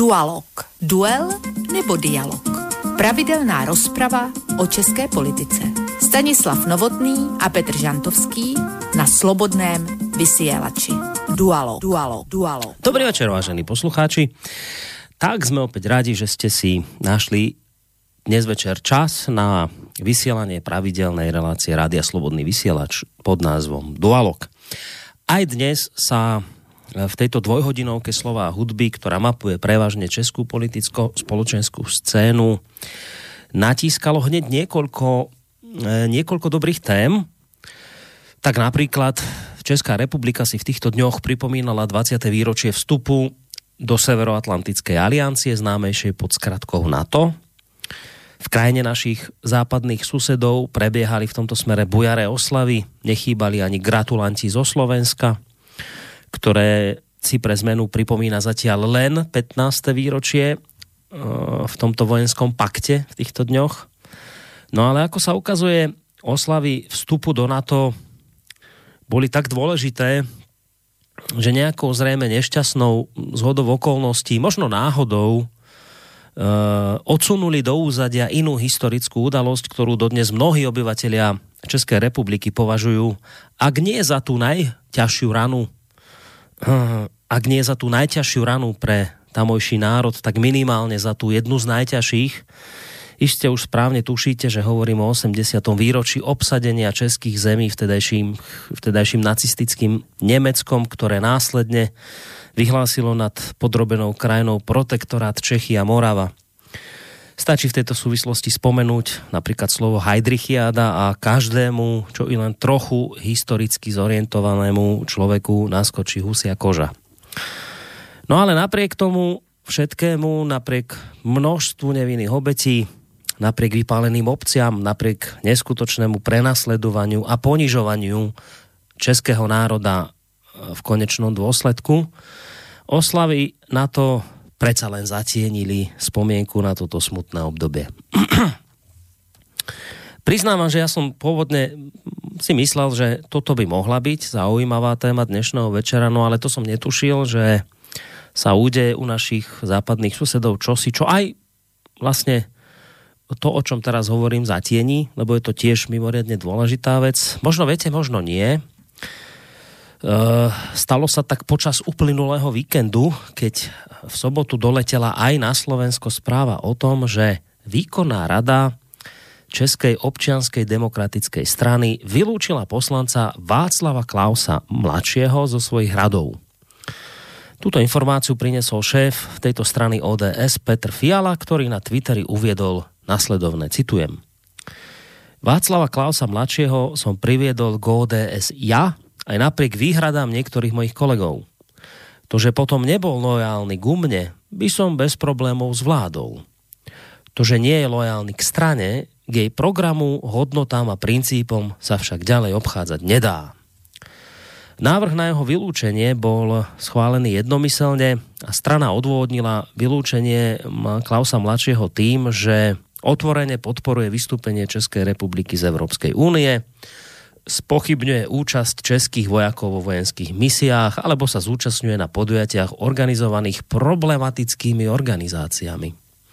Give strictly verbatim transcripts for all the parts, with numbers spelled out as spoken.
Dualog. Duel nebo dialog. Pravidelná rozprava o české politice. Stanislav Novotný a Petr Žantovský na Slobodném vysielači. Dualog. Dualog. Dualog. Dobrý večer, vážení poslucháči. Tak sme opäť radi, že ste si našli dnes večer čas na vysielanie pravidelnej relácie Rádia Slobodný vysielač pod názvom Dualog. Aj dnes sa v tejto dvojhodinovke slova a hudby, ktorá mapuje prevažne českú politicko-spoločenskú scénu, natískalo hneď niekoľko, niekoľko dobrých tém. Tak napríklad Česká republika si v týchto dňoch pripomínala dvadsiate výročie vstupu do Severoatlantickej aliancie, známejšej pod skratkou NATO. V krajine našich západných susedov prebiehali v tomto smere bujaré oslavy, nechýbali ani gratulanti zo Slovenska, ktoré si pre zmenu pripomína zatiaľ len pätnáste výročie v tomto vojenskom pakte v týchto dňoch. No ale ako sa ukazuje, oslavy vstupu do NATO boli tak dôležité, že nejakou zrejme nešťastnou zhodou okolností, možno náhodou, odsunuli do úzadia inú historickú udalosť, ktorú dodnes mnohí obyvatelia Českej republiky považujú, ak nie za tú najťažšiu ranu, ak nie za tú najťažšiu ranu pre tamojší národ, tak minimálne za tú jednu z najťažších. Iste už správne tušíte, že hovorím o osemdesiatom výročí obsadenia českých zemí vtedajším, vtedajším nacistickým Nemeckom, ktoré následne vyhlásilo nad podrobenou krajinou protektorát Čechy a Morava. Stačí v tejto súvislosti spomenúť napríklad slovo Heidrichiáda a každému, čo i len trochu historicky zorientovanému človeku naskočí husia koža. No ale napriek tomu všetkému, napriek množstvu nevinných obetí, napriek vypáleným obciam, napriek neskutočnému prenasledovaniu a ponižovaniu českého národa v konečnom dôsledku, oslavy na to predsa len zatienili spomienku na toto smutné obdobie. Priznávam, že ja som pôvodne si myslel, že toto by mohla byť zaujímavá téma dnešného večera, no ale to som netušil, že sa udeje u našich západných susedov čosi, čo aj vlastne to, o čom teraz hovorím, zatieni, lebo je to tiež mimoriadne dôležitá vec. Možno viete, možno nie. Stalo sa tak počas uplynulého víkendu, keď v sobotu doletela aj na Slovensko správa o tom, že výkonná rada Českej občianskej demokratickej strany vylúčila poslanca Václava Klausa mladšieho zo svojich radov. Túto informáciu priniesol šéf tejto strany ó dé es Petr Fiala, ktorý na Twitteri uviedol nasledovné, citujem: Václava Klausa mladšieho som priviedol k ó dé es ja, aj napriek výhradám niektorých mojich kolegov. To, že potom nebol lojálny ku mne, by som bez problémov zvládol. To, že nie je lojálny k strane, k jej programu, hodnotám a princípom sa však ďalej obchádzať nedá. Návrh na jeho vylúčenie bol schválený jednomyselne a strana odôvodnila vylúčenie Klausa mladšieho tým, že otvorene podporuje vystúpenie Českej republiky z Európskej únie, spochybňuje účasť českých vojakov vo vojenských misiách alebo sa zúčastňuje na podujatiach organizovaných problematickými organizáciami.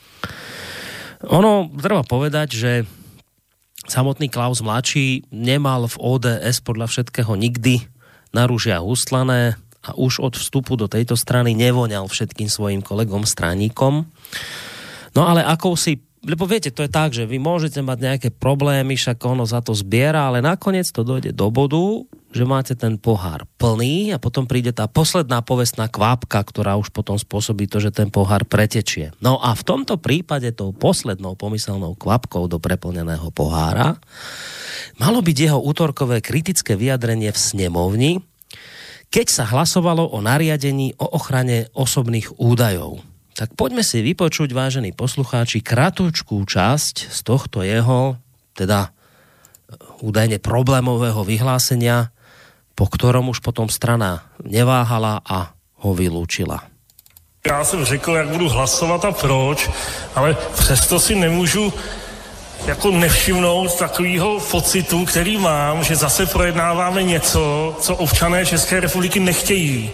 Ono, treba povedať, že samotný Klaus mladší nemal v ó dé es podľa všetkého nikdy na ružia hustlané a už od vstupu do tejto strany nevoňal všetkým svojim kolegom straníkom. No ale akousi, lebo viete, to je tak, že vy môžete mať nejaké problémy, však ono za to zbiera, ale nakoniec to dojde do bodu, že máte ten pohár plný a potom príde tá posledná povestná kvapka, ktorá už potom spôsobí to, že ten pohár pretečie. No a v tomto prípade tou poslednou pomyselnou kvapkou do preplneného pohára malo byť jeho útorkové kritické vyjadrenie v snemovni, keď sa hlasovalo o nariadení o ochrane osobných údajov. Tak poďme si vypočuť, vážení poslucháči, kratučkú časť z tohto jeho, teda údajne problémového vyhlásenia, po ktorom už potom strana neváhala a ho vylúčila. Já jsem řekl, jak budu hlasovat a proč, ale přesto si nemůžu jako nevšimnout takového pocitu, který mám, že zase projednáváme něco, co občané České republiky nechtějí.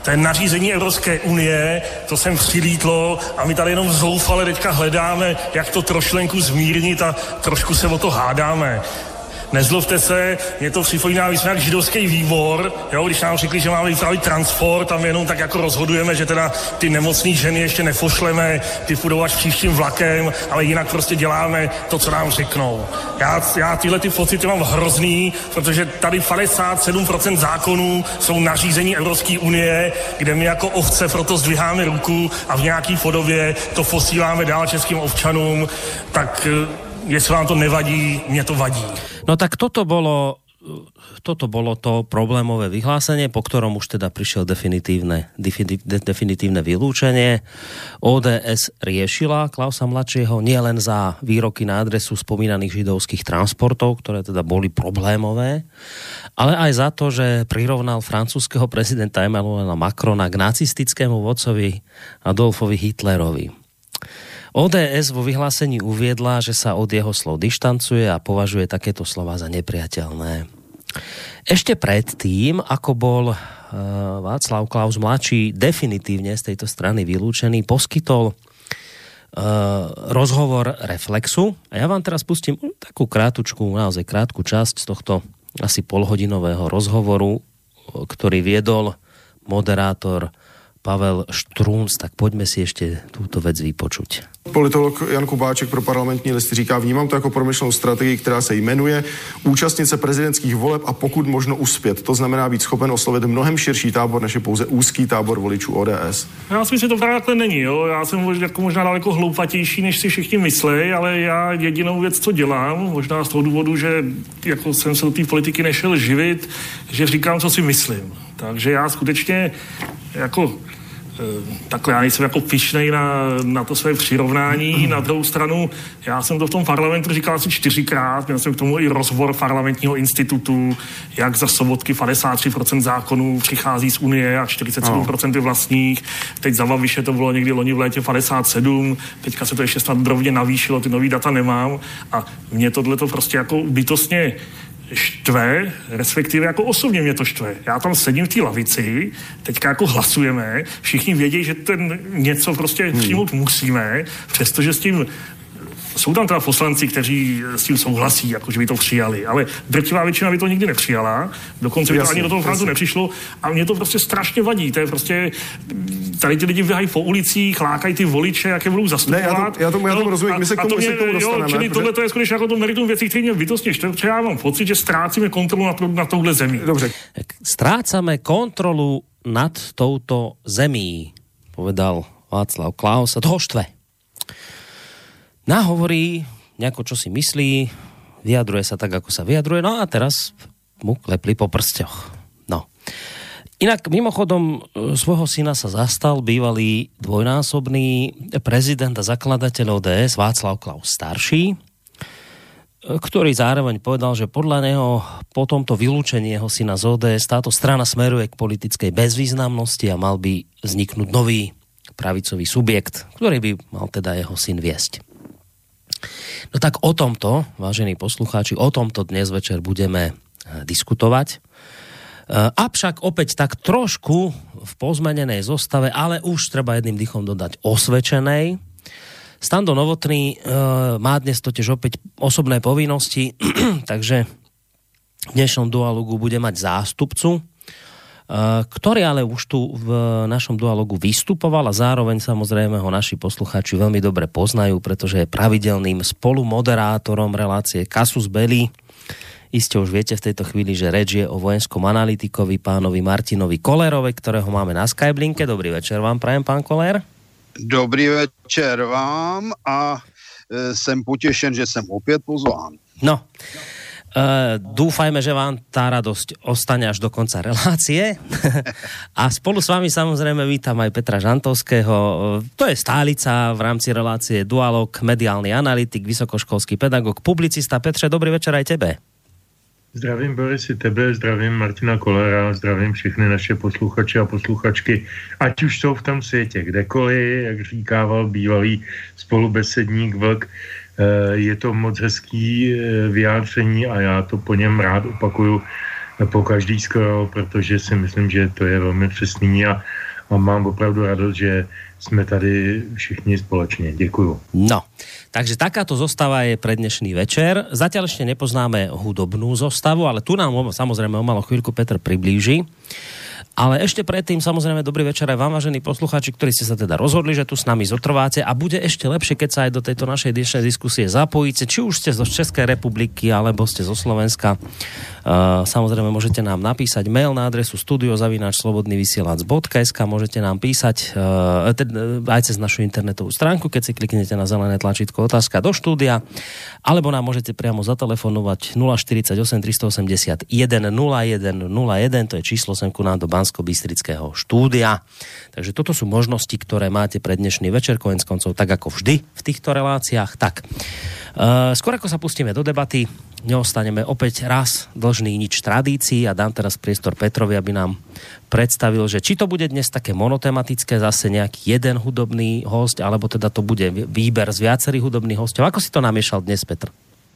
To je nařízení Evropské unie, to sem přilítlo a my tady jenom zoufale teďka hledáme, jak to trošlenku zmírnit a trošku se o to hádáme. Nezlobte se, mě to připomíná, my jsme jak židovský výbor, jo, když nám řekli, že máme vypravit transport a my jenom tak jako rozhodujeme, že teda ty nemocný ženy ještě nepošleme, ty půjdou až příštím vlakem, ale jinak prostě děláme to, co nám řeknou. Já, já tyhle ty pocity mám hrozný, protože tady padesát sedm procent zákonů jsou nařízení Evropské unie, kde my jako ovce proto zdviháme ruku a v nějaký podobě to posíláme dál českým občanům, tak jestli vám to nevadí, mne to vadí. No tak toto bolo, toto bolo to problémové vyhlásenie, po ktorom už teda prišiel definitívne, definitívne vylúčenie. ó dé es riešila Klausa mladšieho nielen za výroky na adresu spomínaných židovských transportov, ktoré teda boli problémové, ale aj za to, že prirovnal francúzskeho prezidenta Emmanuela Macrona k nacistickému vodcovi Adolfovi Hitlerovi. ó dé es vo vyhlásení uviedla, že sa od jeho slov dištancuje a považuje takéto slova za nepriateľné. Ešte predtým, ako bol uh, Václav Klaus mladší definitívne z tejto strany vylúčený, poskytol uh, rozhovor Reflexu a ja vám teraz pustím takú krátučku, naozaj krátku časť z tohto asi polhodinového rozhovoru, ktorý viedol moderátor Pavel Štrunc, tak pojďme si ještě tuto věc vypočuť. Politolog Jan Kubáček pro Parlamentní list říká, vnímám to jako promyšlenou strategii, která se jmenuje účastnit se prezidentských voleb a pokud možno uspět. To znamená být schopen oslovit mnohem širší tábor, než je pouze úzký tábor voličů ó dé es. Já si myslím, že to právě takhle není. Jo? Já jsem jako možná daleko hloupatější, než si všichni myslí, ale já jedinou věc, co dělám, možná z toho důvodu, že jako jsem se do té politiky nešel živit, že říkám, co si myslím. Takže já skutečně jako takhle já nejsem jako pyšnej na, na to své přirovnání. Na druhou stranu, já jsem to v tom parlamentu říkal asi čtyřikrát, měl jsem k tomu i rozbor parlamentního institutu, jak za Sobotky padesát tři procent zákonů přichází z Unie a čtyřicet sedm procent je vlastních. Teď za Babiše to bylo někdy loni v létě padesát sedm, teďka se to ještě snad drobně navýšilo, ty nový data nemám a mě tohle to prostě jako bytostně štve, respektive jako osobně mě to štve. Já tam sedím v té lavici, teďka jako hlasujeme, všichni vědí, že ten něco prostě hmm. přijmout musíme, přestože s tím jsou tam teda poslanci, kteří s tím souhlasí, jako že by to přijali, ale drtivá většina by to nikdy nepřijala, dokonce by to ani do toho Francu nepřišlo a mě to prostě strašně vadí, to je prostě, tady ty lidi běhají po ulicích, lákají ty voliče, jak je budou zastupovat. Ne, já, to, já tomu, já tomu rozumím, my se k tomu, to mě, k tomu dostaneme. Jo, čili protože... tohle to je skutečně jako to meritum věcí, které mě bytostně štve, protože já mám pocit, že ztrácíme kontrolu nad, nad touhle zemí. Dobře. Strácame kontrolu nad touto zemí, povedal Václav Klaus a toho štve. Nahovorí nejako, čo si myslí, vyjadruje sa tak, ako sa vyjadruje, no a teraz mu klepli po prsteľoch. No. Inak mimochodom svojho syna sa zastal bývalý dvojnásobný prezident a zakladateľ ó dé es Václav Klaus starší, ktorý zároveň povedal, že podľa neho po tomto vylúčení jeho syna z ó dé es táto strana smeruje k politickej bezvýznamnosti a mal by vzniknúť nový pravicový subjekt, ktorý by mal teda jeho syn viesť. No tak o tomto, vážení poslucháči, o tomto dnes večer budeme diskutovať. Avšak opäť tak trošku v pozmenenej zostave, ale už treba jedným dýchom dodať osvedčenej. Stando Novotný má dnes totiž opäť osobné povinnosti, takže v dnešnom dualogu bude mať zástupcu, ktorý ale už tu v našom dualogu vystupoval a zároveň samozrejme ho naši poslucháči veľmi dobre poznajú, pretože je pravidelným spolumoderátorom relácie Casus Belli. Iste už viete v tejto chvíli, že reč je o vojenskom analytikovi pánovi Martinovi Kollerovi, ktorého máme na Skyblinke. Dobrý večer vám prajem, pán Koller. Dobrý večer vám a e, jsem potěšen, že jsem opět pozván. No, Uh, dúfajme, že vám tá radosť ostane až do konca relácie. A spolu s vami samozrejme vítam aj Petra Žantovského. To je stálica v rámci relácie Dualog, mediálny analytik, vysokoškolský pedagog, publicista. Petře, dobrý večer aj tebe. Zdravím Borisi tebe, zdravím Martina Kollera, zdravím všechny naše posluchače a posluchačky, ať už jsou v tom světě kdekoliv, jak říkával bývalý spolubesedník Vlk. Je to moc hezký vyjádření a já to po něm rád opakuju. po každý skoro, protože si myslím, že to je velmi přesný a, a mám opravdu radost, že jsme tady všichni společně. Děkuju. No, takže takáto zostava je pre dnešný večer. Zatiaľ ešte nepoznáme hudobnú zostavu, ale tu nám samozrejme o malú chvíľku Petr priblíži. Ale ešte predtým, samozrejme, dobrý večer aj vám, vážení poslucháči, ktorí ste sa teda rozhodli, že tu s nami zotrváte a bude ešte lepšie, keď sa aj do tejto našej dnešnej diskusie zapojíte, či už ste zo Českej republiky, alebo ste zo Slovenska. Uh, samozrejme, môžete nám napísať mail na adresu studio zavináč slobodný vysielač bodka es ká, môžete nám písať uh, teda, aj cez našu internetovú stránku, keď si kliknete na zelené tlačítko otázka do štúdia, alebo nám môžete priamo zatelefonovať nula štyridsaťosem tristoosemdesiatjeden nula jeden nula jeden, to je číslo sem ku nám do Banskobystrického štúdia. Takže toto sú možnosti, ktoré máte pre dnešný večer, koniec koncov, tak ako vždy v týchto reláciách. Tak, uh, skôr ako sa pustíme do debaty, neostaneme opäť raz dlžný nič tradícii a dám teraz priestor Petrovi, aby nám predstavil, že či to bude dnes také monotematické, zase nejaký jeden hudobný host, alebo teda to bude výber z viacerých hudobných hostov. Ako si to namiešal dnes, Petr?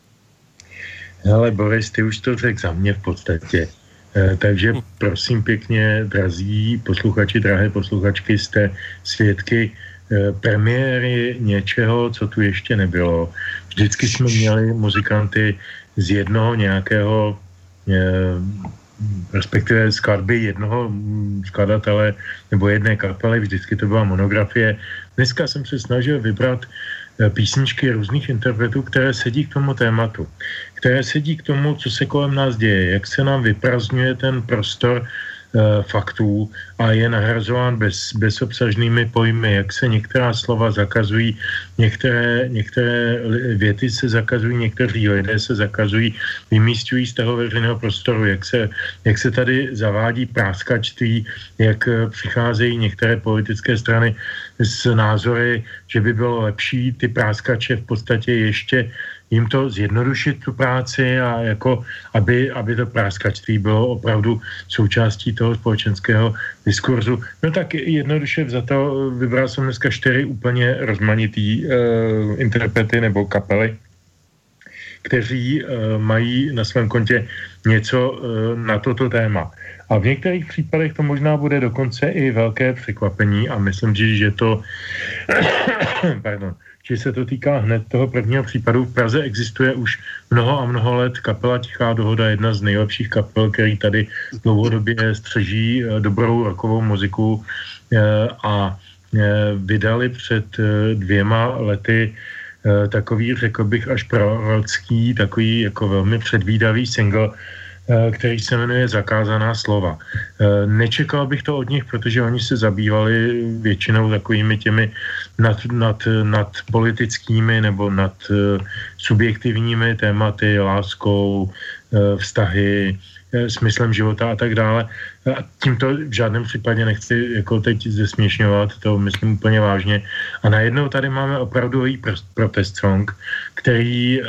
Ale Boris, ty už to řekl za mě v podstatě. E, takže prosím pěkně, drazí posluchači, drahé posluchačky, jste svědky e, premiéry něčeho, co tu ještě nebylo. Vždycky jsme měli muzikanty z jednoho nějakého, e, respektive skladby jednoho skladatele nebo jedné kapely, vždycky to byla monografie. Dneska jsem se snažil vybrat písničky různých interpretů, které sedí k tomu tématu, které sedí k tomu, co se kolem nás děje, jak se nám vyprazňuje ten prostor e, faktů a je nahrazován bez, bezobsažnými pojmy, jak se některá slova zakazují, některé, některé věty se zakazují, někteří lidé se zakazují, vymísťují z toho veřejného prostoru, jak se, jak se tady zavádí práskačství, jak přicházejí některé politické strany s názory, že by bylo lepší ty práskače v podstatě ještě jim to zjednodušit tu práci a jako, aby, aby to práskačství bylo opravdu součástí toho společenského diskurzu. No tak jednoduše za to vybral jsem dneska čtyři úplně rozmanitý uh, interprety nebo kapely, kteří uh, mají na svém kontě něco uh, na toto téma. A v některých případech to možná bude dokonce i velké překvapení a myslím, že to pardon, že se to týká hned toho prvního případu. V Praze existuje už mnoho a mnoho let kapela Tichá dohoda, jedna z nejlepších kapel, který tady dlouhodobě střeží dobrou rockovou muziku a vydali před dvěma lety takový, řekl bych, až prorocký, takový jako velmi předvídavý single, který se jmenuje Zakázaná slova. Nečekal bych to od nich, protože oni se zabývali většinou takovými těmi nad, nad, nad politickými nebo nad subjektivními tématy, láskou, vztahy, smyslem života a tak dále. A tímto v žádném případě nechci jako teď zesměšňovat, to myslím úplně vážně. A najednou tady máme opravdový protest song, který e,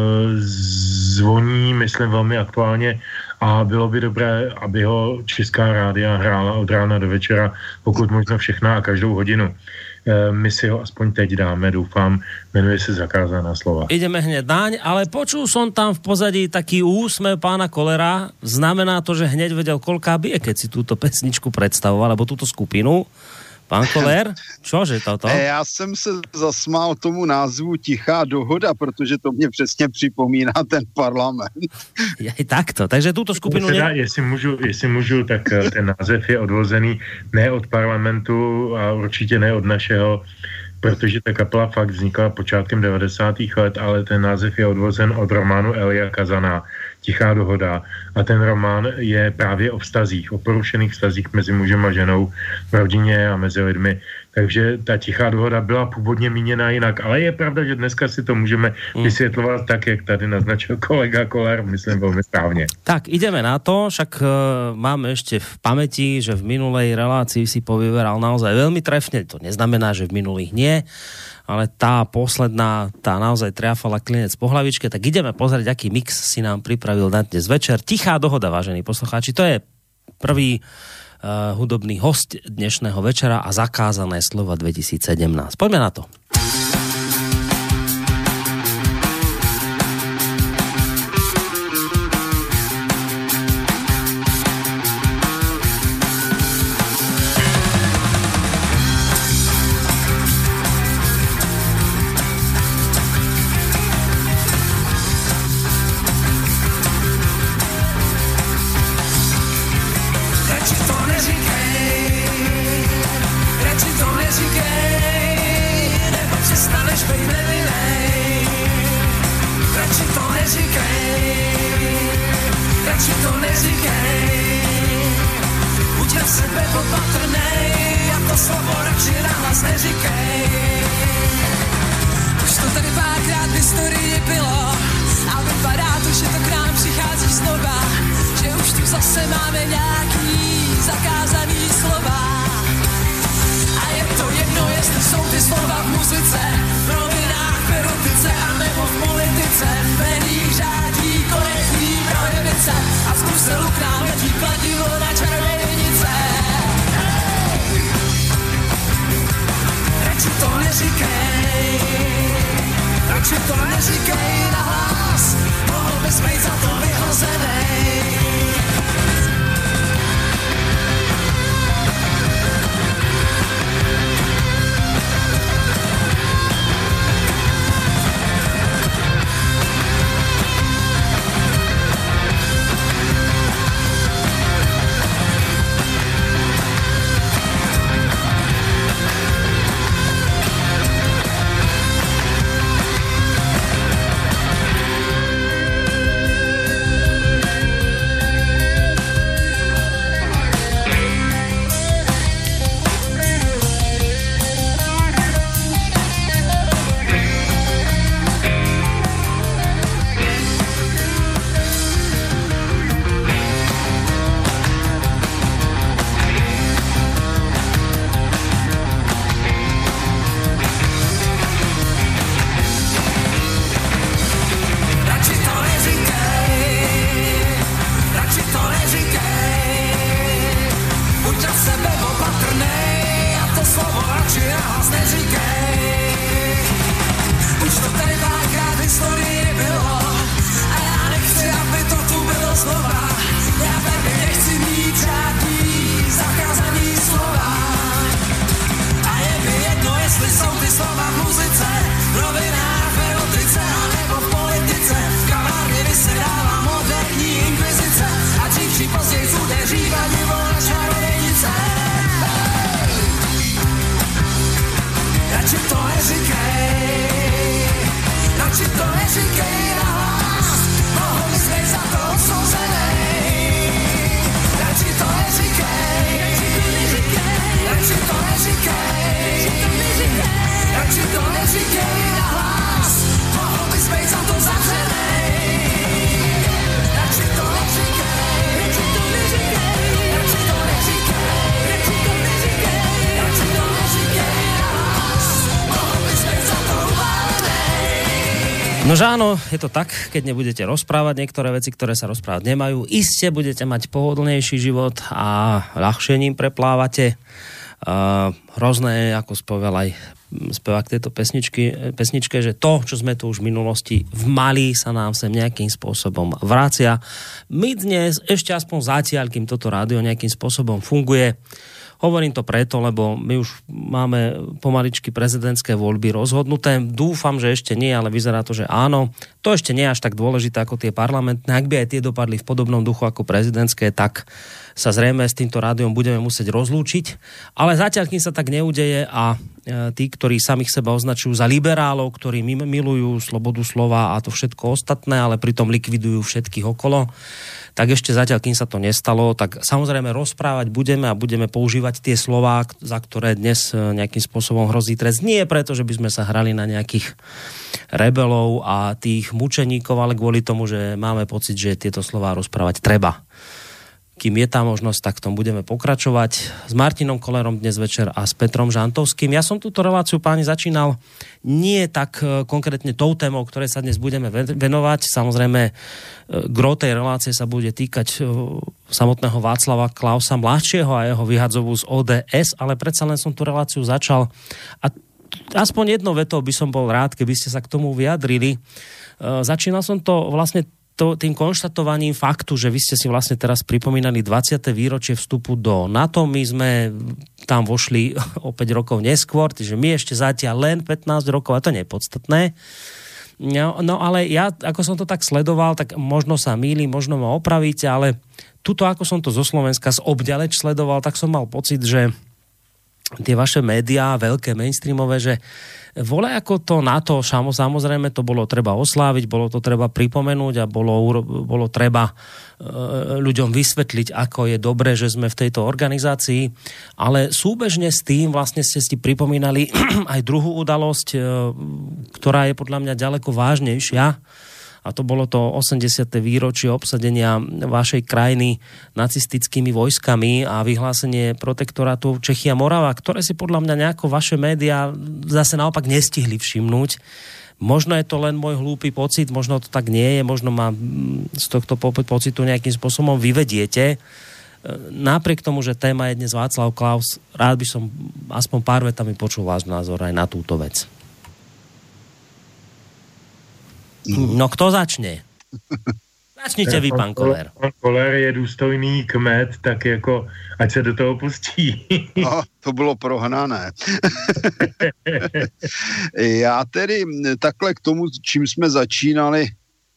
zvoní, myslím, velmi aktuálně a bylo by dobré, aby ho Česká rádia hrála od rána do večera, pokud možno všechna a každou hodinu. E, my si ho aspoň teď dáme, doufám, menuje se Zakázaná slova. Ideme hneď naň, ale počul som tam v pozadí taký úsmev pána Kolera, znamená to, že hneď vedel, koľká bije, keď si túto pesničku predstavoval, alebo túto skupinu. Pán Koller, čože toto? Já jsem se zasmál tomu názvu Tichá dohoda, protože to mě přesně připomíná ten parlament. Je takto, takže túto skupinu... Teda, jestli, můžu, jestli můžu, tak ten název je odvozený ne od parlamentu a určitě ne od našeho, protože ta kapela fakt vznikla počátkem devadesátých let, ale ten název je odvozen od románu Elia Kazana Tichá dohoda. A ten román je právě o vztazích, o porušených vztazích mezi mužem a ženou v rodině a mezi lidmi. Takže ta Tichá dohoda byla původně míněna jinak, ale je pravda, že dneska si to můžeme vysvětlovat tak, jak tady naznačil kolega Koller, myslím velmi správně. Tak, ideme na to, však uh, máme ešte v pamäti, že v minulej relácii si povyberal naozaj veľmi trefne, to neznamená, že v minulých nie, ale tá posledná, tá naozaj triafala klinec po hlavičke, tak ideme pozrieť, aký mix si nám pripravil na dnes večer. Tichá dohoda, vážení poslucháči, to je prvý uh, hudobný host dnešného večera a Zakázané slova dvetisícsedemnásť. Poďme na to. chceš být nevinnej, radši to neříkej, radši to neříkej, buď na sebe opatrnej, a to slovo radši nahlas neříkej. Už to tady párkrát v historii bylo, a vypadá to, že to k nám přichází znova, že už tu zase máme nějaký zakázaný slova. A je to jedno, jestli jsou ty slova v muzice, v novinách, v erotice a nebo v politice. Médií řádí korektní projevice a z Bruselu k nám letí kladivo na čarodějnice. Radši to neříkej, radši to neříkej nahlas, mohl bys být za to vyhozenej. Nože áno, je to tak, keď nebudete rozprávať niektoré veci, ktoré sa rozprávať nemajú, iste budete mať pohodlnejší život a ľahšie ním preplávate. Uh, hrozné, ako spovedal aj spevák tejto pesničky, pesničke, že to, čo sme tu už v minulosti vmali, sa nám sem nejakým spôsobom vracia. My dnes, ešte aspoň zatiaľ, kým toto rádio nejakým spôsobom funguje, hovorím to preto, lebo my už máme pomaličky prezidentské voľby rozhodnuté. Dúfam, že ešte nie, ale vyzerá to, že áno. To ešte nie je až tak dôležité ako tie parlamentné. Ak by aj tie dopadli v podobnom duchu ako prezidentské, tak sa zrejme s týmto rádiom budeme musieť rozlúčiť. Ale zatiaľ, kým sa tak neudeje a tí, ktorí samých seba označujú za liberálov, ktorí milujú slobodu slova a to všetko ostatné, ale pritom likvidujú všetkých okolo, tak ešte zatiaľ, kým sa to nestalo, tak samozrejme rozprávať budeme a budeme používať tie slová, za ktoré dnes nejakým spôsobom hrozí trest. Nie preto, že by sme sa hrali na nejakých rebelov a tých mučeníkov, ale kvôli tomu, že máme pocit, že tieto slová rozprávať treba. Kým je tá možnosť, tak v tom budeme pokračovať s Martinom Kollerom dnes večer a s Petrom Žantovským. Ja som túto reláciu, páni, začínal nie tak konkrétne tou témou, ktorej sa dnes budeme venovať. Samozrejme, gro tej relácie sa bude týkať samotného Václava Klausa mladšieho a jeho vyhadzovú z ó dé es, ale predsa len som tú reláciu začal a aspoň jednou vetou by som bol rád, keby ste sa k tomu vyjadrili. Začínal som to vlastne To, tým konštatovaním faktu, že vy ste si vlastne teraz pripomínali dvadsiate výročie vstupu do NATO. My sme tam vošli o päť rokov neskôr, takže my ešte zatiaľ len pätnásť rokov, a to nie je podstatné. No, no ale ja, ako som to tak sledoval, tak možno sa mýlim, možno ma opravíte, ale tuto, ako som to zo Slovenska z obďaleč sledoval, tak som mal pocit, že tie vaše médiá, veľké mainstreamové, že vole ako to na to, samozrejme to bolo treba osláviť, bolo to treba pripomenúť a bolo, bolo treba ľuďom vysvetliť, ako je dobré, že sme v tejto organizácii, ale súbežne s tým vlastne ste si pripomínali aj druhú udalosť, ktorá je podľa mňa ďaleko vážnejšia, a to bolo to osemdesiate výročie obsadenia vašej krajiny nacistickými vojskami a vyhlásenie protektorátu Čechy a Morava, ktoré si podľa mňa nejako vaše médiá zase naopak nestihli všimnúť. Možno je to len môj hlúpy pocit, možno to tak nie je, možno ma z tohto pocitu nejakým spôsobom vyvediete. Napriek tomu, že téma je dnes Václav Klaus, rád by som aspoň pár vetami počul váš názor aj na túto vec. No kto začne? Začnite vy, pán Koller. Pán Koller je důstojný kmet, tak jako, ať se do toho pustí. No, to bylo prohnané. Já tedy takhle k tomu, čím jsme začínali,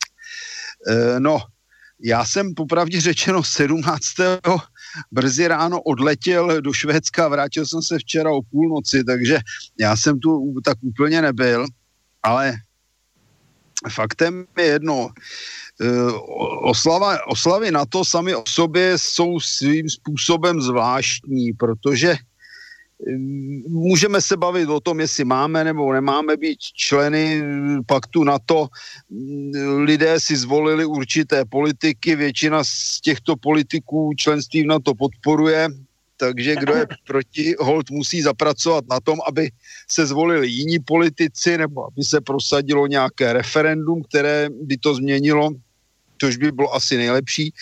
no, já jsem popravdě řečeno sedmnáctého brzy ráno odletěl do Švédska, vrátil jsem se včera o půlnoci, takže já jsem tu tak úplně nebyl, ale faktem je jedno, oslava, oslavy NATO sami o sobě jsou svým způsobem zvláštní, protože můžeme se bavit o tom, jestli máme nebo nemáme být členy paktu NATO. Lidé si zvolili určité politiky, většina z těchto politiků členství v NATO podporuje, takže kdo je proti, holt musí zapracovat na tom, aby se zvolili jiní politici nebo aby se prosadilo nějaké referendum, které by to změnilo, což by bylo asi nejlepší. E,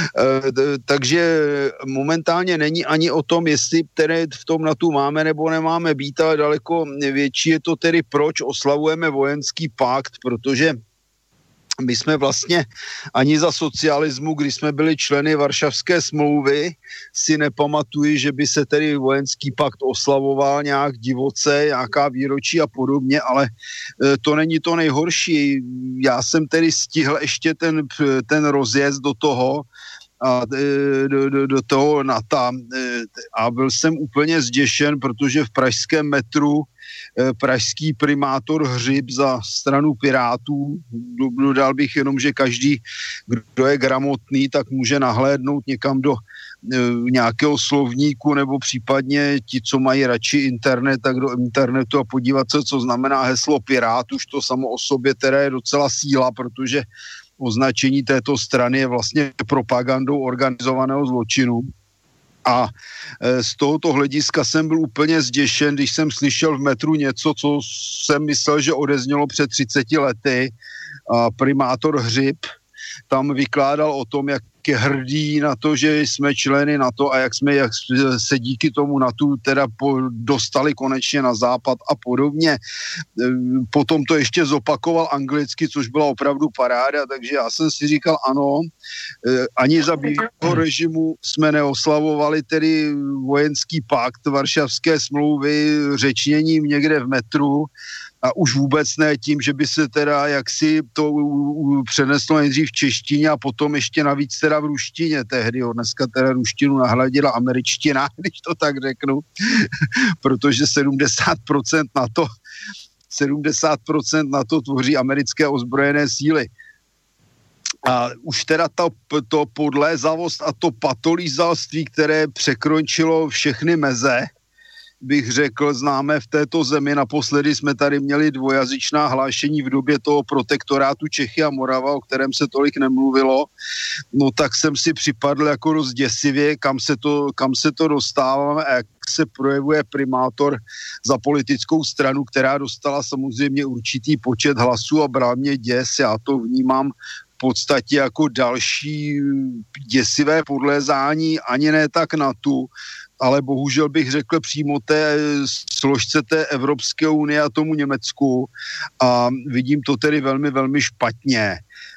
takže momentálně není ani o tom, jestli které v tom NATO máme nebo nemáme být, ale daleko větší je to tedy, proč oslavujeme vojenský pakt, protože my jsme vlastně ani za socialismu, když jsme byli členy Varšavské smlouvy, si nepamatuji, že by se tedy vojenský pakt oslavoval nějak divoce, nějaká výročí a podobně, ale to není to nejhorší. Já jsem tedy stihl ještě ten, ten rozjezd do toho, a do, do, do toho NATO a byl jsem úplně zděšen, protože v pražském metru pražský primátor Hřib za stranu Pirátů, dodal bych jenom, že každý, kdo je gramotný, tak může nahlédnout někam do nějakého slovníku nebo případně ti, co mají radši internet, tak do internetu a podívat se, co znamená heslo Pirát. Už to samo o sobě teda je docela síla, protože označení této strany je vlastně propagandou organizovaného zločinu. A z tohoto hlediska jsem byl úplně zděšen, když jsem slyšel v metru něco, co jsem myslel, že odeznělo před třiceti lety. A primátor Hřib tam vykládal o tom, jak je hrdý na to, že jsme členy NATO a jak jsme jak se díky tomu NATO teda po, dostali konečně na západ a podobně. Potom to ještě zopakoval anglicky, což byla opravdu paráda, takže já jsem si říkal ano, ani za bývalého režimu jsme neoslavovali tedy vojenský pakt Varšavské smlouvy řečněním někde v metru, a už vůbec ne tím, že by se teda jaksi to přeneslo nejdřív v češtině a potom ještě navíc teda v ruštině tehdy. Jo. Dneska teda ruštinu nahradila američtina, když to tak řeknu, protože sedmdesát procent NATO, sedmdesát procent NATO tvoří americké ozbrojené síly. A už teda to, to podlézavost a to patolízalství, které překročilo všechny meze, bych řekl, známe v této zemi. Naposledy jsme tady měli dvojazyčná hlášení v době toho protektorátu Čechy a Morava, o kterém se tolik nemluvilo. No tak jsem si připadl jako dost děsivě, kam se to, kam se to dostáváme a jak se projevuje primátor za politickou stranu, která dostala samozřejmě určitý počet hlasů a bral mě děs. Já to vnímám v podstatě jako další děsivé podlézání, ani ne tak na tu, ale bohužel bych řekl přímo té složce té Evropské unie a tomu Německu a vidím to tedy velmi, velmi špatně. E,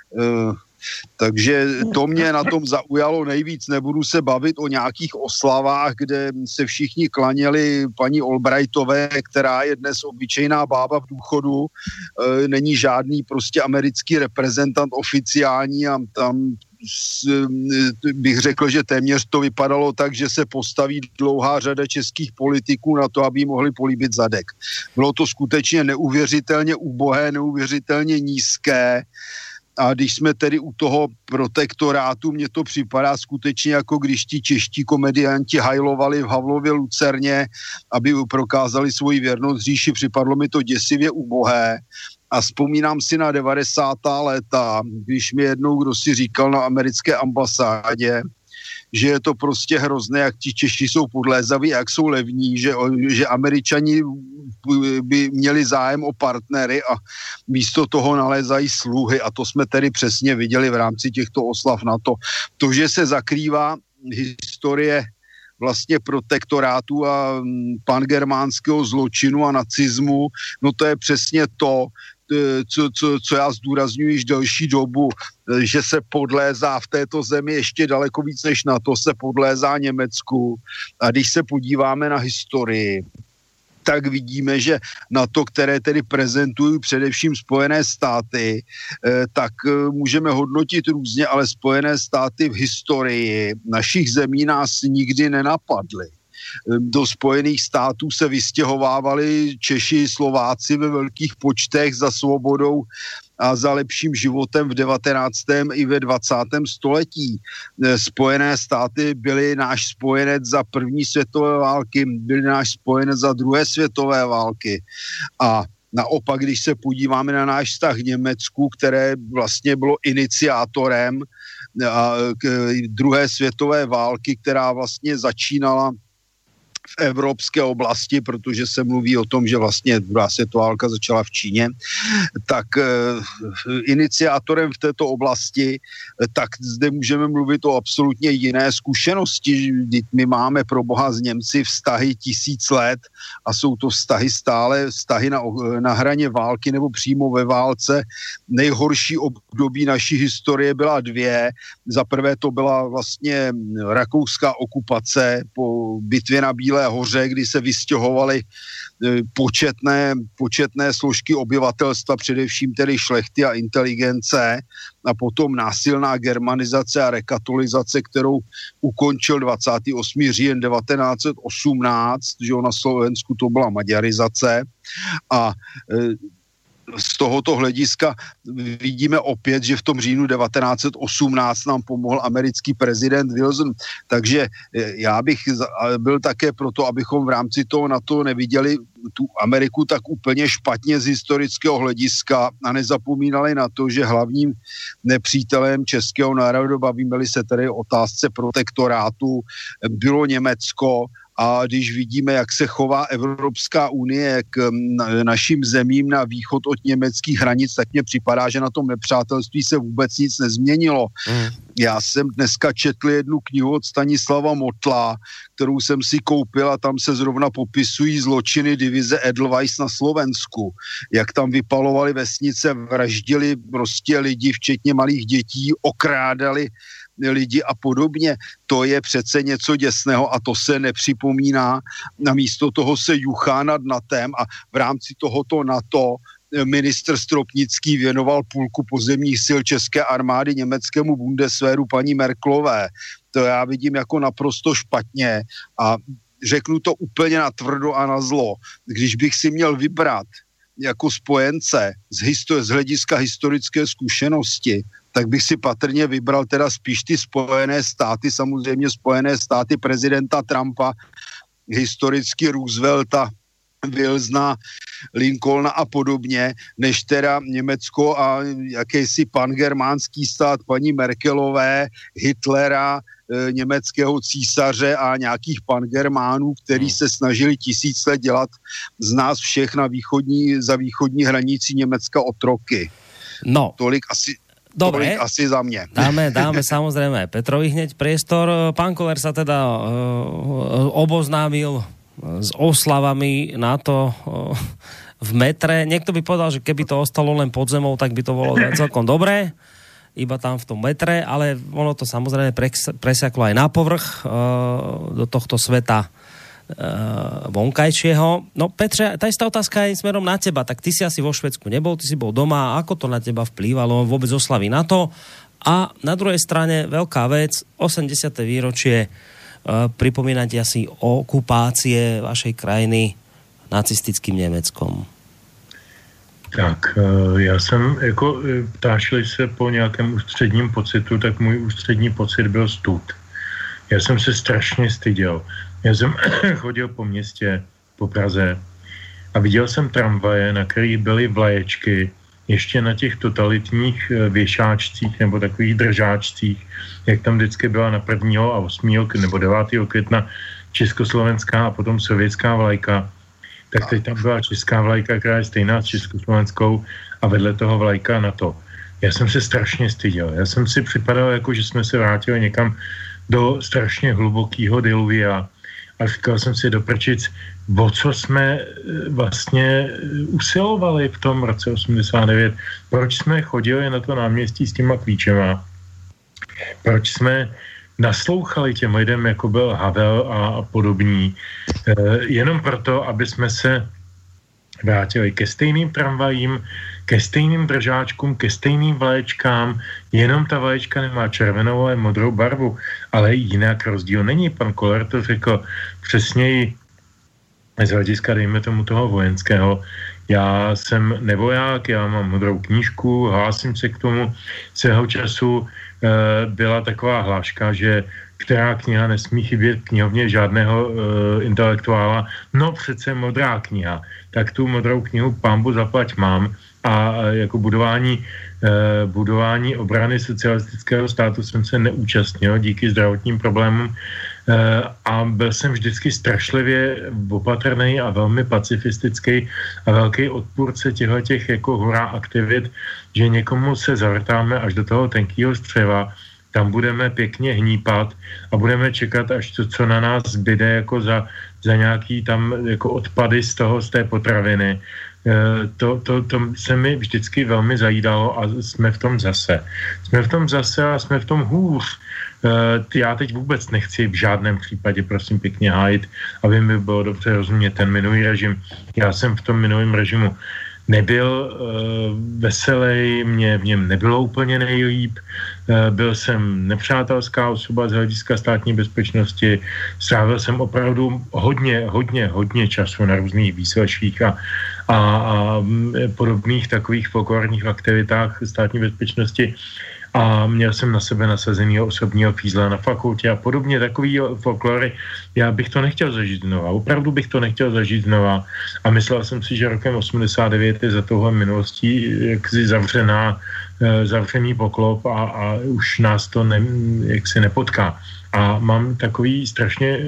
takže to mě na tom zaujalo nejvíc. Nebudu se bavit o nějakých oslavách, kde se všichni klaněli paní Albrightové, která je dnes obyčejná bába v důchodu. E, není žádný prostě americký reprezentant oficiální a tam bych řekl, že téměř to vypadalo tak, že se postaví dlouhá řada českých politiků na to, aby mohli políbit zadek. Bylo to skutečně neuvěřitelně ubohé, neuvěřitelně nízké. A když jsme tedy u toho protektorátu, mně to připadá skutečně jako když ti čeští komedianti hajlovali v Havlově Lucerně, aby prokázali svoji věrnost říši, připadlo mi to děsivě ubohé. A vzpomínám si na devadesátá léta, když mi jednou kdo si říkal na americké ambasádě, že je to prostě hrozné, jak ti Češi jsou podlézaví, jak jsou levní, že, že Američani by měli zájem o partnery a místo toho nalézají sluhy. A to jsme tedy přesně viděli v rámci těchto oslav NATO. To, že se zakrývá historie vlastně protektorátu a pangermánského zločinu a nacismu, no to je přesně to, co, co, co já zdůrazňuji již delší dobu, že se podlézá v této zemi ještě daleko víc než na to se podlézá Německu. A když se podíváme na historii, tak vidíme, že na to, které tedy prezentují především Spojené státy, tak můžeme hodnotit různě, ale Spojené státy v historii našich zemí nás nikdy nenapadly. Do Spojených států se vystěhovávali Češi, Slováci ve velkých počtech za svobodou a za lepším životem v devatenáctém i ve dvacátém století. Spojené státy byly náš spojenec za první světové války, byly náš spojenec za druhé světové války. A naopak, když se podíváme na náš vztah k Německu, které vlastně bylo iniciátorem druhé světové války, která vlastně začínala v evropské oblasti, protože se mluví o tom, že vlastně druhá světová válka začala v Číně, tak e, iniciátorem v této oblasti, tak zde můžeme mluvit o absolutně jiné zkušenosti. My máme pro boha s Němci vztahy tisíc let a jsou to vztahy stále, vztahy na, na hraně války nebo přímo ve válce. Nejhorší období naší historie byla dvě. Za prvé to byla vlastně rakouská okupace po bitvě na Bílé hoře, kdy se vystěhovaly početné, početné složky obyvatelstva, především tedy šlechty a inteligence, a potom násilná germanizace a rekatolizace, kterou ukončil dvacátého osmého října devatenáct set osmnáct, že na Slovensku to byla maďarizace. A z tohoto hlediska vidíme opět, že v tom říjnu devatenáct set osmnáct nám pomohl americký prezident Wilson. Takže já bych byl také proto, abychom v rámci toho NATO neviděli tu Ameriku tak úplně špatně z historického hlediska a nezapomínali na to, že hlavním nepřítelem českého národa, bavíme-li se tedy o otázce protektorátu, bylo Německo. A když vidíme, jak se chová Evropská unie k našim zemím na východ od německých hranic, tak mně připadá, že na tom nepřátelství se vůbec nic nezměnilo. Mm. Já jsem dneska četl jednu knihu od Stanislava Motla, kterou jsem si koupil a tam se zrovna popisují zločiny divize Edelweiss na Slovensku. Jak tam vypalovali vesnice, vraždili prostě lidi, včetně malých dětí, okrádali lidi a podobně. To je přece něco děsného a to se nepřipomíná. Namísto toho se juchá nad NATem a v rámci tohoto NATO ministr Stropnický věnoval půlku pozemních sil české armády německému Bundeswehru paní Merkelové. To já vidím jako naprosto špatně a řeknu to úplně natvrdo a na zlo. Když bych si měl vybrat jako spojence z, histor- z hlediska historické zkušenosti, tak bych si patrně vybral teda spíš ty Spojené státy, samozřejmě Spojené státy prezidenta Trumpa, historicky Roosevelta, Wilsona, Lincolna a podobně, než teda Německo a jakýsi pangermánský stát paní Merkelové, Hitlera, e, německého císaře a nějakých pangermánů, který se snažili tisíc let dělat z nás všech na východní, za východní hranicí Německa otroky. No. Tolik asi... Dobre, asi za mňa. Dáme, dáme samozrejme Petrovi hneď priestor. Pán Koller sa teda uh, oboznámil s oslavami NATO uh, v metre. Niekto by povedal, že keby to ostalo len pod zemou, tak by to bolo celkom dobré. Iba tam v tom metre, ale ono to samozrejme presiaklo aj na povrch uh, do tohto sveta Uh, vonkajšieho. No Petre, tá istá otázka je smerom na teba. Tak ty si asi vo Švédsku nebol, ty si bol doma. Ako to na teba vplývalo? Vôbec oslavy NATO? A na druhej strane veľká vec, osemdesiate výročie uh, pripomínať asi okupácie vašej krajiny nacistickým Německom. Tak, já jsem, jako ptášili se po nějakém ústředním pocitu, tak můj ústřední pocit byl stud. Já jsem se strašně styděl. Já jsem chodil po městě, po Praze a viděl jsem tramvaje, na kterých byly vlaječky, ještě na těch totalitních věšáčcích nebo takových držáčcích, jak tam vždycky byla na prvního a osmého nebo devátého května československá a potom sovětská vlajka, tak teď tam byla česká vlajka, která je stejná s československou a vedle toho vlajka NATO. Já jsem se strašně styděl. Já jsem si připadal, jako že jsme se vrátili někam do strašně hlubokého diluvia a říkal jsem si do prčic, o co jsme vlastně usilovali v tom roce osmdesát devět. Proč jsme chodili na to náměstí s těma klíčema? Proč jsme naslouchali těm lidem, jako byl Havel a podobní, e, jenom proto, aby jsme se vrátili ke stejným tramvajím, ke stejným držáčkům, ke stejným vlaječkám, jenom ta vlaječka nemá červenou, ale modrou barvu, ale jinak rozdíl není. Pan Koller to řekl přesněji z hlediska, dejme tomu, toho vojenského. Já jsem nevoják, já mám modrou knížku, hlásím se k tomu. Svého času e, byla taková hláška, že která kniha nesmí chybět knihovně žádného e, intelektuála. No přece modrá kniha. Tak tu modrou knihu pánbu zaplať mám a e, jako budování, e, budování obrany socialistického státu jsem se neúčastnil díky zdravotním problémům. A byl jsem vždycky strašlivě opatrný a velmi pacifistický a velký odpůrce těchto těch jako hurá aktivit, že někomu se zavrtáme až do toho tenkýho střeva, tam budeme pěkně hnípat a budeme čekat, až to, co na nás zbyde jako za, za nějaký tam jako odpady z toho, z té potraviny. To, to, to se mi vždycky velmi zajídalo a jsme v tom zase. Jsme v tom zase a jsme v tom hůř. Já teď vůbec nechci v žádném případě, prosím pěkně, hájit, aby mi bylo dobře rozumět ten minulý režim. Já jsem v tom minulém režimu nebyl uh, veselý, mě v něm nebylo úplně nejlíp, uh, byl jsem nepřátelská osoba z hlediska státní bezpečnosti, strávil jsem opravdu hodně, hodně, hodně času na různých výsleších a, a, a podobných takových folklorních aktivitách státní bezpečnosti a měl jsem na sebe nasazenýho osobního fízla na fakultě a podobně takový folklory. Já bych to nechtěl zažít znova. Opravdu bych to nechtěl zažít znova. A myslel jsem si, že rokem osmdesát devět je za touhle minulostí jaksi zavřená, zavřený poklop a, a už nás to ne, jaksi nepotká. A mám takový strašně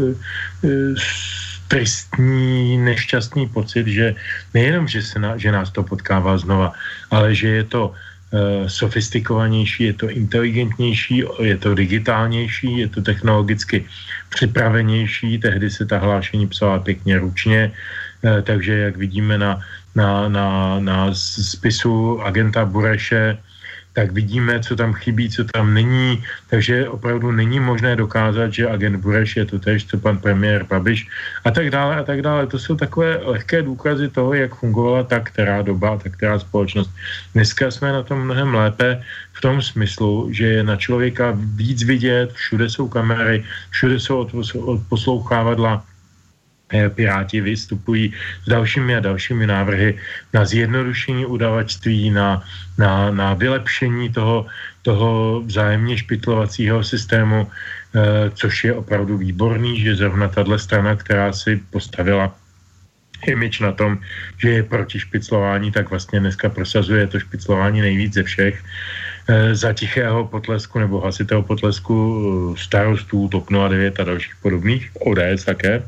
tristní, nešťastný pocit, že nejenom, že, se na, že nás to potkává znova, ale že je to sofistikovanější, je to inteligentnější, je to digitálnější, je to technologicky připravenější, tehdy se ta hlášení psala pěkně ručně, takže jak vidíme na, na, na, na spisu agenta Bureše, tak vidíme, co tam chybí, co tam není, takže opravdu není možné dokázat, že agent Bureš je to též, co pan premiér Babiš a tak dále a tak dále. To jsou takové lehké důkazy toho, jak fungovala ta která doba, ta která společnost. Dneska jsme na tom mnohem lépe v tom smyslu, že je na člověka víc vidět, všude jsou kamery, všude jsou odposlouchávadla, Piráti vystupují s dalšími a dalšími návrhy na zjednodušení udavačství, na, na, na vylepšení toho, toho vzájemně špitlovacího systému, eh, což je opravdu výborný, že zrovna tato strana, která si postavila image na tom, že je proti špiclování, tak vlastně dneska prosazuje to špiclování nejvíc ze všech. E, za tichého potlesku nebo hlasitého potlesku starostů, TOP nula devět a dalších podobných, O D S také.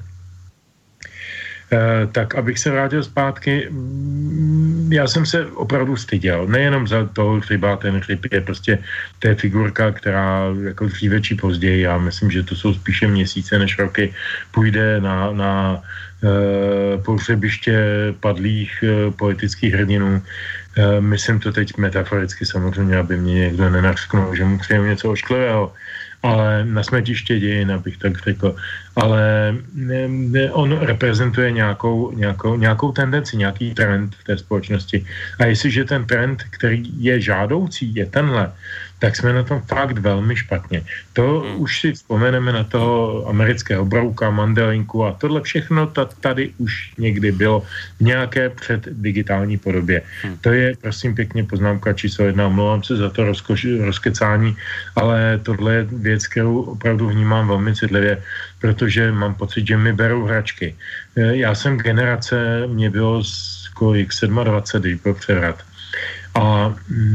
E, tak abych se vrátil zpátky, já jsem se opravdu styděl. Nejenom za toho Hřiba, ten Hřib je prostě to je figurka, která jako dříve či později, já myslím, že to jsou spíše měsíce než roky, půjde na, na e, pohřebiště padlých e, politických hrdinů. E, myslím to teď metaforicky samozřejmě, aby mě někdo nenařknul, že mu přeju něco ošklivého, ale na smetiště dějin, abych tak řekl. Ale ne, ne, on reprezentuje nějakou, nějakou, nějakou tendenci, nějaký trend v té společnosti. A jestliže ten trend, který je žádoucí, je tenhle, tak jsme na tom fakt velmi špatně. To hmm. už si vzpomeneme na toho amerického brouka, Mandelinku a tohle všechno tady už někdy bylo v nějaké předdigitální podobě. Hmm. To je, prosím pěkně, poznámka číslo jedna. Omlouvám se za to rozkoš, rozkecání, ale tohle je věc, kterou opravdu vnímám velmi citlivě, protože mám pocit, že mi berou hračky. Já jsem generace, mě bylo kolik, dvacet sedm, když byl převrat. A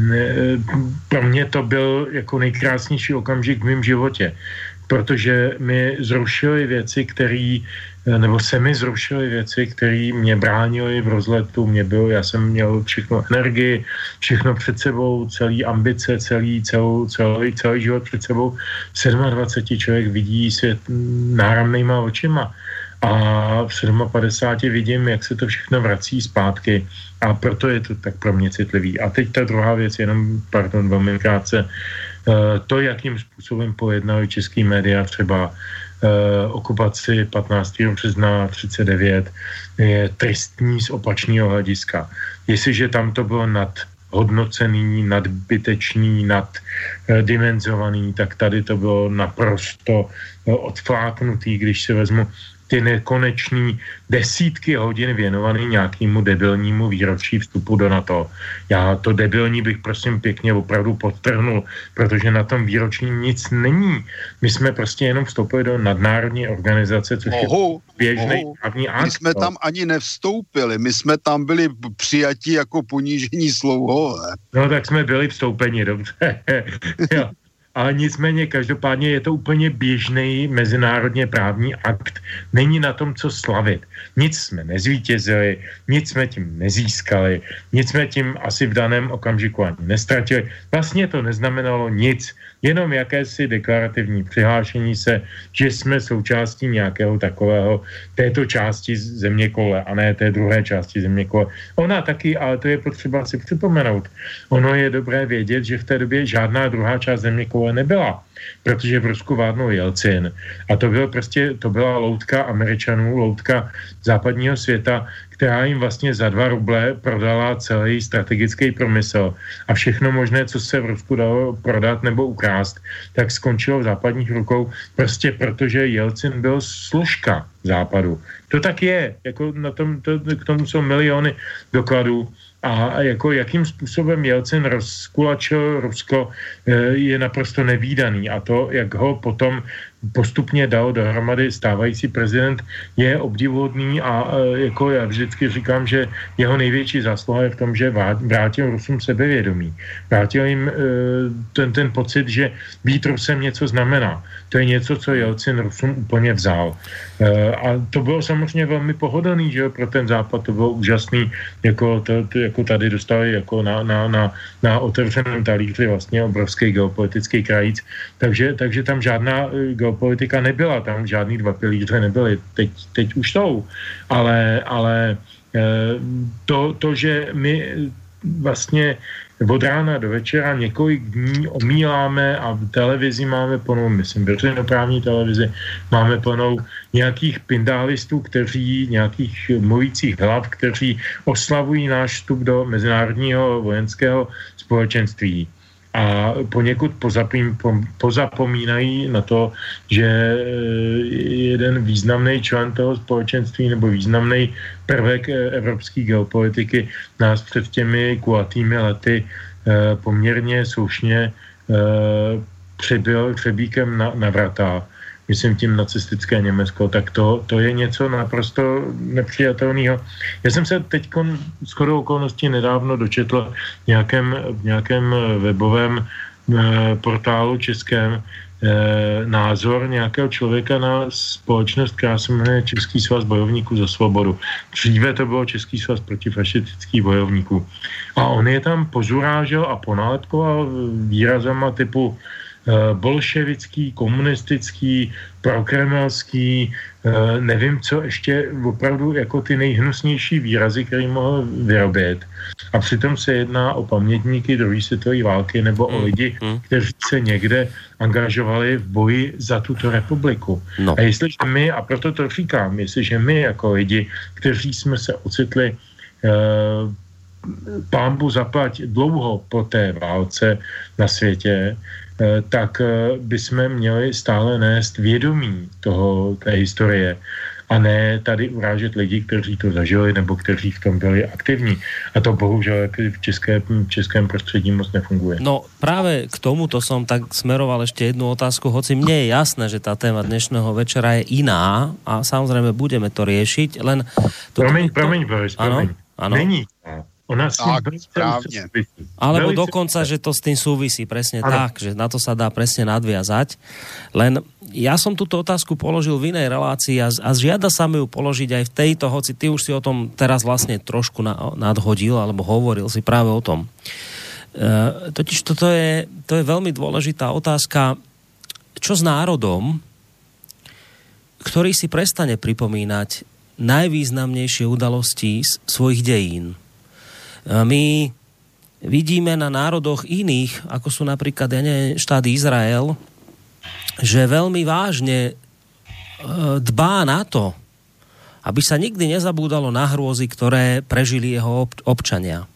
pro mě to byl jako nejkrásnější okamžik v mém životě, protože mi zrušily věci, které, nebo se mi zrušily věci, které mě bránily v rozletu. Mě bylo, já jsem měl všechno energii, všechno před sebou, celý ambice, celý, celou, celý, celý život před sebou. dvacet sedm člověk vidí svět náramnýma očima. A v padesáti sedmi vidím, jak se to všechno vrací zpátky a proto je to tak pro mě citlivý. A teď ta druhá věc, jenom, pardon, velmi krátce, to, jakým způsobem pojednali český média třeba okupaci patnáctého března třicet devět, je tristní z opačného hlediska. Jestliže tam to bylo nad hodnocený, nadbytečný, naddimenzovaný, tak tady to bylo naprosto odfláknutý, když se vezmu ty nekonečný desítky hodin věnovaný nějakému debilnímu výročí vstupu do NATO. Já to debilní bych prosím pěkně opravdu podtrhnul, protože na tom výročí nic není. My jsme prostě jenom vstoupili do nadnárodní organizace, což oho, je běžný právní akt. My jsme tam ani nevstoupili, my jsme tam byli přijatí jako ponížení slouhové. No tak jsme byli vstoupeni, dobře. Jo. Ale nicméně každopádně je to úplně běžný mezinárodně právní akt. Není na tom, co slavit. Nic jsme nezvítězili, nic jsme tím nezískali, nic jsme tím asi v daném okamžiku ani nestratili. Vlastně to neznamenalo nic, jenom jakési deklarativní přihlášení se, že jsme součástí nějakého takového této části zeměkoule a ne té druhé části zeměkoule. Ona taky, ale to je potřeba si připomenout. Ono je dobré vědět, že v té době žádná druhá část zeměkoule nebyla, protože v Rusku vládnul Jelcin a to bylo prostě, to byla loutka Američanů, loutka západního světa, která jim vlastně za dva ruble prodala celý strategický průmysl a všechno možné, co se v Rusku dalo prodat nebo ukrást, tak skončilo v západních rukou prostě protože Jelcin byl služka západu. To tak je, jako na tom, to, k tomu jsou miliony dokladů. A jako jakým způsobem Jelcin rozkulačil Rusko, je naprosto nevídaný. A to, jak ho potom postupně dal dohromady stávající prezident, je obdivuhodný a jako já vždycky říkám, že jeho největší zásluha je v tom, že vrátil Rusům sebevědomí. Vrátil jim ten, ten pocit, že být Rusem něco znamená. To je něco, co Jelcin Rusům úplně vzal. A to bylo samozřejmě velmi pohodlný, že jo, pro ten západ to bylo úžasný, jako, to, to, jako tady dostali jako na, na, na, na otevřeném talíři vlastně obrovský geopolitický krajíc, takže, takže tam žádná geopolitika nebyla, tam žádný dva pilíře nebyly, teď, teď už jsou, ale, ale to, to, že my vlastně od rána do večera několik dní omíláme a v televizi máme plnou, myslím, veřejnoprávní televizi, máme plnou nějakých pindálistů, kteří, nějakých mluvících hlav, kteří oslavují náš vstup do mezinárodního vojenského společenství. A poněkud pozapím, po, pozapomínají na to, že jeden významný člen toho společenství nebo významný prvek evropské geopolitiky nás před těmi kulatými lety eh, poměrně slušně eh, přebyl třebíkem na, na vrata, myslím tím nacistické Německo, tak to, to je něco naprosto nepřijatelného. Já jsem se teď shodou okolností nedávno dočetl v nějakém, v nějakém webovém e, portálu českém e, názor nějakého člověka na společnost, která se jmenuje Český svaz bojovníků za svobodu. Dříve to bylo Český svaz protifašistických bojovníků. A on je tam pozurážel a ponálepkoval výrazama typu bolševický, komunistický, prokremelský, nevím co ještě, opravdu jako ty nejhnusnější výrazy, který mohl vyrobit. A přitom se jedná o pamětníky druhé světové války nebo o lidi, kteří se někde angažovali v boji za tuto republiku. No. A jestliže my, a proto to říkám, jestliže my jako lidi, kteří jsme se ocitli uh, pánbu zaplať dlouho po té válce na světě, tak bychom měli stále nést vědomí toho, té historie a ne tady urážet lidi, kteří to zažili nebo kteří v tom byli aktivní. A to bohužel v, české, v českém prostředí moc nefunguje. No práve k tomuto som tak smeroval ešte jednu otázku, hoci mne je jasné, že tá téma dnešného večera je iná a samozrejme budeme to riešiť, len... To, promiň, to, promiň, Boris, promiň. Áno, áno. Není. Ona s tým tak, správne. Alebo Velice... dokonca, že to s tým súvisí presne ano. tak, že na to sa dá presne nadviazať. Len ja som túto otázku položil v inej relácii a, a žiada sa mi ju položiť aj v tejto, hoci ty už si o tom teraz vlastne trošku na, nadhodil, alebo hovoril si práve o tom. E, totiž toto je, to je veľmi dôležitá otázka, čo s národom, ktorý si prestane pripomínať najvýznamnejšie udalosti z svojich dejín. My vidíme na národoch iných, ako sú napríklad ja neviem, štát Izrael, že veľmi vážne dbá na to, aby sa nikdy nezabúdalo na hrôzy, ktoré prežili jeho občania.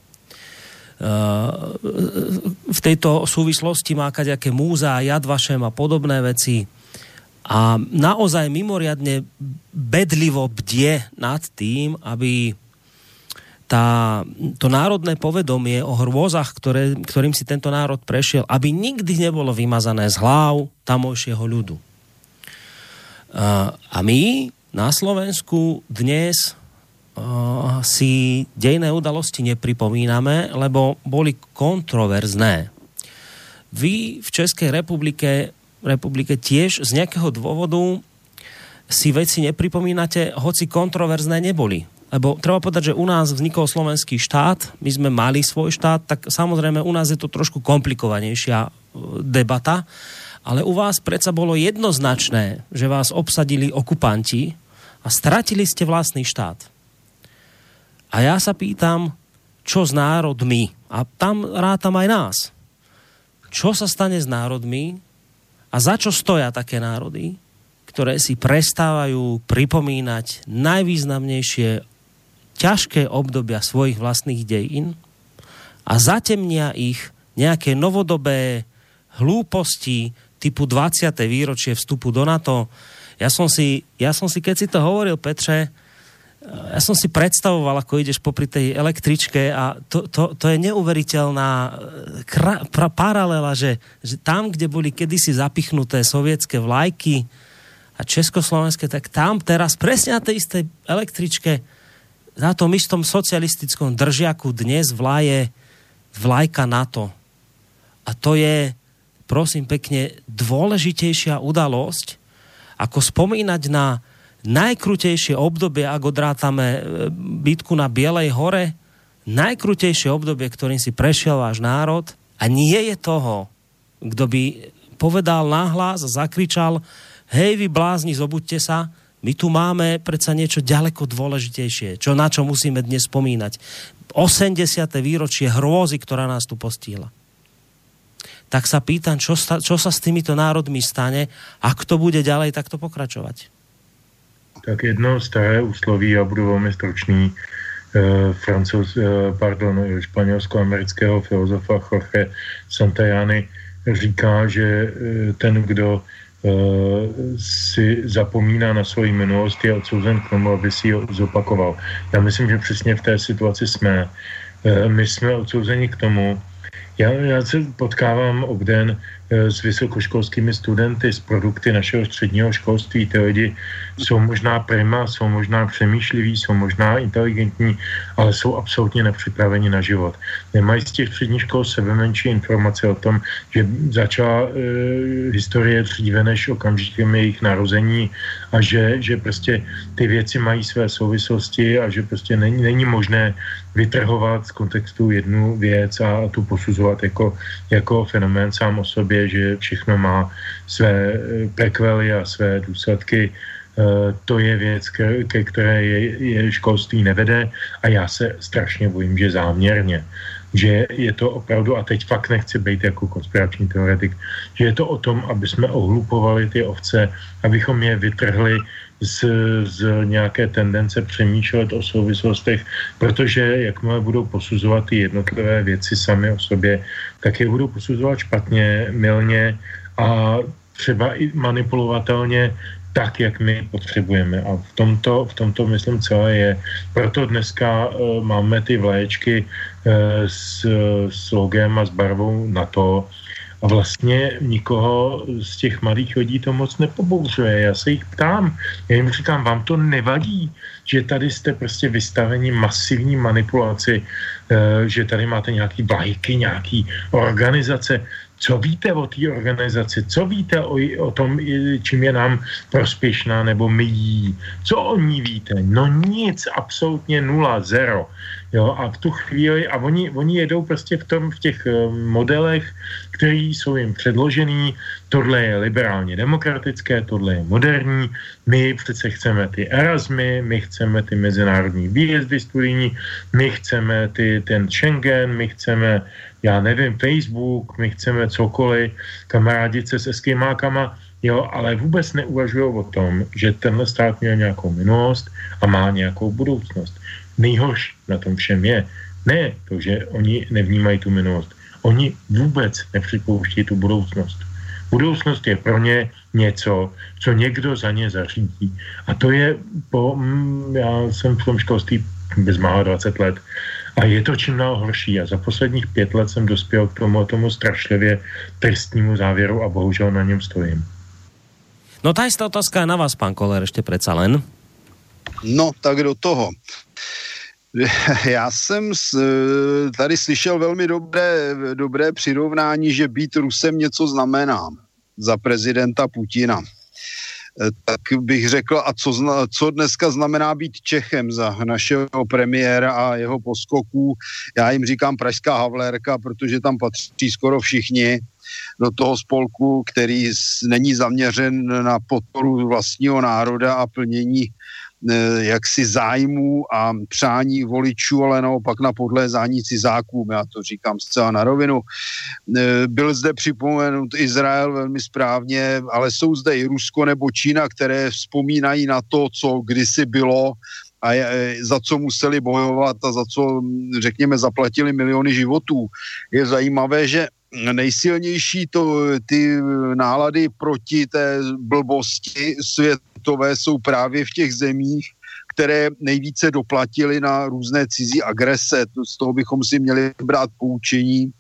V tejto súvislosti má kaďaké múzea, Yad Vashem a podobné veci a naozaj mimoriadne bedlivo bdie nad tým, aby Tá, to národné povedomie o hrôzach, ktoré, ktorým si tento národ prešiel, aby nikdy nebolo vymazané z hlav tamojšieho ľudu. A my na Slovensku dnes si dejné udalosti nepripomíname, lebo boli kontroverzné. Vy v Českej republike, republike tiež z nejakého dôvodu si veci nepripomínate, hoci kontroverzné neboli. Lebo treba povedať, že u nás vznikol slovenský štát, my sme mali svoj štát, tak samozrejme u nás je to trošku komplikovanejšia debata, ale u vás predsa bolo jednoznačné, že vás obsadili okupanti a stratili ste vlastný štát. A ja sa pýtam, čo s národmi? A tam rátam aj nás. Čo sa stane s národmi a za čo stoja také národy, ktoré si prestávajú pripomínať najvýznamnejšie ťažké obdobia svojich vlastných dejín a zatemnia ich nejaké novodobé hlúposti typu dvadsiate výročie vstupu do NATO. Ja som si, ja som si keď si to hovoril, Petre, ja som si predstavoval, ako ideš popri tej električke a to, to, to je neuveriteľná kra, pra, paralela, že, že tam, kde boli kedysi zapichnuté sovietské vlajky a československé, tak tam teraz presne na tej istej električke na tom istom socialistickom držiaku dnes vlaje vlajka NATO. A to je, prosím pekne, dôležitejšia udalosť, ako spomínať na najkrutejšie obdobie, ak odrátame bitku na Bielej hore, najkrutejšie obdobie, ktorým si prešiel váš národ a nie je toho, kto by povedal nahlas a zakričal: hej, vy blázni, zobuďte sa, my tu máme predsa niečo ďaleko dôležitejšie, čo, na čo musíme dnes spomínať. osemdesiate výročie hrôzy, ktorá nás tu postihla. Tak sa pýtam, čo sa, čo sa s týmito národmi stane, ak to bude ďalej takto pokračovať. Tak jedno staré úsloví, já budu velmi stručný, eh, francouz, eh, pardon, španělsko-amerického filozofa Jorge Santayany říká, že eh, ten, kdo si zapomíná na svoji minulost, je odsouzen k tomu, aby si ji zopakoval. Já myslím, že přesně v té situaci jsme. My jsme odsouzeni k tomu. Já, já se potkávám obden s vysokoškolskými studenty z produkty našeho středního školství. Ty lidi jsou možná prima, jsou možná přemýšliví, jsou možná inteligentní, ale jsou absolutně nepřipraveni na život. Nemají z těch středních škol sebe menší informace o tom, že začala e, historie dříve než okamžikem jejich narození a že, že prostě ty věci mají své souvislosti a že prostě není, není možné vytrhovat z kontextu jednu věc a tu posuzovat jako, jako fenomén sám o sobě, že všechno má své prekvely a své důsledky. To je věc, ke které je, je školství nevede a já se strašně bojím, že záměrně. že je to opravdu, a teď fakt nechci být jako konspirační teoretik, že je to o tom, aby jsme ohlupovali ty ovce, abychom je vytrhli z, z nějaké tendence přemýšlet o souvislostech, protože jakmile budou posuzovat ty jednotlivé věci sami o sobě, tak je budou posuzovat špatně, mylně a třeba i manipulovatelně tak, jak my potřebujeme. A v tomto, v tomto myslím celé je. Proto dneska uh, máme ty vlaječky uh, s, s logem a s barvou NATO a vlastně nikoho z těch malých lidí to moc nepobouřuje. Já se jich ptám, já jim říkám, vám to nevadí, že tady jste prostě vystaveni masivní manipulaci, uh, že tady máte nějaký vlajky, nějaký organizace. Co víte o té organizaci? Co víte o, o tom, čím je nám prospěšná nebo my jí? Co o ní víte? No nic, absolutně nula, zero. Jo, a v tu chvíli, a oni, oni jedou prostě v tom, v těch modelech, který jsou jim předložený, tohle je liberálně demokratické, tohle je moderní, my přece chceme ty Erasmy, my chceme ty mezinárodní výjezdy studijní, my chceme ty, ten Schengen, my chceme, já nevím, Facebook, my chceme cokoliv, kamarádit se s eskimákama, jo, ale vůbec neuvažují o tom, že tenhle stát měl nějakou minulost a má nějakou budoucnost. Nejhorší na tom všem je, ne to, že oni nevnímají tu minulost, oni vůbec nepřipouští tu budoucnost. Budoucnost je pro ně něco, co někdo za ně zařídí. A to je po, já jsem v tom školství bezmála dvacet let a je to čím dál horší. A za posledních pět let jsem dospěl k tomu, tomu strašlivě tristnímu závěru a bohužel na něm stojím. No tá istá otázka je na vás, pán Koller, ešte predsa len. No, tak do toho. Já jsem tady slyšel velmi dobré, dobré přirovnání, že být Rusem něco znamená za prezidenta Putina. Tak bych řekl, a co, co dneska znamená být Čechem za našeho premiéra a jeho poskoků. Já jim říkám pražská Havlérka, protože tam patří skoro všichni do toho spolku, který není zaměřen na podporu vlastního národa a plnění jaksi zájmů a přání voličů, ale naopak na podlézání cizákům, já to říkám zcela na rovinu. Byl zde připomenut Izrael velmi správně, ale jsou zde i Rusko nebo Čína, které vzpomínají na to, co kdysi bylo a za co museli bojovat a za co, řekněme, zaplatili miliony životů. Je zajímavé, že nejsilnější to, ty nálady proti té blbosti světové jsou právě v těch zemích, které nejvíce doplatily na různé cizí agrese. Z toho bychom si měli brát poučení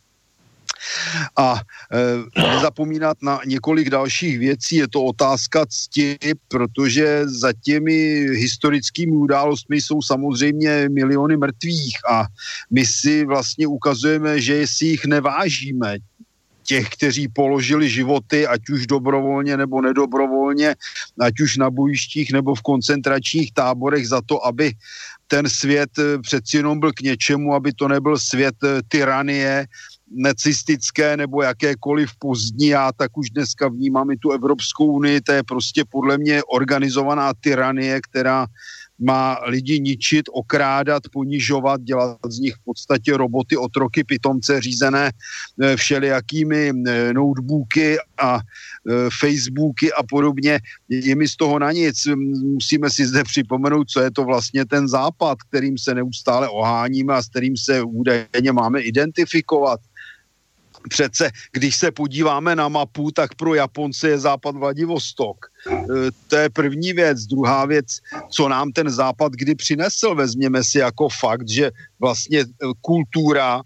a e, nezapomínat na několik dalších věcí. Je to otázka cti, protože za těmi historickými událostmi jsou samozřejmě miliony mrtvých a my si vlastně ukazujeme, že si jich nevážíme. Těch, kteří položili životy, ať už dobrovolně nebo nedobrovolně, ať už na bojištích nebo v koncentračních táborech za to, aby ten svět přeci jenom byl k něčemu, aby to nebyl svět tyranie, nacistické nebo jakékoliv pozdní. Já tak už dneska vnímám i tu Evropskou unii, to je prostě podle mě organizovaná tyranie, která má lidi ničit, okrádat, ponižovat, dělat z nich v podstatě roboty, otroky, pitomce řízené všelijakými notebooky a Facebooky a podobně. Je mi z toho na nic. Musíme si zde připomenout, co je to vlastně ten západ, kterým se neustále oháníme a s kterým se údajně máme identifikovat. Přece, když se podíváme na mapu, tak pro Japonce je západ Vladivostok. To je první věc. Druhá věc, co nám ten západ kdy přinesl, vezměme si jako fakt, že vlastně kultura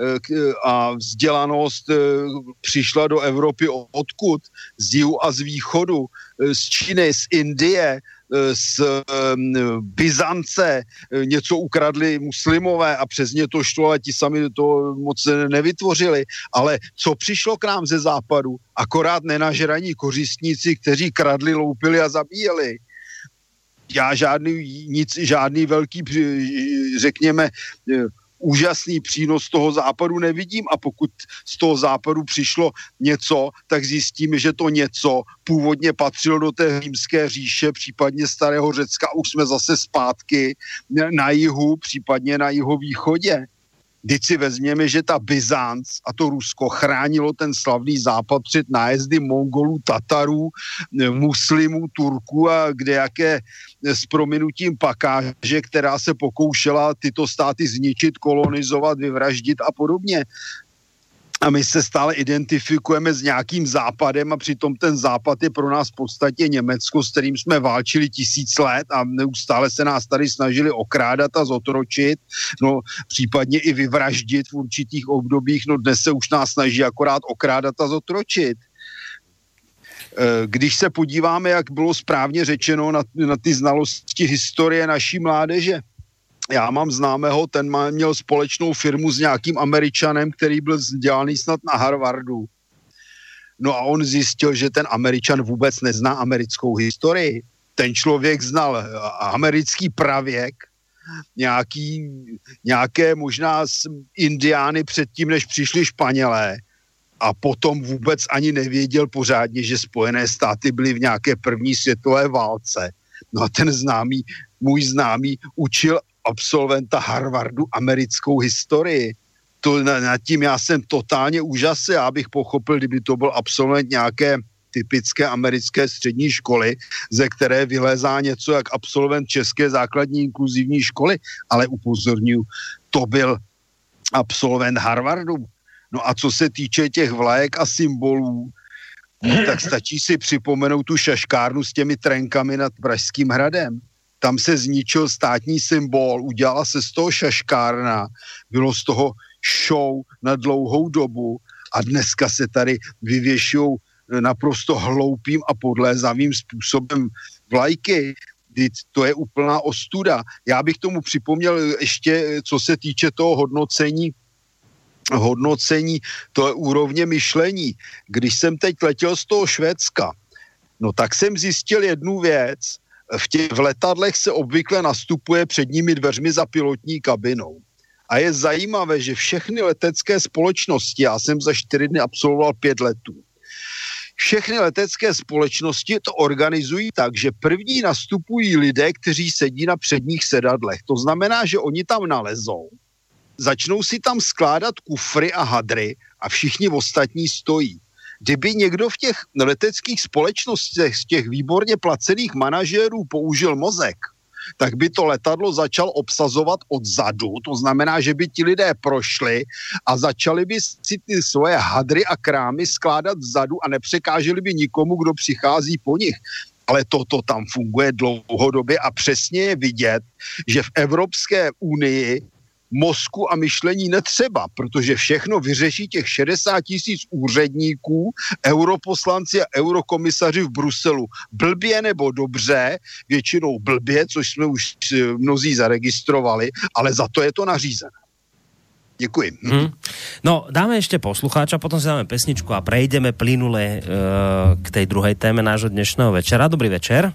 a vzdělanost přišla do Evropy odkud? Z jihu a z východu, z Číny, z Indie, z Byzance, něco ukradli muslimové a přes ně to šlo, ale ti sami to moc nevytvořili. Ale co přišlo k nám ze západu? Akorát nenažraní kořistníci, kteří kradli, loupili a zabíjeli. Já žádný, nic, žádný velký, řekněme, úžasný přínos toho západu nevidím a pokud z toho západu přišlo něco, tak zjistíme, že to něco původně patřilo do té římské říše, případně starého Řecka, už jsme zase zpátky na jihu, případně na jihovýchodě. Vždyť si vezměme, že ta Byzanc a to Rusko chránilo ten slavný západ před nájezdy Mongolů, Tatarů, muslimů, Turků a kdejaké s prominutím pakáže, která se pokoušela tyto státy zničit, kolonizovat, vyvraždit a podobně. A my se stále identifikujeme s nějakým západem a přitom ten západ je pro nás v podstatě Německo, s kterým jsme válčili tisíc let a neustále se nás tady snažili okrádat a zotročit, no případně i vyvraždit v určitých obdobích, no dnes se už nás snaží akorát okrádat a zotročit. Když se podíváme, jak bylo správně řečeno na, na ty znalosti historie naší mládeže, já mám známého, ten má, měl společnou firmu s nějakým Američanem, který byl vzdělaný snad na Harvardu. No a on zjistil, že ten Američan vůbec nezná americkou historii. Ten člověk znal americký pravěk, nějaký, nějaké možná indiány předtím, než přišli Španělé. A potom vůbec ani nevěděl pořádně, že Spojené státy byly v nějaké první světové válce. No a ten známý, můj známý učil absolventa Harvardu americkou historii. To nad tím já jsem totálně úžasný, já bych pochopil, kdyby to byl absolvent nějaké typické americké střední školy, ze které vylézá něco jak absolvent české základní inkluzivní školy, ale upozorňuji, to byl absolvent Harvardu. No a co se týče těch vlajek a symbolů, tak stačí si připomenout tu šaškárnu s těmi trenkami nad Pražským hradem. Tam se zničil státní symbol, udělala se z toho šaškárna, bylo z toho show na dlouhou dobu a dneska se tady vyvěšují naprosto hloupým a podlézavým způsobem vlajky. To je úplná ostuda. Já bych tomu připomněl ještě, co se týče toho hodnocení, hodnocení toho úrovně myšlení. Když jsem teď letěl z toho Švédska, no tak jsem zjistil jednu věc. V těch v letadlech se obvykle nastupuje předními dveřmi za pilotní kabinou. A je zajímavé, že všechny letecké společnosti, já jsem za čtyři dny absolvoval pět letů, všechny letecké společnosti to organizují tak, že první nastupují lidé, kteří sedí na předních sedadlech. To znamená, že oni tam nalezou, začnou si tam skládat kufry a hadry a všichni ostatní stojí. Kdyby někdo v těch leteckých společnostech z těch výborně placených manažérů použil mozek, tak by to letadlo začal obsazovat odzadu. To znamená, že by ti lidé prošli a začali by si ty svoje hadry a krámy skládat vzadu a nepřekáželi by nikomu, kdo přichází po nich. Ale toto tam funguje dlouhodobě a přesně je vidět, že v Evropské unii mozku a myšlení netřeba, protože všechno vyřeší těch šedesát tisíc úředníků, europoslanci a eurokomisaři v Bruselu. Blbě nebo dobře, většinou blbě, což jsme už mnozí zaregistrovali, ale za to je to nařízené. Děkuji. Hmm. No, dáme ešte poslucháča, potom si dáme pesničku a prejdeme plynule e, k tej druhej téme nášho dnešného večera. Dobrý večer.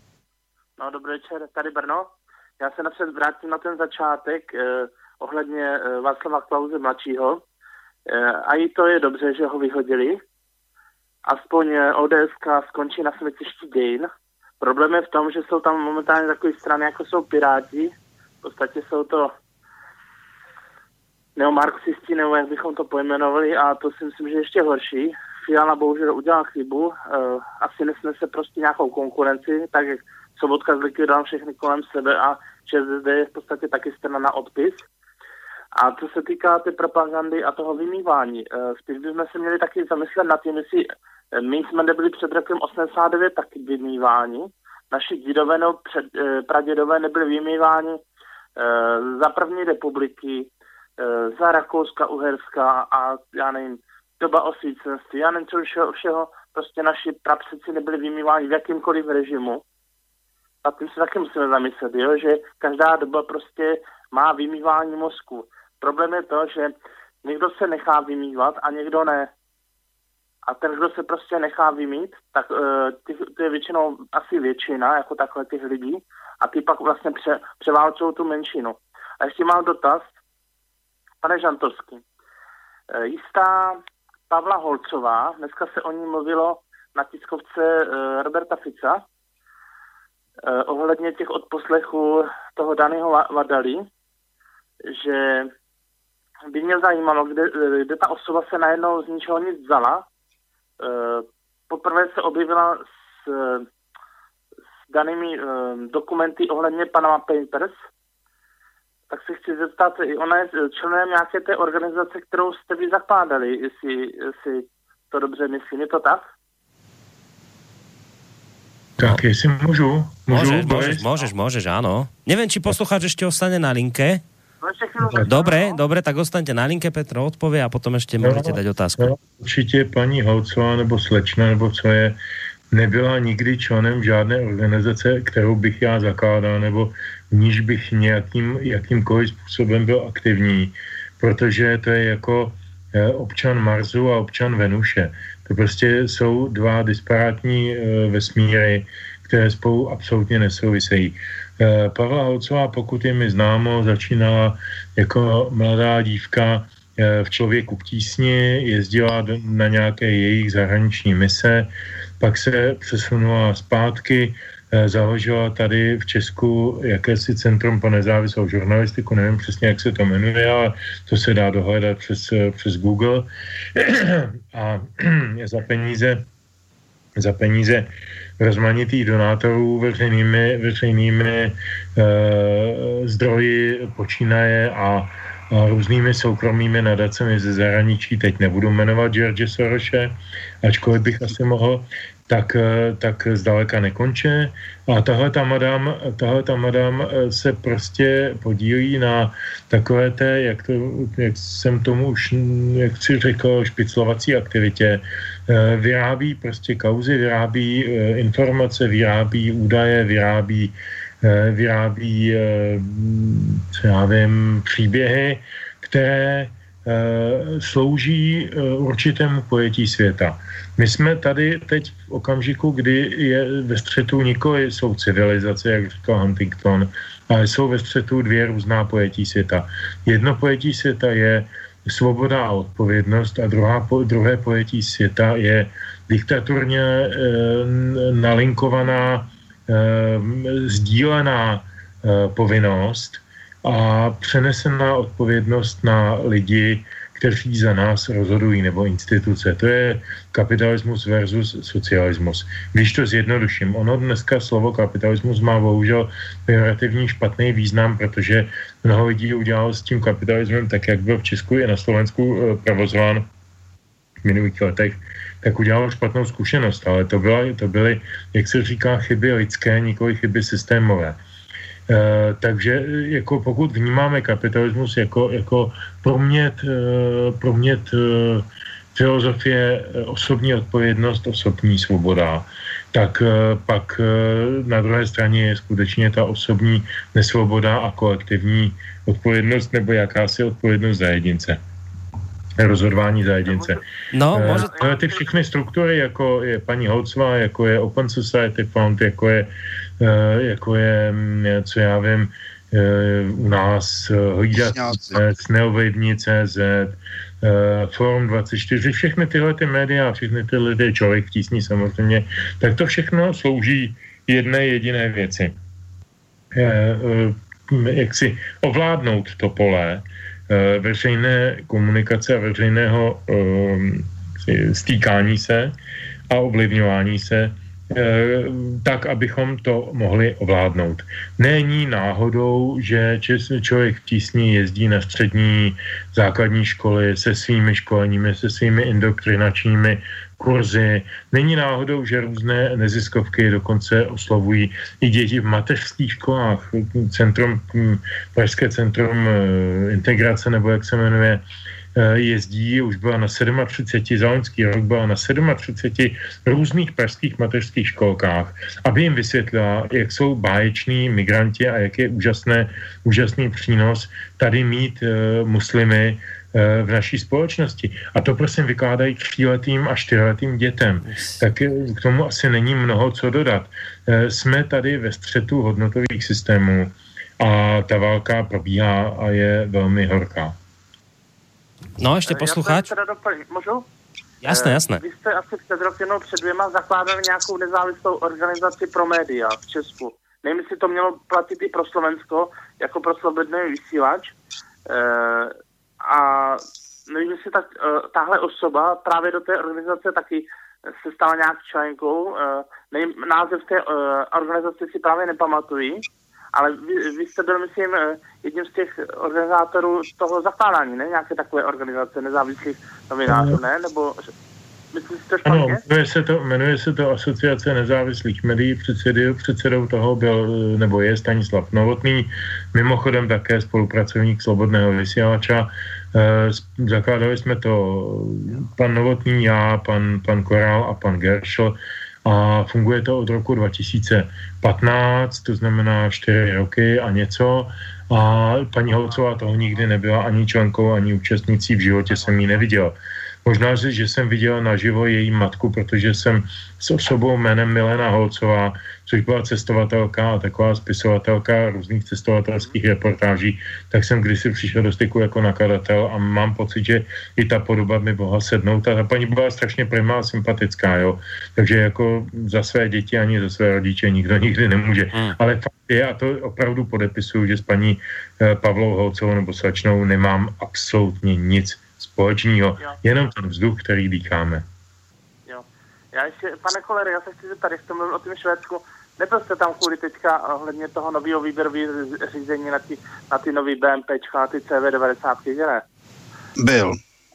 No, dobrý večer, tady Brno. Já se napřed vrátím na ten začátek eh, ohledně eh, Václava Klause mladšího. Eh, a i to je dobře, že ho vyhodili. Aspoň eh, ODSka skončí na smetišti dějin. Problém je v tom, že jsou tam momentálně takové strany, jako jsou Piráti. V podstatě jsou to neomarxisti, nebo jak bychom to pojmenovali, a to si myslím, že ještě horší. Fiala bohužel udělal chybu. Eh, asi nesnese prostě nějakou konkurenci, tak jak Sobotka zlikvidoval všechny kolem sebe a ČSSD je v podstatě taky strana na odpis. A co se týká té propagandy a toho vymývání, spíš bychom se měli taky zamyslet nad tím, jestli my jsme nebyli před rokem osmdesát devět taky vymýváni. Naši dědové nebo před, pradědové nebyli vymýváni za první republiky, za Rakouska, Uherska a já nevím, doba osvícenství, já nevím, co všeho, všeho, prostě naši prapředci nebyli vymýváni v jakýmkoliv režimu. A tím se taky musíme zamyslet, jo? Že každá doba prostě má vymývání mozku. Problém je to, že někdo se nechá vymývat a někdo ne. A ten, kdo se prostě nechá vymít, tak uh, ty, to je většinou asi většina, jako takhle těch lidí, a ty pak vlastně pře, převálcují tu menšinu. A ještě mám dotaz, pane Žantovský. Uh, jistá Pavla Holcová, dneska se o ní mluvilo na tiskovce uh, Roberta Fica, Uh, ohledně těch odposlechů toho daného Vadali, že by mě zajímalo, kde, kde ta osoba se najednou z ničeho nic vzala. Poprvé se objevila s, s danými dokumenty ohledně Panama Papers. Tak se chci zeptat, ona je členem nějaké té organizace, kterou jste vy zakládali, jestli, jestli to dobře myslím, je to tak? Tak, jestli můžu. můžu môžeš, môžeš, môžeš, môžeš, áno. Neviem, či poslucháč ešte ostane na linke. No, dobre, dobre, tak ostaňte na linke, Petro odpovie a potom ešte no, môžete dať otázku. No, určitě paní Holcová nebo slečna, nebo co je, nebyla nikdy členem žádné organizace, kterou bych já zakládal, nebo v níž bych nějakým, jakýmkoliv způsobem byl aktivní, protože to je jako občan Marsu a občan Venuše. To prostě jsou dva disparátní vesmíry, které spolu absolutně nesouvisejí. Pavla Holcová, pokud je mi známo, začínala jako mladá dívka v Člověku v tísni, jezdila na nějaké jejich zahraniční mise, pak se přesunula zpátky, založila tady v Česku jakési Centrum pro nezávislou žurnalistiku, nevím přesně, jak se to jmenuje, ale to se dá dohledat přes, přes Google. A za peníze, za peníze rozmanitých donátorů veřejnými, veřejnými e, zdroji počínaje a, a různými soukromými nadacemi ze zahraničí, teď nebudu jmenovat George Sorose, ačkoliv bych asi mohl, tak, tak zdaleka nekončí. A tahle ta madam, tahle ta madam se prostě podílí na takové té, jak, to, jak jsem tomu už, jak si řekl, špiclovací aktivitě. Vyrábí prostě kauzy, vyrábí informace, vyrábí údaje, vyrábí, vyrábí co já vím, příběhy, které slouží určitému pojetí světa. My jsme tady teď v okamžiku, kdy je ve střetu nikoli jsou civilizace, jak říkal Huntington, ale jsou ve střetu dvě různá pojetí světa. Jedno pojetí světa je svoboda a odpovědnost a druhá, druhé pojetí světa je diktaturně e, nalinkovaná, e, sdílená e, povinnost a přenesená odpovědnost na lidi, kteří za nás rozhodují, nebo instituce. To je kapitalismus versus socialismus. Když to zjednoduším, ono dneska slovo kapitalismus má bohužel pejorativní špatný význam, protože mnoho lidí udělalo s tím kapitalismem, tak jak byl v Česku i na Slovensku provozován v minulých letech, tak udělalo špatnou zkušenost, ale to, byla, to byly, jak se říká, chyby lidské, nikoli chyby systémové. Uh, takže jako pokud vnímáme kapitalismus jako, jako promět, uh, promět uh, filozofie osobní odpovědnost, osobní svoboda, tak uh, pak uh, na druhé straně je skutečně ta osobní nesvoboda a kolektivní odpovědnost nebo jakási odpovědnost za jedince. Rozhodování za jedince. No, může... uh, ty všechny struktury, jako je paní Holcová, jako je Open Society Fund, jako je Uh, jako je, co já vím, uh, u nás uh, hlídat Neovlivní tečka cé zet, uh, Forum dvacet čtyři, všechny tyhle ty média, všechny tyhle ty Člověk v tísni samozřejmě, tak to všechno slouží jedné jediné věci. Uh, uh, jak si ovládnout to pole uh, veřejné komunikace a veřejného uh, stýkání se a ovlivňování se tak, abychom to mohli ovládnout. Není náhodou, že Člověk v tísni jezdí na střední základní školy se svými školeními, se svými indoktrinačními kurzy. Není náhodou, že různé neziskovky dokonce oslovují i děti v mateřských školách. Centrum, Pražské centrum integrace, nebo jak se jmenuje, jezdí, už byla na třicet sedm, za loňský rok byla na třicet sedm různých pražských mateřských školkách, aby jim vysvětlila, jak jsou báječní migranti a jak je úžasné, úžasný přínos tady mít uh, muslimy uh, v naší společnosti. A to prosím vykládají tříletým a čtyřletým dětem. Tak k tomu asi není mnoho co dodat. Uh, jsme tady ve střetu hodnotových systémů a ta válka probíhá a je velmi horká. No, ještě posluchač. Já doplnit, můžu? Jasné, jasné. Vy jste asi před rokem, no před dvěma zakládali nějakou nezávislou organizaci pro média v Česku. Nevím, jestli to mělo platit i pro Slovensko, jako pro slobodný vysílač. E, a nevím, jestli tak, uh, tahle osoba právě do té organizace taky se stala nějak členkou. Uh, nevím, název té uh, organizace si právě nepamatuji, ale vy, vy jste byl, myslím, jedním z těch organizátorů toho zakládání, ne? Nějaké takové organizace nezávislých novinářů, ne? Nebo myslím si to špatně? Ano, jmenuje se to, jmenuje se to Asociace nezávislých médií, předsedou, předsedou toho byl, nebo je Stanislav Novotný, mimochodem také spolupracovník Slobodného vysílača. E, zakládali jsme to pan Novotný, já, pan, pan Korál a pan Geršl. A funguje to od roku dva tisíce patnáct, to znamená čtyři roky a něco. A paní Holcová toho nikdy nebyla ani členkou, ani účastnicí, v životě jsem ji neviděl. Možná, že jsem viděl naživo její matku, protože jsem s osobou jménem Milena Holcová, což byla cestovatelka a taková spisovatelka různých cestovatelských reportáží, tak jsem kdysi přišel do styku jako nakladatel a mám pocit, že i ta podoba mi mohla sednout. A ta paní byla strašně primá a sympatická, jo. Takže jako za své děti ani za své rodiče nikdo nikdy nemůže. Hmm. Ale fakt je, a to opravdu podepisuju, že s paní eh, Pavlou Holcovou nebo slečnou nemám absolutně nic společného, jo. Jenom ten vzduch, který dýcháme. Jo. Já ještě, pane Koller, já se chci zeptat, jak jste mluvil o tom Švédsku, nebyl jste tam kvůli teďka ohledně toho nového výběrového řízení na ty, na ty nový BMPčka, na ty C V devadesát, že ne? Byl.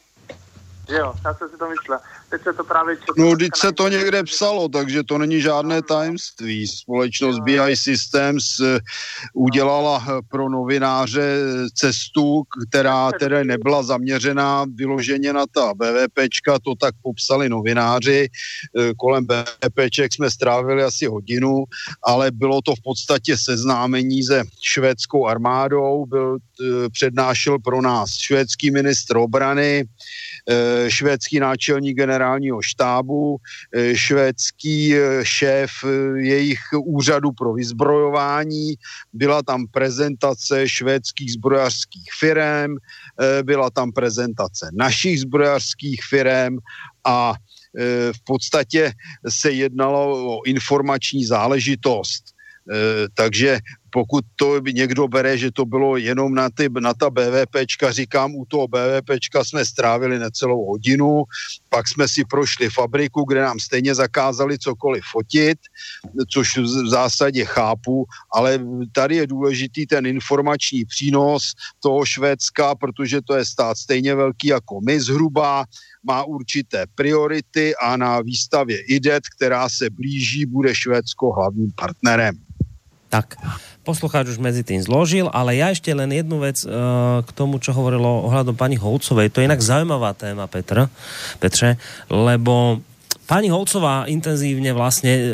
Jo, já jsem si to myslel. Teď se to právě četlo. No, teď se to někde psalo, takže to není žádné tajemství. Společnost B I Systems udělala pro novináře cestu, která teda nebyla zaměřená vyloženě na ta BVPčka, to tak popsali novináři. Kolem BVPček jsme strávili asi hodinu, ale bylo to v podstatě seznámení se švédskou armádou. Byl, přednášel pro nás švédský ministr obrany, švédský náčelník generálního štábu, švédský šéf jejich úřadu pro vyzbrojování, byla tam prezentace švédských zbrojařských firem, byla tam prezentace našich zbrojařských firem a v podstatě se jednalo o informační záležitost. Takže pokud to někdo bere, že to bylo jenom na, ty, na ta BVPčka, říkám, u toho BVPčka jsme strávili necelou hodinu, pak jsme si prošli fabriku, kde nám stejně zakázali cokoliv fotit, což v zásadě chápu, ale tady je důležitý ten informační přínos toho Švédska, protože to je stát stejně velký jako my zhruba, má určité priority a na výstavě I D E T, která se blíží, bude Švédsko hlavním partnerem. Tak, poslucháč už medzi tým zložil, ale ja ešte len jednu vec uh, k tomu, čo hovorilo ohľadom pani Holcovej. To je inak zaujímavá téma, Petr, Petře, lebo pani Holcová intenzívne vlastne uh,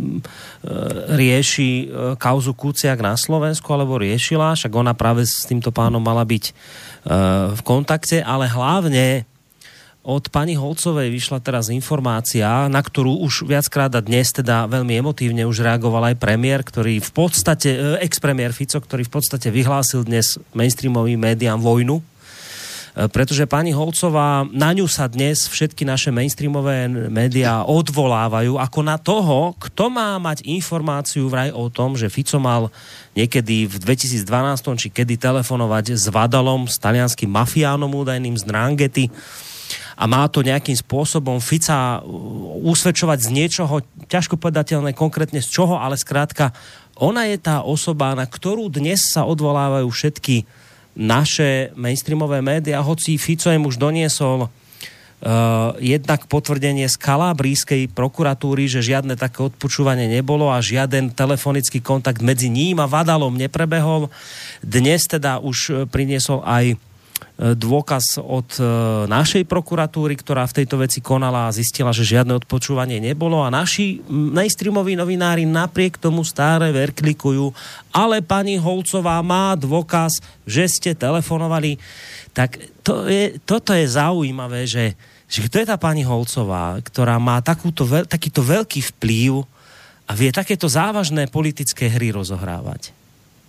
rieši uh, kauzu Kuciak na Slovensku, alebo riešila, však ona práve s týmto pánom mala byť uh, v kontakte, ale hlavne od pani Holcovej vyšla teraz informácia, na ktorú už viackrát a dnes teda veľmi emotívne už reagoval aj premiér, ktorý v podstate, ex-premiér Fico, ktorý v podstate vyhlásil dnes mainstreamovým médiám vojnu, pretože pani Holcová, na ňu sa dnes všetky naše mainstreamové médiá odvolávajú ako na toho, kto má mať informáciu vraj o tom, že Fico mal niekedy v dvetisícdvanásť či kedy telefonovať s Vadalom, s talianským mafiánom údajným z Dranghety, a má to nejakým spôsobom Fica usvedčovať z niečoho, ťažko povedateľné konkrétne z čoho, ale skrátka, ona je tá osoba, na ktorú dnes sa odvolávajú všetky naše mainstreamové médiá, hoci Fico im už doniesol uh, jednak potvrdenie z kalabrijskej prokuratúry, že žiadne také odpočúvanie nebolo a žiaden telefonický kontakt medzi ním a Vadalom neprebehol. Dnes teda už priniesol aj dôkaz od e, našej prokuratúry, ktorá v tejto veci konala a zistila, že žiadne odpočúvanie nebolo a naši mainstreamoví novinári napriek tomu stále verklikujú, ale pani Holcová má dôkaz, že ste telefonovali. Tak to je, toto je zaujímavé, že, že kto je tá pani Holcová, ktorá má takúto, takýto veľký vplyv a vie takéto závažné politické hry rozohrávať.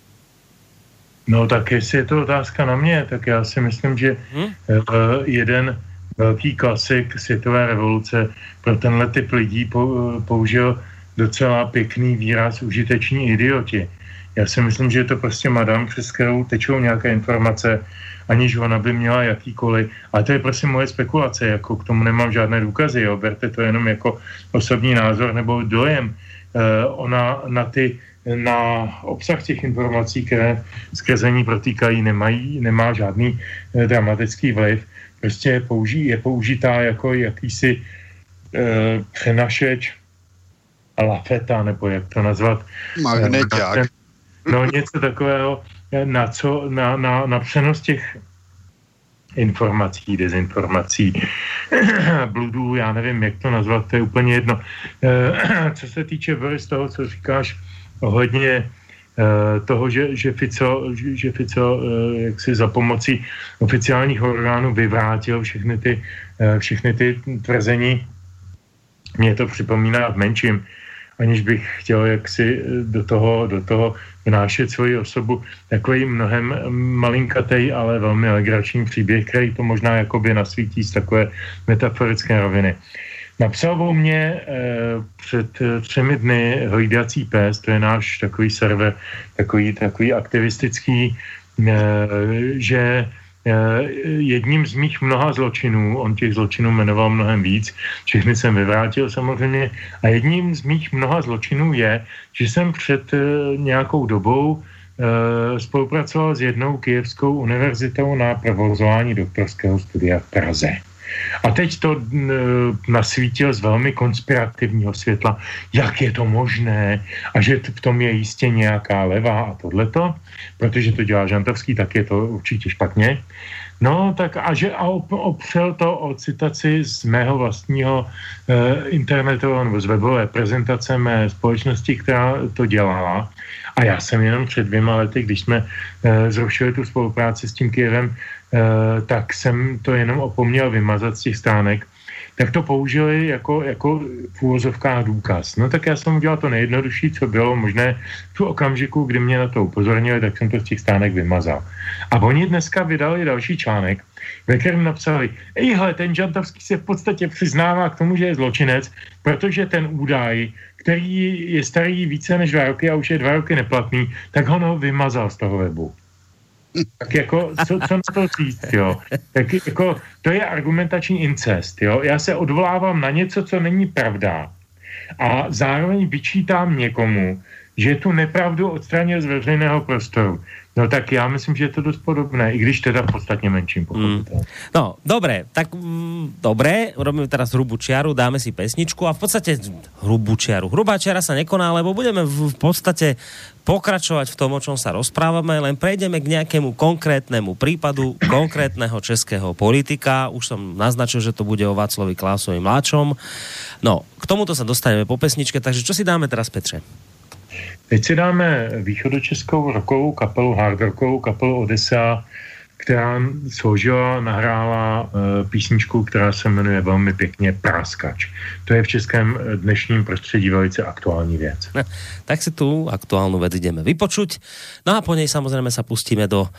No tak jestli je to otázka na mě, tak já si myslím, že hmm? jeden velký klasik světové revoluce pro tenhle typ lidí použil docela pěkný výraz užiteční idioti. Já si myslím, že je to prostě madam, přes kterou tečou nějaké informace, aniž ona by měla jakýkoliv. Ale to je prostě moje spekulace, jako k tomu nemám žádné důkazy, jo. Berte to jenom jako osobní názor nebo dojem. E, ona na ty, na obsah těch informací, které skrze ní protýkají, nemají, nemá žádný e, dramatický vliv. Prostě je, použí, je použitá jako jakýsi e, přenašeč lafeta, nebo jak to nazvat. Magneťák. No něco takového, na, co, na, na, na přenos těch informací, dezinformací, bludů, já nevím, jak to nazvat, to je úplně jedno. E, co se týče, Boris, toho, co říkáš ohledně e, toho, že, že Fico, že, že Fico e, jaksi za pomocí oficiálních orgánů vyvrátil všechny ty, e, všechny ty tvrzení, mě to připomíná v menším, aniž bych chtěl jaksi do toho, do toho vnášet svoji osobu, takový mnohem malinkatej, ale velmi legrační příběh, který to možná jakoby nasvítí z takové metaforické roviny. Napsal o mě e, před třemi dny Hlídací pes, to je náš takový server, takový, takový aktivistický, e, že jedním z mých mnoha zločinů, on těch zločinů jmenoval mnohem víc, všechny jsem vyvrátil samozřejmě, a jedním z mých mnoha zločinů je, že jsem před nějakou dobou e, spolupracoval s jednou kyjevskou univerzitou na provozování doktorského studia v Praze. A teď to e, nasvítil z velmi konspirativního světla, jak je to možné a že v tom je jistě nějaká levá a tohleto, protože to dělá Žantovský, tak je to určitě špatně. No, tak a že a opřel to o citaci z mého vlastního e, internetového nebo z webové prezentace mé společnosti, která to dělala. A já jsem jenom před dvěma lety, když jsme e, zrušili tu spolupráci s tím Kyjevem, e, tak jsem to jenom opomněl vymazat z těch stránek, tak to použili jako, jako v úvozovkách důkaz. No tak já jsem udělal to nejjednodušší, co bylo možné v okamžiku, kdy mě na to upozornili, tak jsem to z těch stránek vymazal. A oni dneska vydali další článek, ve kterém napsali, ejhle, ten Žantovský se v podstatě přiznává k tomu, že je zločinec, protože ten údaj, který je starý více než dva roky a už je dva roky neplatný, tak ho no vymazal z toho webu. Tak jako, co, co na to říct, jo? Tak jako, to je argumentační incest, jo? Já se odvolávám na něco, co není pravda a zároveň vyčítám někomu, že tu nepravdu odstranil z veřejného prostoru. No tak já myslím, že je to dost podobné, i když teda v podstatně menším pochopitelně. Mm. No, dobre, tak mm, dobre, robíme teraz hrubú čiaru, dáme si pesničku a v podstate hrubú čiaru. Hrubá čiara sa nekoná, lebo budeme v, v podstate pokračovať v tom, o čom sa rozprávame, len prejdeme k nejakému konkrétnemu prípadu konkrétneho českého politika. Už som naznačil, že to bude o Václovi Klausovi mladšom. No, k tomuto sa dostaneme po pesničke, takže čo si dáme teraz, Petře? Teď si dáme východočeskou rockovou kapelu, hard rockovou kapelu Odessa, která složila, nahrála e, písničku, která se jmenuje velmi pěkně Práskač. To je v českém dnešním prostředí velice aktuální věc. No, tak si tu aktuálnu vec ideme vypočuť. No a po nej samozrejme sa pustíme do e,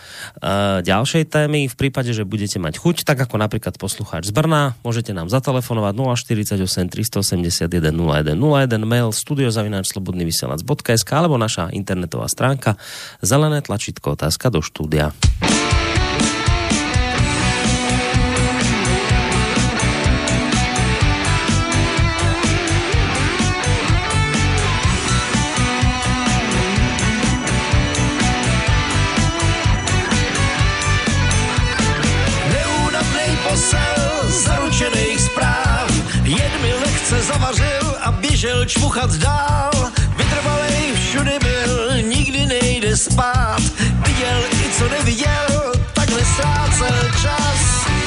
ďalšej témy. V prípade, že budete mať chuť, tak ako napríklad poslucháč z Brna, môžete nám zatelefonovať nula štyridsaťosem tristoosemdesiatjeden nula jeden nula jeden, mail studio zavináč slobodný vysielač bodka es ká alebo naša internetová stránka zelené tlačítko otázka do štúdia. Zavařil a běžel čmuchat dál. Vytrvalej všude byl, nikdy nejde spát. Viděl i co neviděl, takhle ztrácel čas.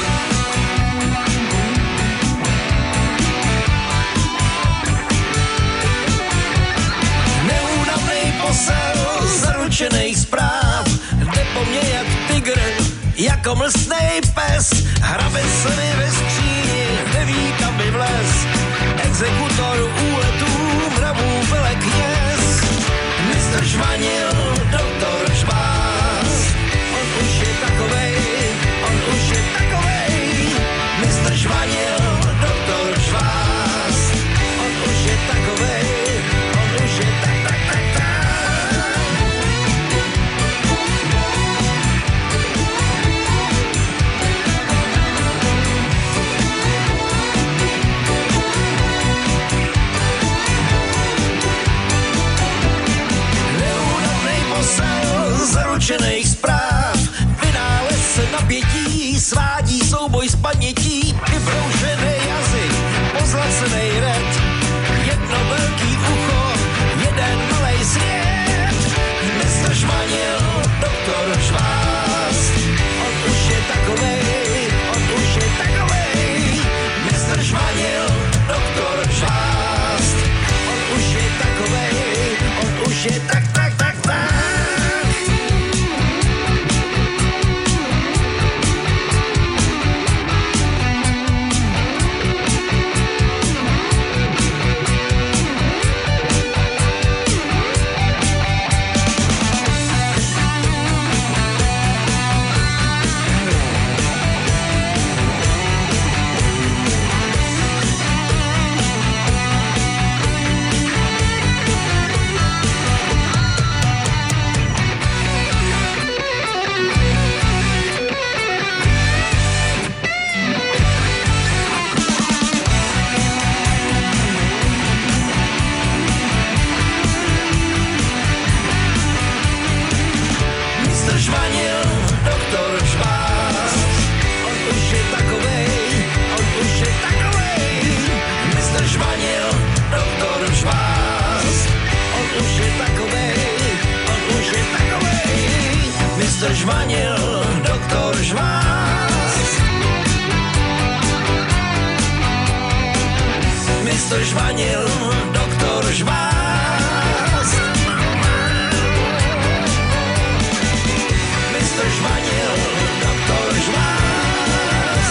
Neúnavnej posel, zaručenej zpráv. Jde po mně jak tygr, jako mlsnej pes. Hrabe se mi ve skříni, neví kam by vlez. Exekutor úletů, mravů velekněz. mistr Žvanil, doktor Žvás. On už je takovej, on už je takovej. mistr Žvanil, doktor Žvás. On už je takovej, on už je tak, tak, tak, tak. mistr Žvanil, doktor Žvás. Mistr Žvanil, doktor Žvás. Mistr Žvanil, doktor Žvás.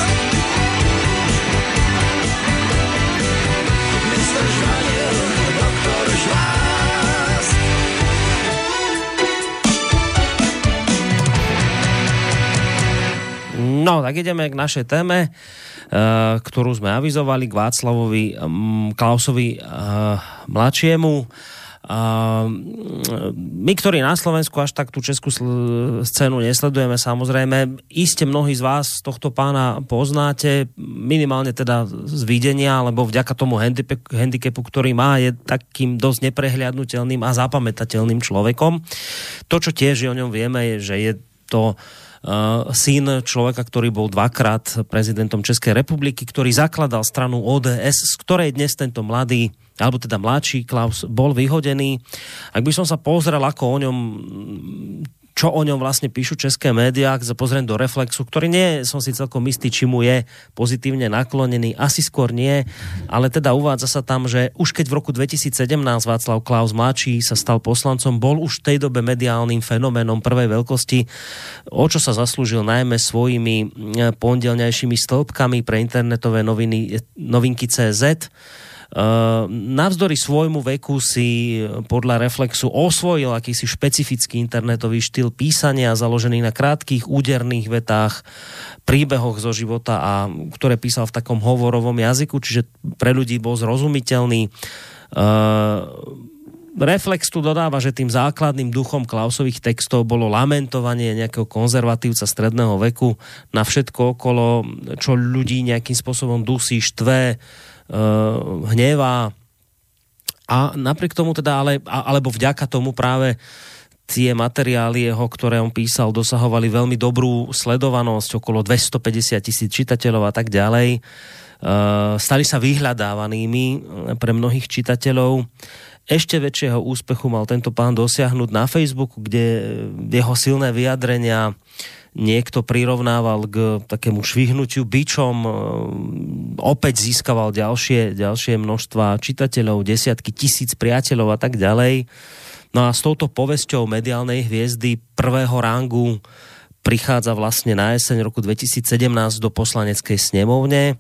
Mistr Žvanil, doktor Žvás. No, tak ideme k našej téme, ktorú sme avizovali, k Václavovi Klausovi mladšiemu. My, ktorí na Slovensku až tak tú českú scénu nesledujeme, samozrejme, iste mnohí z vás tohto pána poznáte, minimálne teda z videnia, alebo vďaka tomu handicapu, ktorý má, je takým dosť neprehliadnutelným a zapamätateľným človekom. To, čo tiež o ňom vieme, je, že je to Uh, syn človeka, ktorý bol dvakrát prezidentom Českej republiky, ktorý zakladal stranu ó dé es, z ktorej dnes tento mladý, alebo teda mladší Klaus bol vyhodený. Ak by som sa pozrel, ako o ňom, čo o ňom vlastne píšu české médiá, ak sa pozriem do Reflexu, ktorý nie som si celkom istý, či mu je pozitívne naklonený, asi skôr nie, ale teda uvádza sa tam, že už keď v roku dvetisícsedemnásť Václav Klaus mladší sa stal poslancom, bol už v tej dobe mediálnym fenoménom prvej veľkosti, o čo sa zaslúžil najmä svojimi pondelňajšími stĺpkami pre internetové noviny, novinky cé zet. Uh, navzdory svojmu veku si podľa Reflexu osvojil akýsi špecifický internetový štýl písania založený na krátkych úderných vetách, príbehoch zo života, a ktoré písal v takom hovorovom jazyku, čiže pre ľudí bol zrozumiteľný. Uh, Reflex tu dodáva, že tým základným duchom Klausových textov bolo lamentovanie nejakého konzervatívca stredného veku na všetko okolo, čo ľudí nejakým spôsobom dusí, štve, hnevá, a napriek tomu teda, ale, alebo vďaka tomu práve tie materiály jeho, ktoré on písal, dosahovali veľmi dobrú sledovanosť, okolo dvestopäťdesiat tisíc čitateľov a tak ďalej. Stali sa vyhľadávanými pre mnohých čitateľov. Ešte väčšieho úspechu mal tento pán dosiahnuť na Facebooku, kde jeho silné vyjadrenia niekto prirovnával k takému švihnutiu bičom, opäť získaval ďalšie, ďalšie množstva čitateľov, desiatky tisíc priateľov a tak ďalej. No a s touto povesťou mediálnej hviezdy prvého rangu prichádza vlastne na jeseň roku dvetisícsedemnásť do poslaneckej snemovne.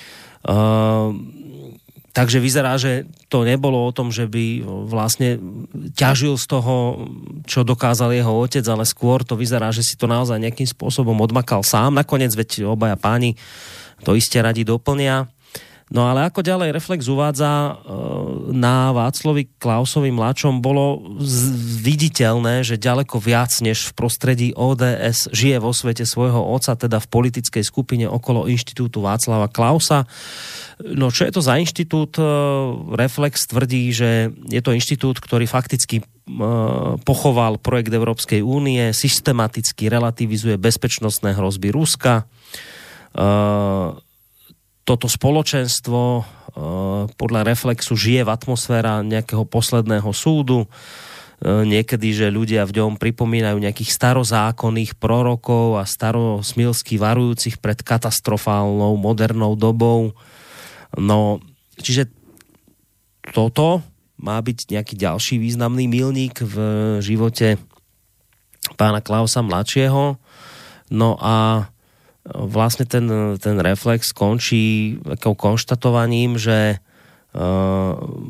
Uh, Takže vyzerá, že to nebolo o tom, že by vlastne ťažil z toho, čo dokázal jeho otec, ale skôr to vyzerá, že si to naozaj nejakým spôsobom odmakal sám. Nakoniec, veď obaja páni to iste radi doplnia. No ale ako ďalej Reflex uvádza, na Václavi Klausovi mladšom bolo viditeľné, že ďaleko viac než v prostredí ó dé es žije vo svete svojho otca, teda v politickej skupine okolo inštitútu Václava Klausa. No čo je to za inštitút? Reflex tvrdí, že je to inštitút, ktorý fakticky pochoval projekt Európskej únie, systematicky relativizuje bezpečnostné hrozby Ruska. Toto spoločenstvo podľa Reflexu žije v atmosféra nejakého posledného súdu. Niekedy, že ľudia v ňom pripomínajú nejakých starozákonných prorokov a starosmilsky varujúcich pred katastrofálnou modernou dobou. No, čiže toto má byť nejaký ďalší významný milník v živote pána Klausa mladšieho. No a vlastne ten, ten Reflex končí takou konštatovaním, že uh,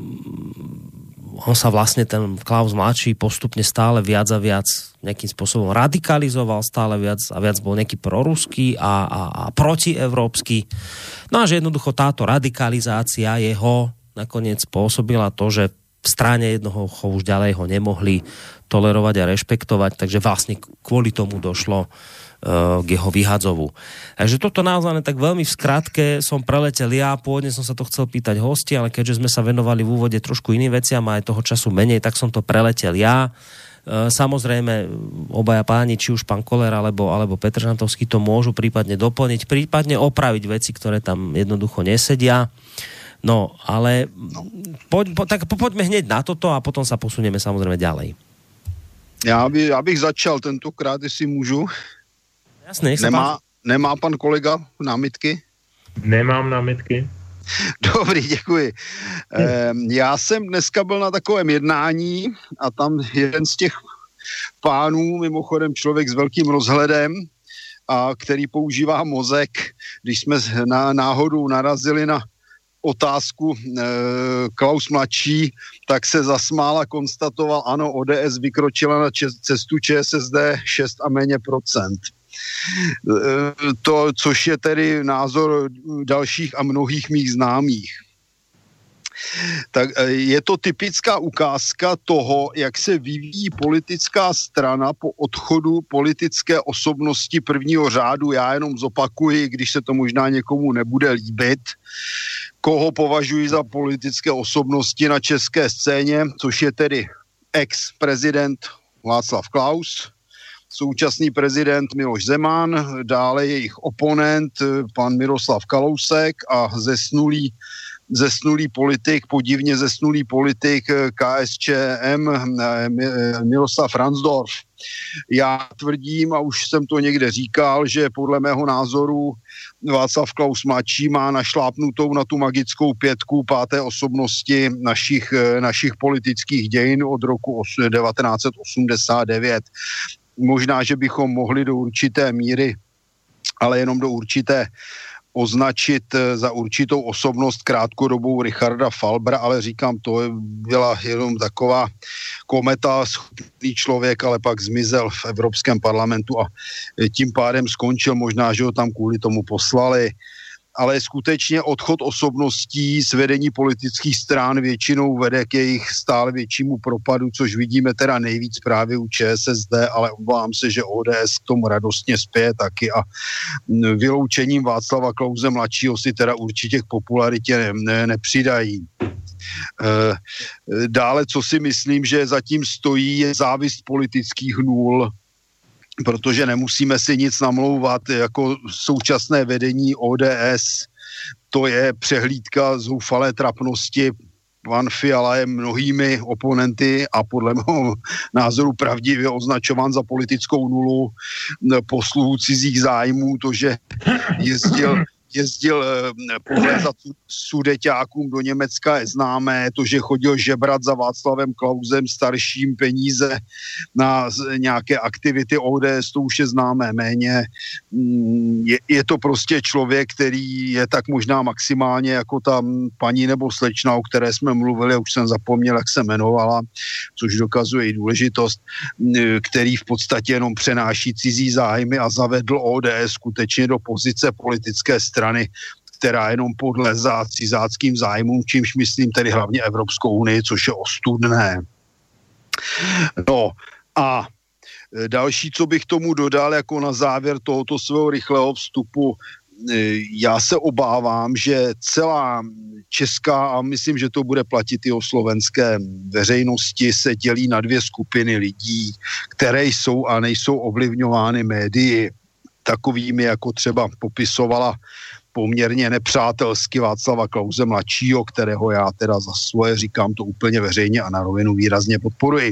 on sa vlastne, ten Klaus mladší, postupne stále viac a viac nejakým spôsobom radikalizoval, stále viac a viac bol nejaký proruský a, a, a protievropský. No a že jednoducho táto radikalizácia jeho nakoniec spôsobila to, že v strane jednoho už ďalej ho nemohli tolerovať a rešpektovať, takže vlastne kvôli tomu došlo k jeho vyhadzovu. Takže toto naozaj tak veľmi v skratke som preletel ja, pôvodne som sa to chcel pýtať hosti, ale keďže sme sa venovali v úvode trošku iným veciam a aj toho času menej, tak som to preletel ja. Samozrejme, obaja páni, či už pán Koller alebo, alebo Petr Žantovský, to môžu prípadne doplniť, prípadne opraviť veci, ktoré tam jednoducho nesedia. No, ale poď, po, tak poďme hneď na toto a potom sa posunieme samozrejme ďalej. Já, by, já bych začal tentokrát, jestli můžu. Jasně, jak nemá, nemá pan kolega námitky? Nemám námitky. Dobrý, děkuji. Ehm, já jsem dneska byl na takovém jednání a tam jeden z těch pánů, mimochodem člověk s velkým rozhledem, a který používá mozek, když jsme na náhodou narazili na otázku e, Klaus mladší, tak se zasmál a konstatoval, ano, O D S vykročila na čes, cestu Č S S D šest a méně procent. E, to, což je tedy názor dalších a mnohých mých známých. Tak je to typická ukázka toho, jak se vyvíjí politická strana po odchodu politické osobnosti prvního řádu. Já jenom zopakuji, když se to možná někomu nebude líbit, koho považuji za politické osobnosti na české scéně, což je tedy ex-prezident Václav Klaus, současný prezident Miloš Zeman, dále jejich oponent pan Miroslav Kalousek a zesnulý zesnulý politik, podivně zesnulý politik K S Č M Miroslav Ransdorf. Já tvrdím, a už jsem to někde říkal, že podle mého názoru Václav Klaus mladší má našlápnutou na tu magickou pětku páté osobnosti našich, našich politických dějin od roku devatenáct set osmdesát devět. Možná, že bychom mohli do určité míry, ale jenom do určité označit za určitou osobnost krátkodobou Richarda Falbra, ale říkám, to byla jenom taková kometa, schopný člověk, ale pak zmizel v Evropském parlamentu a tím pádem skončil, možná, že ho tam kvůli tomu poslali. Ale skutečně odchod osobností z vedení politických strán většinou vede k jejich stále většímu propadu, což vidíme teda nejvíc právě u Č S S D, ale obávám se, že O D S k tomu radostně spěje taky a vyloučením Václava Klause mladšího si teda určitě k popularitě ne, ne, nepřidají. Dále, co si myslím, že zatím stojí, je závist politických nůl, protože nemusíme si nic namlouvat, jako současné vedení O D S, to je přehlídka zoufalé trapnosti. Pan Fiala je mnohými oponenty a podle mého názoru pravdivě označován za politickou nulu, posluhu cizích zájmů, to, že jezdil jezdil pohlézat sudeťákům do Německa je známé, to, že chodil žebrat za Václavem Klausem starším peníze na nějaké aktivity O D S, to už je známé méně. Je, je to prostě člověk, který je tak možná maximálně jako ta paní nebo slečna, o které jsme mluvili, už jsem zapomněl, jak se jmenovala, což dokazuje i důležitost, který v podstatě jenom přenáší cizí zájmy a zavedl O D S skutečně do pozice politické strany, která jenom podlezá cizáckým zájmům, čímž myslím tedy hlavně Evropskou unii, což je ostudné. No a další, co bych tomu dodal jako na závěr tohoto svého rychlého vstupu, já se obávám, že celá česká, a myslím, že to bude platit i o slovenské veřejnosti, se dělí na dvě skupiny lidí, které jsou a nejsou ovlivňovány médii, takovými, jako třeba popisovala poměrně nepřátelsky Václava Klause mladšího, kterého já teda za svoje říkám to úplně veřejně a na rovinu výrazně podporuji.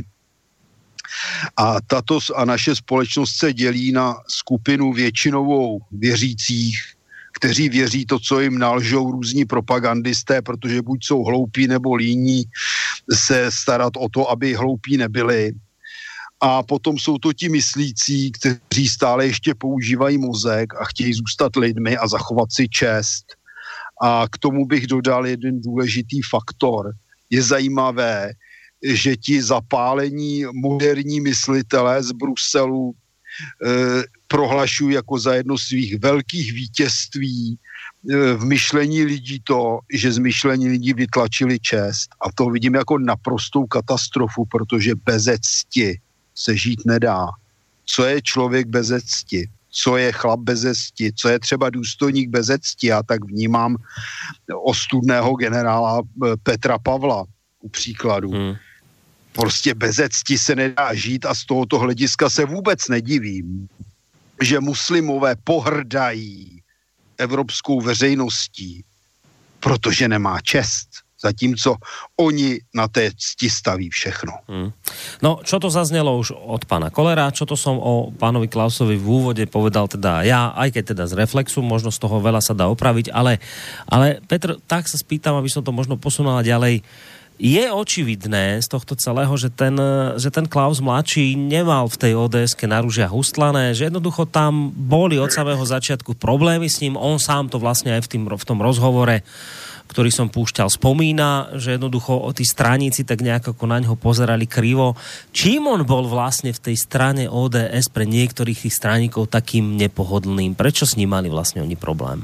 A tato a naše společnost se dělí na skupinu většinovou věřících, kteří věří to, co jim nalžou různí propagandisté, protože buď jsou hloupí nebo líní se starat o to, aby hloupí nebyli. A potom jsou to ti myslící, kteří stále ještě používají mozek a chtějí zůstat lidmi a zachovat si čest. A k tomu bych dodal jeden důležitý faktor. Je zajímavé, že ti zapálení moderní myslitelé z Bruselu eh, prohlašují jako za jedno svých velkých vítězství eh, v myšlení lidí to, že z myšlení lidí vytlačili čest. A to vidím jako naprostou katastrofu, protože bez cti se žít nedá. Co je člověk bez cti? Co je chlap bez cti? Co je třeba důstojník bez cti? Já tak vnímám ostudného generála Petra Pavla u příkladu. Hmm. Prostě bez cti se nedá žít a z tohoto hlediska se vůbec nedivím, že muslimové pohrdají evropskou veřejností, protože nemá čest. zatímco oni na té cti staví všechno. Hmm. No, čo to zaznelo už od pána Kollera, čo to som o pánovi Klausovi v úvode povedal teda ja, aj keď teda z reflexu, možno z toho veľa sa dá opraviť, ale, ale Petr, tak sa spýtam, aby som to možno posunula ďalej. Je očividné z tohto celého, že ten, že ten Klaus mladší nemal v tej ó dé eske na ružiach ustlané, že jednoducho tam boli od samého začiatku problémy s ním, on sám to vlastne aj v, tým, v tom rozhovore, ktorý som púšťal, spomína, že jednoducho o tí straníci tak nejak ako na ňo pozerali krivo. Čím on bol vlastne v tej strane ó dé es pre niektorých tých straníkov takým nepohodlným? Prečo s ním mali vlastne oni problém?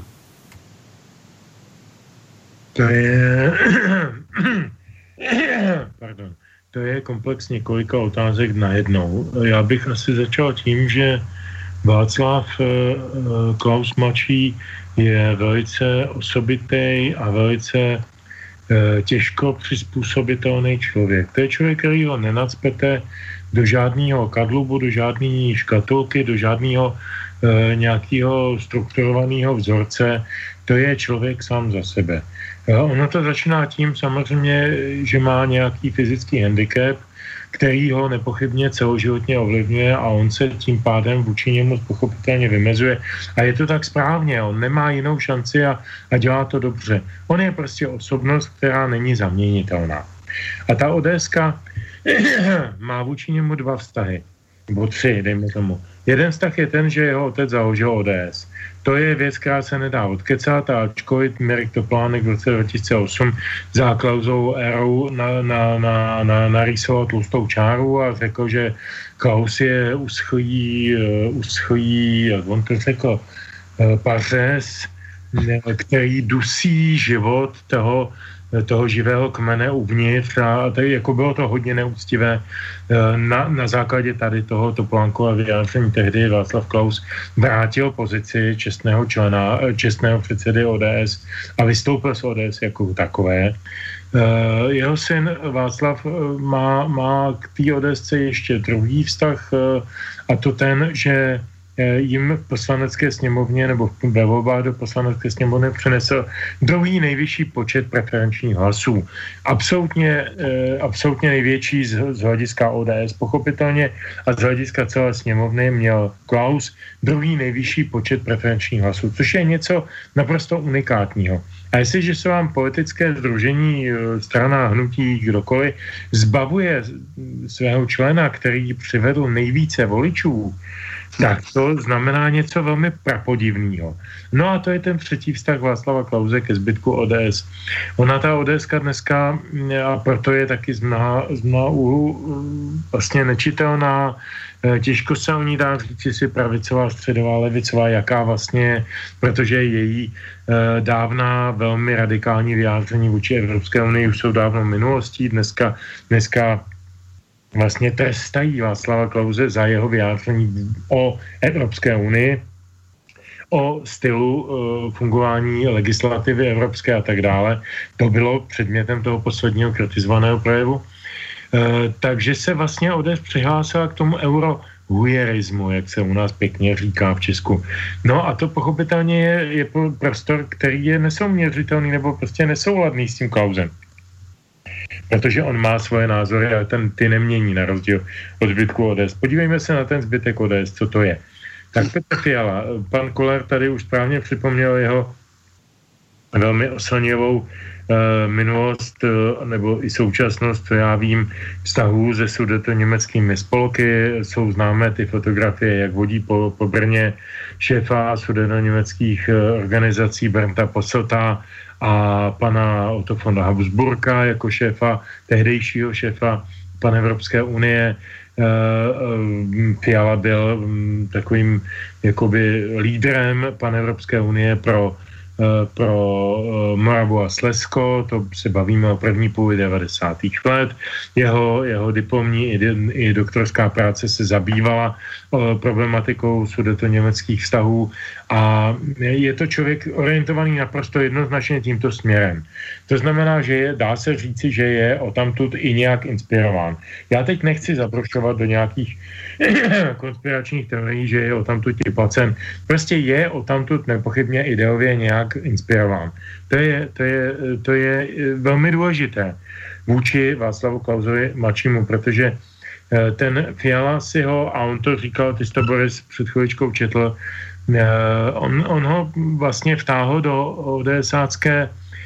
To je... Pardon. To je komplex několika otázek najednou. Já bych asi začal tím, že Václav Klaus mladší je velice osobitý a velice těžko přizpůsobitelný člověk. To je člověk, který ho nenacpete do žádného kadlubu, do žádné škatulky, do žádného e, nějakého strukturovaného vzorce. To je člověk sám za sebe. E, ono to začíná tím samozřejmě, že má nějaký fyzický handicap, který ho nepochybně celoživotně ovlivňuje a on se tím pádem vůči němu pochopitelně vymezuje. A je to tak správně, on nemá jinou šanci a, a dělá to dobře. On je prostě osobnost, která není zaměnitelná. A ta ODSka má vůči němu dva vztahy, nebo tři, dejme tomu. Jeden vztah je ten, že jeho otec založil ó dé es. To je věc, která se nedá odkecat, a ačkoliv Mirek Toplánek v roce dva tisíce osm za Klausovou érou na, na, na, na, narýsoval tlustou čáru a řekl, že Klaus je uschlý, uschlý, jak on to řekl, pařez, který dusí život toho, toho živého kmene uvnitř a tady jako bylo to hodně neúctivé. Na, na základě tady toho Toplánkova vyjádření tehdy Václav Klaus vrátil pozici čestného člena, čestného předsedy ó dé es a vystoupil z ó dé es jako takové. Jeho syn Václav má, má k té ODSce ještě druhý vztah a to ten, že jim v poslanecké sněmovně nebo ve volbách do poslanecké sněmovny přinesl druhý nejvyšší počet preferenčních hlasů. Absolutně, absolutně největší z, z hlediska ó dé es. Pochopitelně a z hlediska celé sněmovny měl Klaus druhý nejvyšší počet preferenčních hlasů, což je něco naprosto unikátního. A jestliže se vám politické sdružení, strana, hnutí, kdokoliv zbavuje svého člena, který přivedl nejvíce voličů, tak to znamená něco velmi prapodivného. No a to je ten třetí vztah Václava Klause ke zbytku ó dé es. Ona ta ODSka dneska, a proto je taky z mnoha, z mnoha úhlu vlastně nečitelná, těžko se o ní dá říct, jestli pravicová, středová, levicová, jaká vlastně, protože její dávná velmi radikální vyjádření vůči Evropské unii už jsou dávno minulostí. Dneska, dneska vlastně trestají Václava Klause za jeho vyjádření o Evropské unii, o stylu uh, fungování legislativy evropské a tak dále. To bylo předmětem toho posledního kritizovaného projevu. Uh, takže se vlastně ó dé es přihlásila k tomu eurohujerismu, jak se u nás pěkně říká v Česku. No a to pochopitelně je, je prostor, který je nesouměřitelný nebo prostě nesouladný s tím Klausem. Protože on má svoje názory a ten ty nemění na rozdíl od zbytku ó dé es. Podívejme se na ten zbytek ó dé es, co to je. Tak Petr Fiala, pan Koller tady už správně připomněl jeho velmi oslnivou uh, minulost uh, nebo i současnost, co já vím, vztahů se sudetoněmeckými spolky. Jsou známé ty fotografie, jak vodí po, po Brně šéfa sudetoněmeckých uh, organizací Bernta Posselta a pana Otto von Habsburka jako šéfa, tehdejšího šéfa Panevropské unie. Fiala byl takovým jakoby lídrem Panevropské unie pro, pro Moravu a Slezsko, to se bavíme o první půli devadesátých let. Jeho, jeho diplomní i, i doktorská práce se zabývala problematikou sudetoněmeckých vztahů a je to člověk orientovaný naprosto jednoznačně tímto směrem. To znamená, že je, dá se říci, že je odtamtud i nějak inspirován. Já teď nechci zabrušovat do nějakých konspiračních teorií, že je odtamtud i placen. Prostě je odtamtud nepochybně ideově nějak nějak inspirován. To je, to je, to je velmi důležité vůči Václavu Klausovi mladšímu, protože ten Fiala si ho, a on to říkal, ty jsi to, Boris, před chvíličkou četl, on, on ho vlastně vtáhl do ODSácké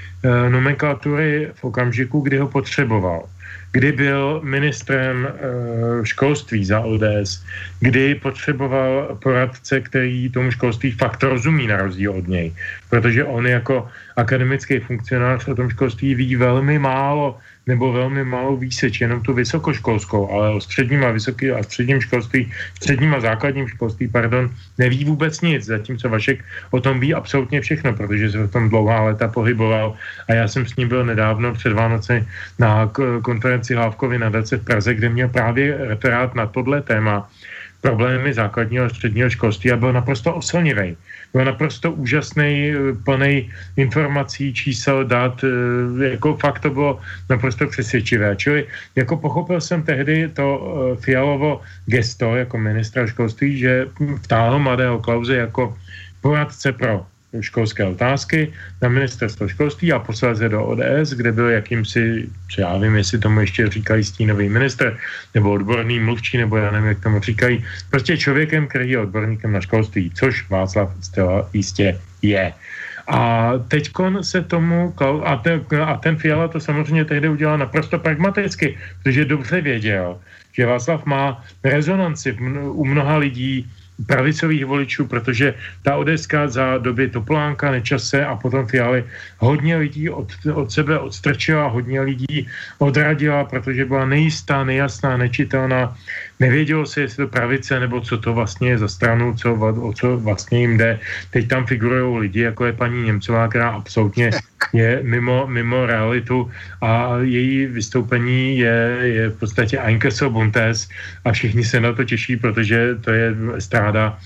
nomenklatury v okamžiku, kdy ho potřeboval. Kdy byl ministrem školství za O D S, kdy potřeboval poradce, který tomu školství fakt rozumí na rozdíl od něj. Protože on jako akademický funkcionář o tom školství ví velmi málo, nebo velmi malou výseč, jenom tu vysokoškolskou, ale o středním a vysoký a středním školství, středním a základním školství, pardon, neví vůbec nic, zatímco Vašek o tom ví absolutně všechno, protože se v tom dlouhá léta pohyboval a já jsem s ním byl nedávno před Vánoci na konferenci Hlávkovy nadace v Praze, kde měl právě referát na tohle téma problémy základního a středního školství a byl naprosto oslnivý. Byl naprosto úžasný, plný informací, čísel, dat, jako fakt to bylo naprosto přesvědčivé. Čili jako pochopil jsem tehdy to Fialovo gesto jako ministra školství, že vtáhl mladého Klause jako poradce pro školské otázky na ministerstvo školství a posléze do O D S, kde byl jakýmsi, co já vím, jestli tomu ještě říkají stínový ministr, nebo odborný mluvčí, nebo já nevím, jak tomu říkají, prostě člověkem, který je odborníkem na školství, což Václav zcela jistě je. A teďkon se tomu, a ten, a ten Fiala to samozřejmě tehdy udělal naprosto pragmaticky, protože dobře věděl, že Václav má rezonanci u mnoha lidí, pravicových voličů, protože ta odeska za doby Topolánka, Nečase a potom Fialy hodně lidí od, od sebe odstrčila, hodně lidí odradila, protože byla nejistá, nejasná, nečitelná. Nevědělo se, jestli to pravice, nebo co to vlastně je za stranu, co, o co vlastně jim jde. Teď tam figurují lidi, jako je paní Němcová, která absolutně je mimo, mimo realitu a její vystoupení je, je v podstatě Einkesso-Buntes a všichni se na to těší, protože to je stráda,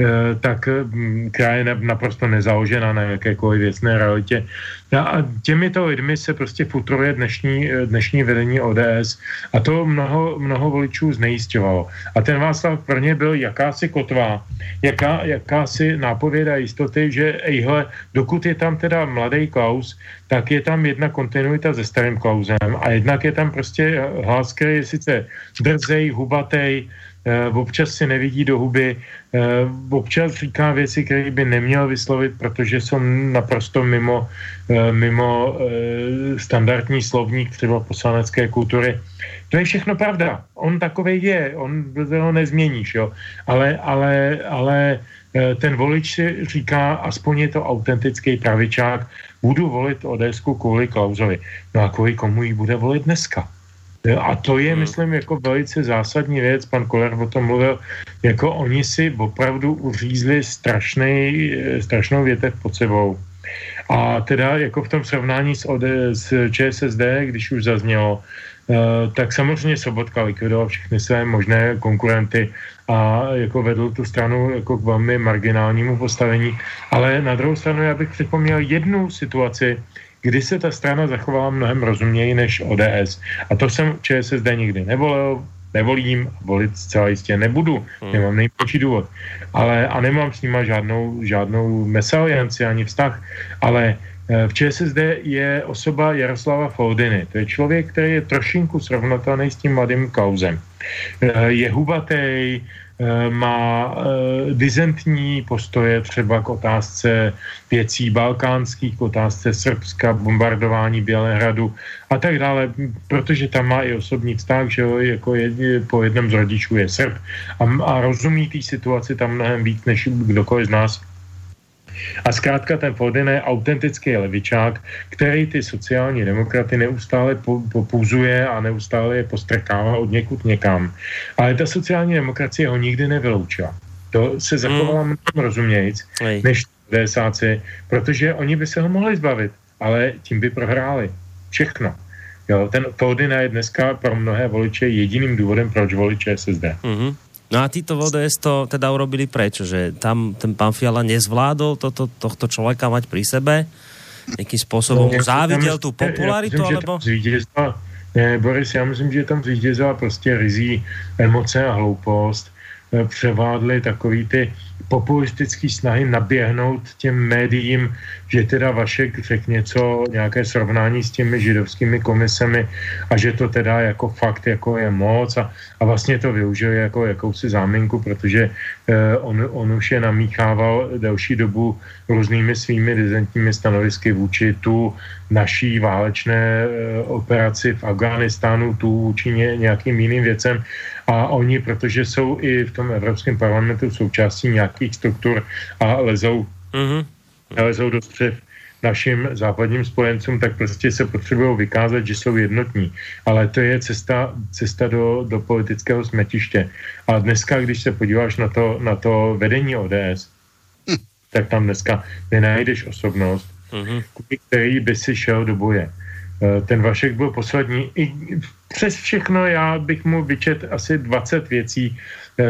tak která je naprosto nezaložená na jakékoliv věcné realitě. A těmito lidmi se prostě futruje dnešní, dnešní vedení O D S a to mnoho, mnoho voličů znejisťovalo. A ten Václav pro ně byl jakási kotva, jaká, jakási nápověda jistoty, že ejhle, dokud je tam teda mladý Klaus, tak je tam jedna kontinuita se starým Klausem a jednak je tam prostě hlas, který je sice drzej, hubatej, občas si nevidí do huby, občas říká věci, které by neměl vyslovit, protože jsou naprosto mimo, mimo standardní slovník třeba poslanecké kultury. To je všechno pravda. On takovej je, on to nezměníš, jo. Ale, ale, ale ten volič si říká, aspoň je to autentický pravičák, budu volit ODSku kvůli Klausovi. No a kvůli komu ji bude volit dneska? A to je, hmm. myslím, jako velice zásadní věc, pan Koller o tom mluvil, jako oni si opravdu uřízli strašný, strašnou větev pod sebou. A teda jako v tom srovnání s, O D, s ČSSD, když už zaznělo, tak samozřejmě Sobotka likvidoval všechny své možné konkurenty a jako vedl tu stranu jako k velmi marginálnímu postavení. Ale na druhou stranu já bych připomněl jednu situaci, kdy se ta strana zachovala mnohem rozuměji než O D S. A to jsem ČSSD nikdy nevolil, nevolím, volit zcela jistě nebudu, hmm. nemám nejmenší důvod. Ale, a nemám s nima žádnou, žádnou mesalianci ani vztah, ale v ČSSD je osoba Jaroslava Foldyny. To je člověk, který je trošinku srovnatelný s tím mladým Klausem. Je hubatej, má dizentní postoje třeba k otázce věcí balkánských, k otázce Srbska, bombardování Bělehradu a tak dále, protože tam má i osobní vztah, že jo, jako je, po jednom z rodičů je Srb a, a rozumí té situaci tam mnohem víc než kdokoliv z nás. A zkrátka ten Foldyna je autentický levičák, který ty sociální demokraty neustále popuzuje a neustále je postrkává od někud někam. Ale ta sociální demokracie ho nikdy nevyloučila. To se zachovala mnohem mm. rozumějíc, než DSáci, protože oni by se ho mohli zbavit, ale tím by prohráli. Všechno. Jo, ten Foldyna je dneska pro mnohé voliče jediným důvodem, proč volit ČSSD. Mm-hmm. No a títo V D S to teda urobili prečo? Že tam ten pán Fiala nezvládol toto, tohto človeka mať pri sebe? Nejakým spôsobom no, závidel tú popularitu? Ja myslím, alebo... ne, Boris, já myslím, že tam zvítězila prostě rizí emoce a hloupost převládly takový ty populistický snahy naběhnout těm médiím, že teda Vašek řekl něco, nějaké srovnání s těmi židovskými komisemi a že to teda jako fakt jako je moc a, a vlastně to využil jako jakousi záminku, protože eh, on, on už je namíchával delší dobu různými svými dizentními stanovisky vůči tu naší válečné eh, operaci v Afghánistánu, tu vůči ně, nějakým jiným věcem. A oni, protože jsou i v tom Evropském parlamentu součástí nějakých struktur a lezou, mm-hmm. lezou do střev našim západním spojencům, tak prostě se potřebují vykázat, že jsou jednotní. Ale to je cesta, cesta do, do politického smetiště. A dneska, když se podíváš na to, na to vedení O D S, hm. tak tam dneska nenajdeš osobnost, mm-hmm. který by si šel do boje. Ten Vašek byl poslední. I přes všechno já bych mu vyčet asi dvacet věcí,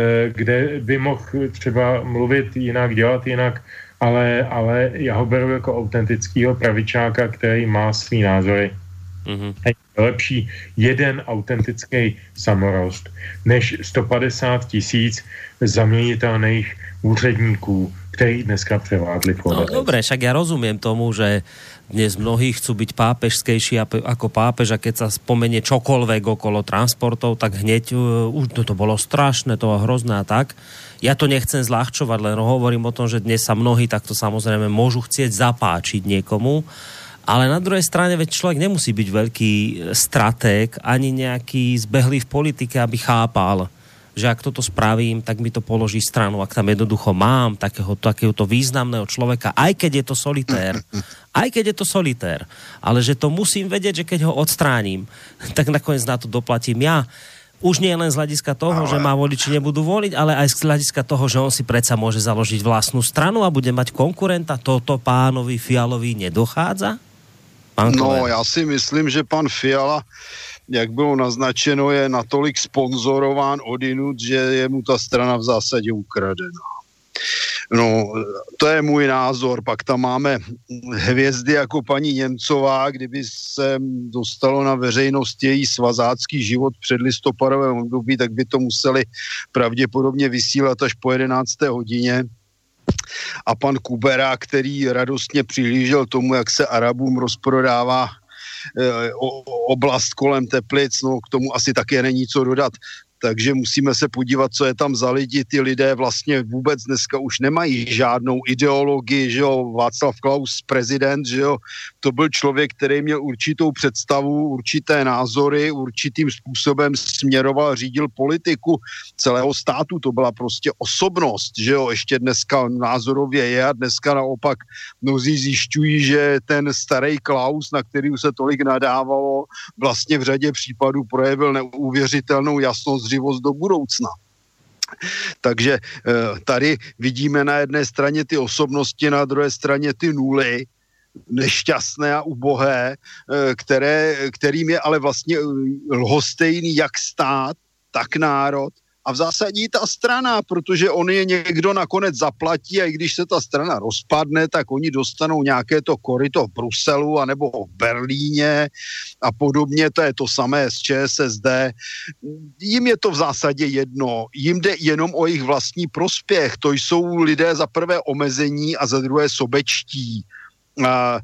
kde by mohl třeba mluvit jinak, dělat jinak, ale, ale já ho beru jako autentického pravičáka, který má svý názory. Mm-hmm. Je lepší jeden autentický samorost, než sto padesát tisíc zaměnitelných úředníků, který dneska převládli. No dobre, však ja rozumiem tomu, že dnes mnohí chcú byť pápežskejší ako pápež a keď sa spomenie čokoľvek okolo transportov, tak hneď uh, už to, to bolo strašné, to bolo hrozné a tak. Ja to nechcem zľahčovať, len hovorím o tom, že dnes sa mnohí takto samozrejme môžu chcieť zapáčiť niekomu, ale na druhej strane veď človek nemusí byť veľký stratég ani nejaký zbehlý v politike, aby chápal, že ak toto spravím, tak mi to položí stranu. Ak tam jednoducho mám takého, takéhoto významného človeka, aj keď je to solitér, aj keď je to solitér, ale že to musím vedieť, že keď ho odstránim, tak nakoniec na to doplatím ja. Už nie len z hľadiska toho, ale... že ma voliči nebudú voliť, ale aj z hľadiska toho, že on si predsa môže založiť vlastnú stranu a bude mať konkurenta. Toto pánovi Fialovi nedochádza? Pán no, ja si myslím, že pán Fiala, jak bylo naznačeno, je natolik sponzorován odinut, že je mu ta strana v zásadě ukradená. No, to je můj názor. Pak tam máme hvězdy jako paní Němcová, kdyby se dostalo na veřejnost její svazácký život před listopadovém období, tak by to museli pravděpodobně vysílat až po jedenácté hodině. A pan Kubera, který radostně přihlížel tomu, jak se Arabům rozprodává oblast kolem Teplic, no k tomu asi také není co dodat. Takže musíme se podívat, co je tam za lidi. Ty lidé vlastně vůbec dneska už nemají žádnou ideologii, že jo, Václav Klaus, prezident, že jo, to byl člověk, který měl určitou představu, určité názory, určitým způsobem směroval, řídil politiku celého státu, to byla prostě osobnost, že jo, ještě dneska názorově je a dneska naopak mnozí zjišťují, že ten starý Klaus, na který se tolik nadávalo, vlastně v řadě případů projevil neuvěřitelnou jasnost, živost do budoucna. Takže tady vidíme na jedné straně ty osobnosti, na druhé straně ty nuly, nešťastné a ubohé, které, kterým je ale vlastně lhostejný jak stát, tak národ a v zásadě i ta strana, protože on je někdo nakonec zaplatí a i když se ta strana rozpadne, tak oni dostanou nějaké to koryto v Bruselu anebo v Berlíně a podobně, to je to samé s ČSSD. Jim je to v zásadě jedno, jim jde jenom o jejich vlastní prospěch, to jsou lidé za prvé omezení a za druhé sobečtí. A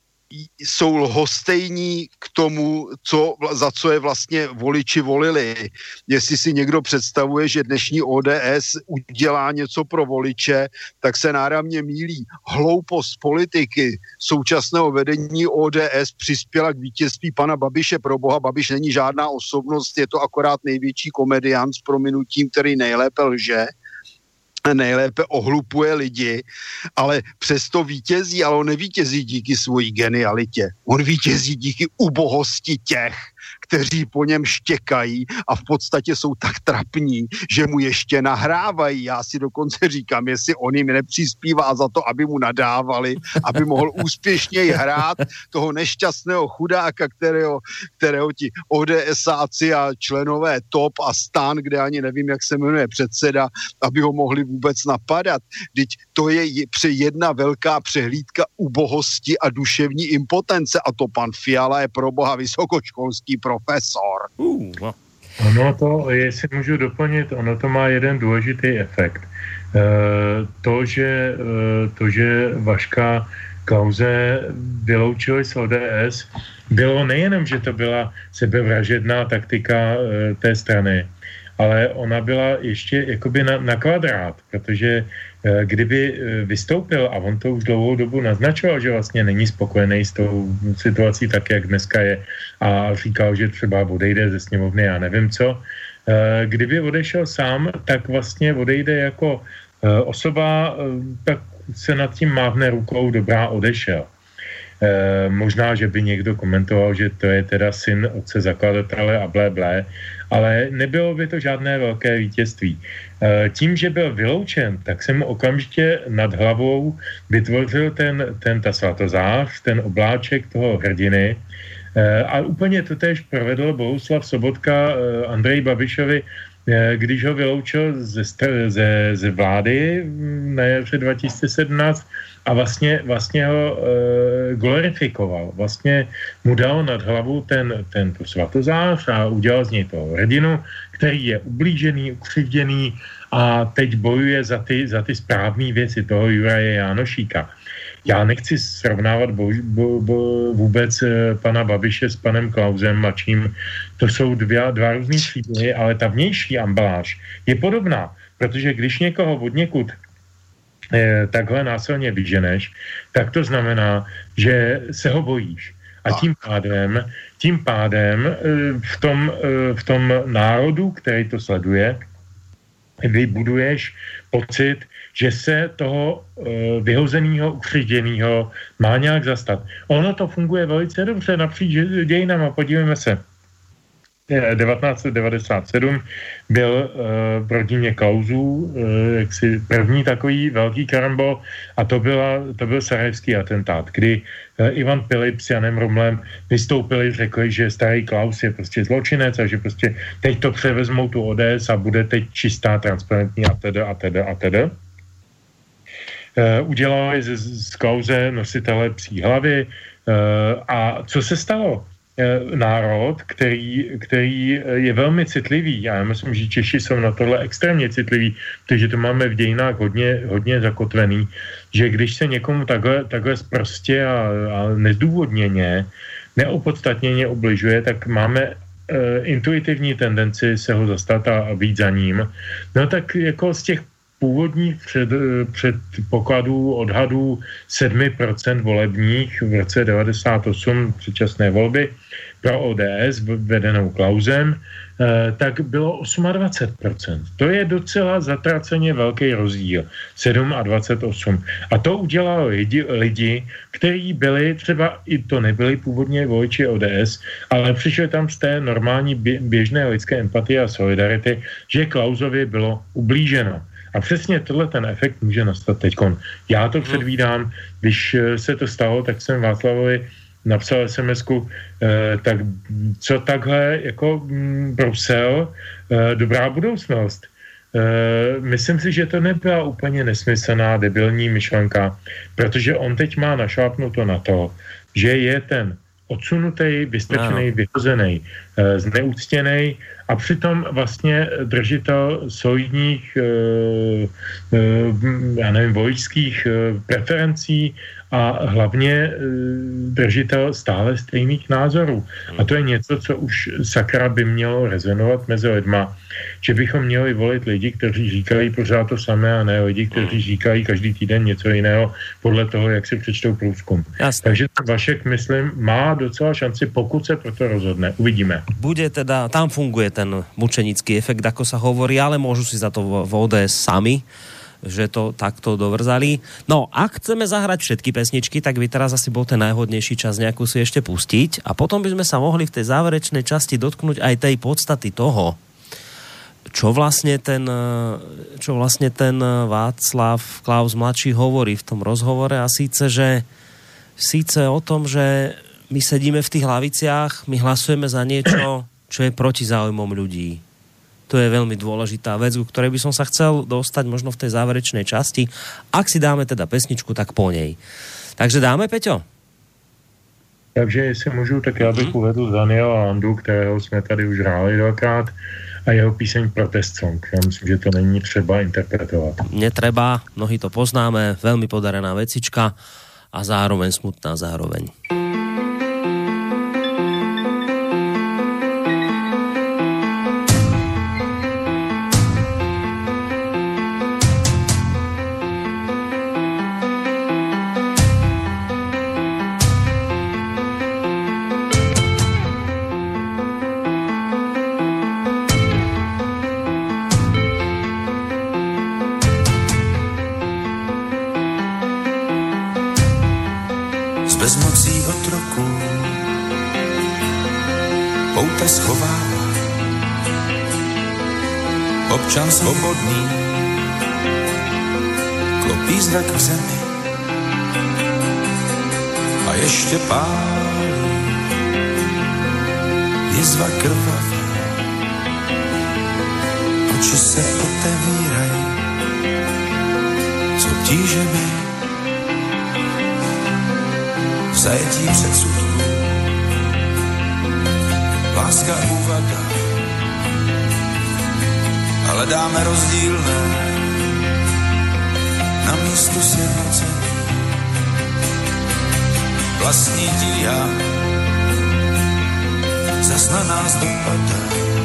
jsou lhostejní k tomu, co, za co je vlastně voliči volili. Jestli si někdo představuje, že dnešní O D S udělá něco pro voliče, tak se náramně mýlí. Hloupost politiky současného vedení O D S přispěla k vítězství pana Babiše. Pro boha, Babiš není žádná osobnost, je to akorát největší komediant s prominutím, který nejlépe lže, nejlépe ohlupuje lidi, ale přesto vítězí, ale on nevítězí díky svojí genialitě. On vítězí díky ubohosti těch, kteří po něm štěkají a v podstatě jsou tak trapní, že mu ještě nahrávají. Já si dokonce říkám, jestli on jim nepřispívá za to, aby mu nadávali, aby mohl úspěšněji hrát toho nešťastného chudáka, kterého, kterého ti ODSáci a členové TOP a STAN, kde ani nevím, jak se jmenuje předseda, aby ho mohli vůbec napadat. Vždyť to je jedna velká přehlídka ubohosti a duševní impotence a to pan Fiala je pro boha vysokoškolský profesor. Uh, no. Ono to, jestli můžu doplnit, ono to má jeden důležitý efekt. E, to, že, e, to, že Vaška Klause vyloučili z O D S, bylo nejenom, že to byla sebevražedná taktika e, té strany, ale ona byla ještě jakoby na, na kvadrát, protože e, kdyby vystoupil, a on to už dlouhou dobu naznačoval, že vlastně není spokojený s tou situací tak, jak dneska je, a říkal, že třeba odejde ze sněmovny, já nevím co, e, kdyby odešel sám, tak vlastně odejde jako e, osoba, e, tak se nad tím mávne rukou, dobrá, odešel. E, možná, že by někdo komentoval, že to je teda syn otce zakladatele a blé, blé, ale nebylo by to žádné velké vítězství. E, tím, že byl vyloučen, tak se mu okamžitě nad hlavou vytvořil ten, ten ta svatozář, ten obláček toho hrdiny, e, a úplně to též provedl Bohuslav Sobotka e, Andreji Babišovi, když ho vyloučil ze, ze, ze vlády na jaře dva tisíce sedmnáct a vlastně, vlastně ho e, glorifikoval. Vlastně mu dal nad hlavu ten, ten svatozář a udělal z něj toho hrdinu, který je ublížený, ukřivděný a teď bojuje za ty, za ty správné věci toho Juraje Jánošíka. Já nechci srovnávat bo, bo, bo, vůbec pana Babiše s panem Klausem mladším. To jsou dva, dva různý příběhy, ale ta vnější ambaláž je podobná, protože když někoho od někud eh, takhle násilně vyženeš, tak to znamená, že se ho bojíš. A tím pádem, tím pádem eh, v, tom, eh, v tom národu, který to sleduje, vybuduješ pocit, že se toho e, vyhozeného, ukřižděného má nějak zastat. Ono to funguje velice dobře napříč dějinama. Podívejme se. devatenáct set devadesát sedm byl e, v rodině Klausů e, jaksi první takový velký karambol a to, byla, to byl sarajevský atentát, kdy e, Ivan Pilip s Janem Rumlem vystoupili, řekli, že starý Klaus je prostě zločinec a že prostě teď to převezmou tu O D S a bude teď čistá, transparentní a teda a teda a teda. Uh, udělali z, z Klause nositele psí hlavy uh, a co se stalo? Uh, národ, který, který je velmi citlivý, já myslím, že Češi jsou na tohle extrémně citliví, protože to máme v dějinách hodně, hodně zakotvený, že když se někomu takhle, takhle sprostě a, a nezdůvodněně, neopodstatněně ubližuje, tak máme uh, intuitivní tendenci se ho zastat a, a být za ním. No tak jako z těch původních před, předpokladů, odhadů sedm procent volebních v roce devadesát osm předčasné volby pro O D S vedenou Klausem, eh, tak bylo dvacet osm procent. To je docela zatraceně velký rozdíl. dvacet osm. A to udělalo lidi, lidi, kteří byli, třeba i to nebyli původně voliči O D S, ale přišli tam z té normální běžné lidské empatie a solidarity, že Klausovi bylo ublíženo. A přesně tohle ten efekt může nastat teďkon. Já to předvídám, když se to stalo, tak jsem Václavovi napsal es em esku, eh, tak co takhle jako mm, Brusel, eh, dobrá budoucnost. Eh, myslím si, že to nebyla úplně nesmyslná, debilní myšlenka, protože on teď má našlápnuto na to, že je ten odsunutý, vystrčený, vyhozený, eh, zneúctěnej a přitom vlastně držitel solidních, e, e, já nevím, voličských e, preferencí a hlavně e, držitel stále stejných názorů. A to je něco, co už sakra by mělo rezonovat mezi lidma, že bychom měli volit lidi, kteří říkají pořád to samé a ne lidi, kteří říkají každý týden něco jiného podle toho, jak si přečtou průzkum. Jasne. Takže Vašek, myslím, má docela šanci, pokud se pro to rozhodne. Uvidíme. Bude teda, tam funguje ten mučenický efekt, ako sa hovorí, ale môžu si za to v O D S sami, že to takto dovrzali. No, ak chceme zahrať všetky pesničky, tak by teraz asi bol ten najhodnejší čas nejakú si ešte pustiť a potom by sme sa mohli v tej záverečnej časti dotknúť aj tej podstaty toho, čo vlastne ten, čo vlastne ten Václav Klaus mladší hovorí v tom rozhovore, a síce, že síce o tom, že my sedíme v tých hlaviciach, my hlasujeme za niečo, čo je proti záujmom ľudí. To je veľmi dôležitá vec, ku ktorej by som sa chcel dostať možno v tej záverečnej časti. Ak si dáme teda pesničku, tak po nej. Takže dáme, Peťo? Takže jestli můžu, tak já bych mm-hmm. uvedl Daniela Landu, kterého jsme tady už hráli dvakrát, a jeho píseň Protest Song. Já myslím, že to není třeba interpretovat. Netreba, mnohí to poznáme, veľmi podarená vecička a zároveň smutná zároveň. Bezmocí otroku pouta schovává, občan svobodný klopí zrak v zemi a ještě pálí jizva krvavá, oči se otevírají s obtížemi v zajetí předsudků, láska úvada, ale dáme rozdílné na místu sjednocení. Vlastní tíha zas na nás dopadá.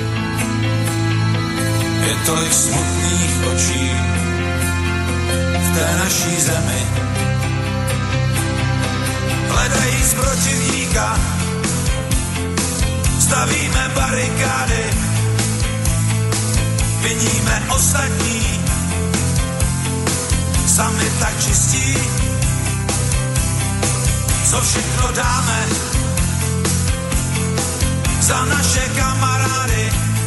Je tolik smutných očí v té naší zemi. Hledají z protivníka, stavíme barikády, viníme ostatní, sami tak čistí, co všechno dáme za naše kamarády,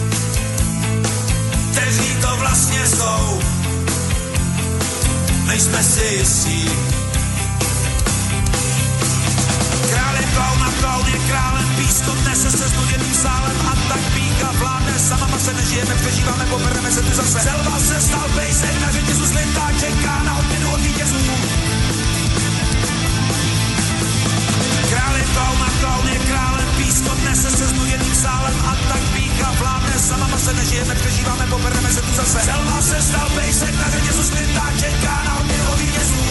kteří to vlastně jsou, nejsme si jistí. Klaun klaun je králem, pískot nese se znuděným sálem a tak píka vládne, sama se nežijeme, přežíváme, pobereme se tu zase. Selva se stal pejsek, na řetězu slintá, čeká na odměnu od vítězů. Král je klaun a klaun je králem, pískot nese se znuděným sálem a tak píka vládne, sama se nežijeme, přežíváme, pobereme se tu zase. Selva se stal pejsek, na řetězu slintá, čeká na odměnu od vítězů.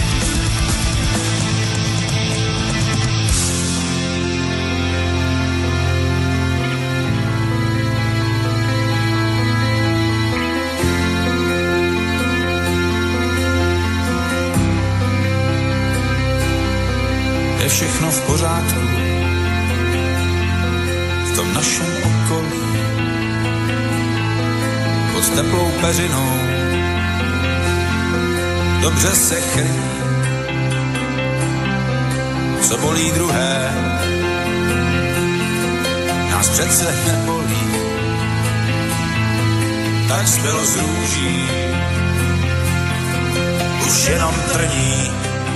Je všechno v pořádku v tom našem okolí, pod teplou peřinou dobře se chrlí, co bolí druhé, nás přece nebolí, tak zbylo z růží už jenom trní.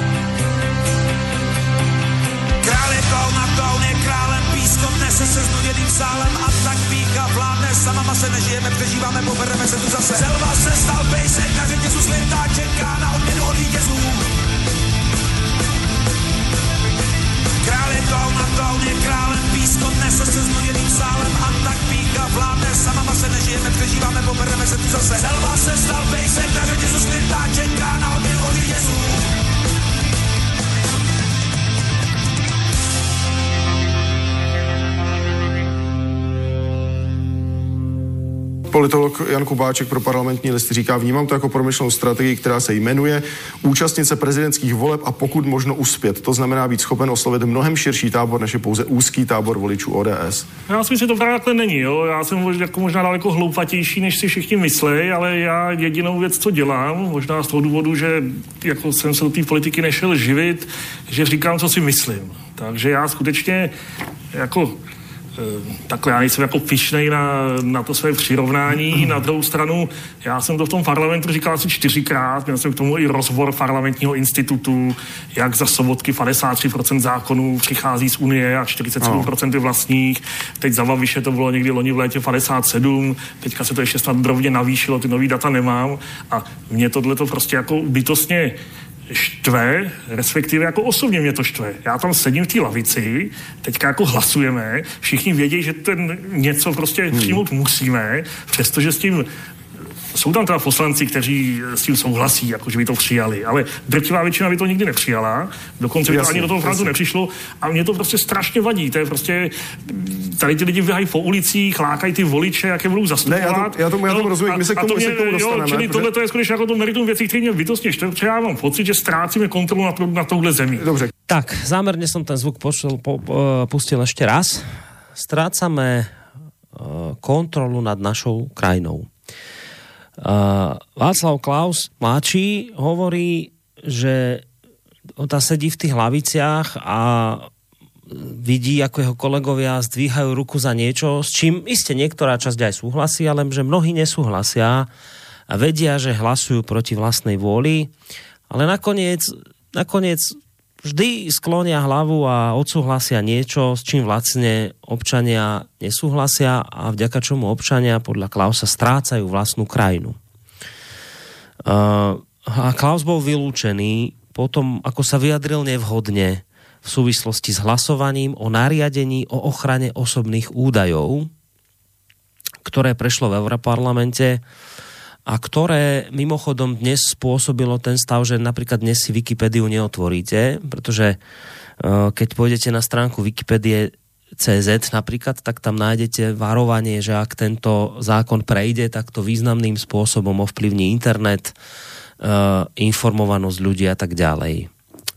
Klaun a klaun je králem, pískot nese se znuděným sálem a tak píka vládne, sama se nežijeme, přežíváme, pobereme se tu zase. Selva se stal pejsek, na řetězu slintá, čeká na odměnu od vítězů. Král je klaun a klaun je králem, pískot nese se znuděným sálem a tak píka vládne, sama se nežijeme, přežíváme, pobereme se tu zase. Selva se stal pejsek, na řetězu slintá, čeká na odměnu od vítězů. Politolog Jan Kubáček pro Parlamentní listy říká, vnímám to jako promyšlenou strategii, která se jmenuje účastnit se prezidentských voleb a pokud možno uspět. To znamená být schopen oslovit mnohem širší tábor, než je pouze úzký tábor voličů O D S. Já si myslím, že to právě takhle není. Jo? Já jsem jako možná daleko hloupatější, než si všichni myslí, ale já jedinou věc, co dělám, možná z toho důvodu, že jako jsem se do té politiky nešel živit, že říkám, co si myslím. Takže já skutečně jako takhle já nejsem jako pyšnej na, na to své přirovnání. Na druhou stranu, já jsem to v tom parlamentu říkal asi čtyřikrát, měl jsem k tomu i rozbor parlamentního institutu, jak za Sobotky padesát tři procent zákonů přichází z Unie a čtyřicet sedm procent je vlastních. Teď za Babiše to bylo někdy loni v létě padesát sedm, teďka se to ještě snad drobně navýšilo, ty nový data nemám a mě tohle to prostě jako bytostně štve, respektive jako osobně mě to štve. Já tam sedím v té lavici, teďka jako hlasujeme, všichni vědí, že ten něco prostě hmm. přijmout musíme, přestože s tím jsou tam teda poslanci, kteří s tím souhlasí, jako že by to přijali, ale drtivá většina by to nikdy nepřijala, dokonce by to ani do toho frontu nepřišlo a mě to prostě strašně vadí, to je prostě, tady ty lidi vyhají po ulicích, lákají ty voliče, jak je budou zastupovat. Ne, já, to, já tomu, já tomu rozumím, my se k tomu, to mě, my se k tomu dostaneme. Jo, čili tohle to je skutečně jako to meritum věcí, které mě bytostně štve, protože já mám pocit, že ztrácíme kontrolu na, to, na touhle zemi. Dobře. Tak, zámerne som ten zvuk počul, po, po, pustil ešte raz. Strácame uh, kontrolu nad našou krajinou. Uh, Václav Klaus mladší hovorí, že on tam sedí v tých hlaviciach a vidí, ako jeho kolegovia zdvíhajú ruku za niečo, s čím iste niektorá časť aj súhlasí, ale že mnohí nesúhlasia a vedia, že hlasujú proti vlastnej vôli, ale nakoniec, nakoniec vždy sklonia hlavu a odsúhlasia niečo, s čím vlastne občania nesúhlasia a vďaka čomu občania podľa Klausa strácajú vlastnú krajinu. Uh, a Klaus bol vylúčený potom, ako sa vyjadril nevhodne v súvislosti s hlasovaním o nariadení o ochrane osobných údajov, ktoré prešlo v Europarlamente a ktoré mimochodom dnes spôsobilo ten stav, že napríklad dnes si Wikipédiu neotvoríte, pretože uh, keď pôjdete na stránku Wikipédie bodka cé zet napríklad, tak tam nájdete varovanie, že ak tento zákon prejde, tak to významným spôsobom ovplyvní internet, uh, informovanosť ľudí a tak ďalej.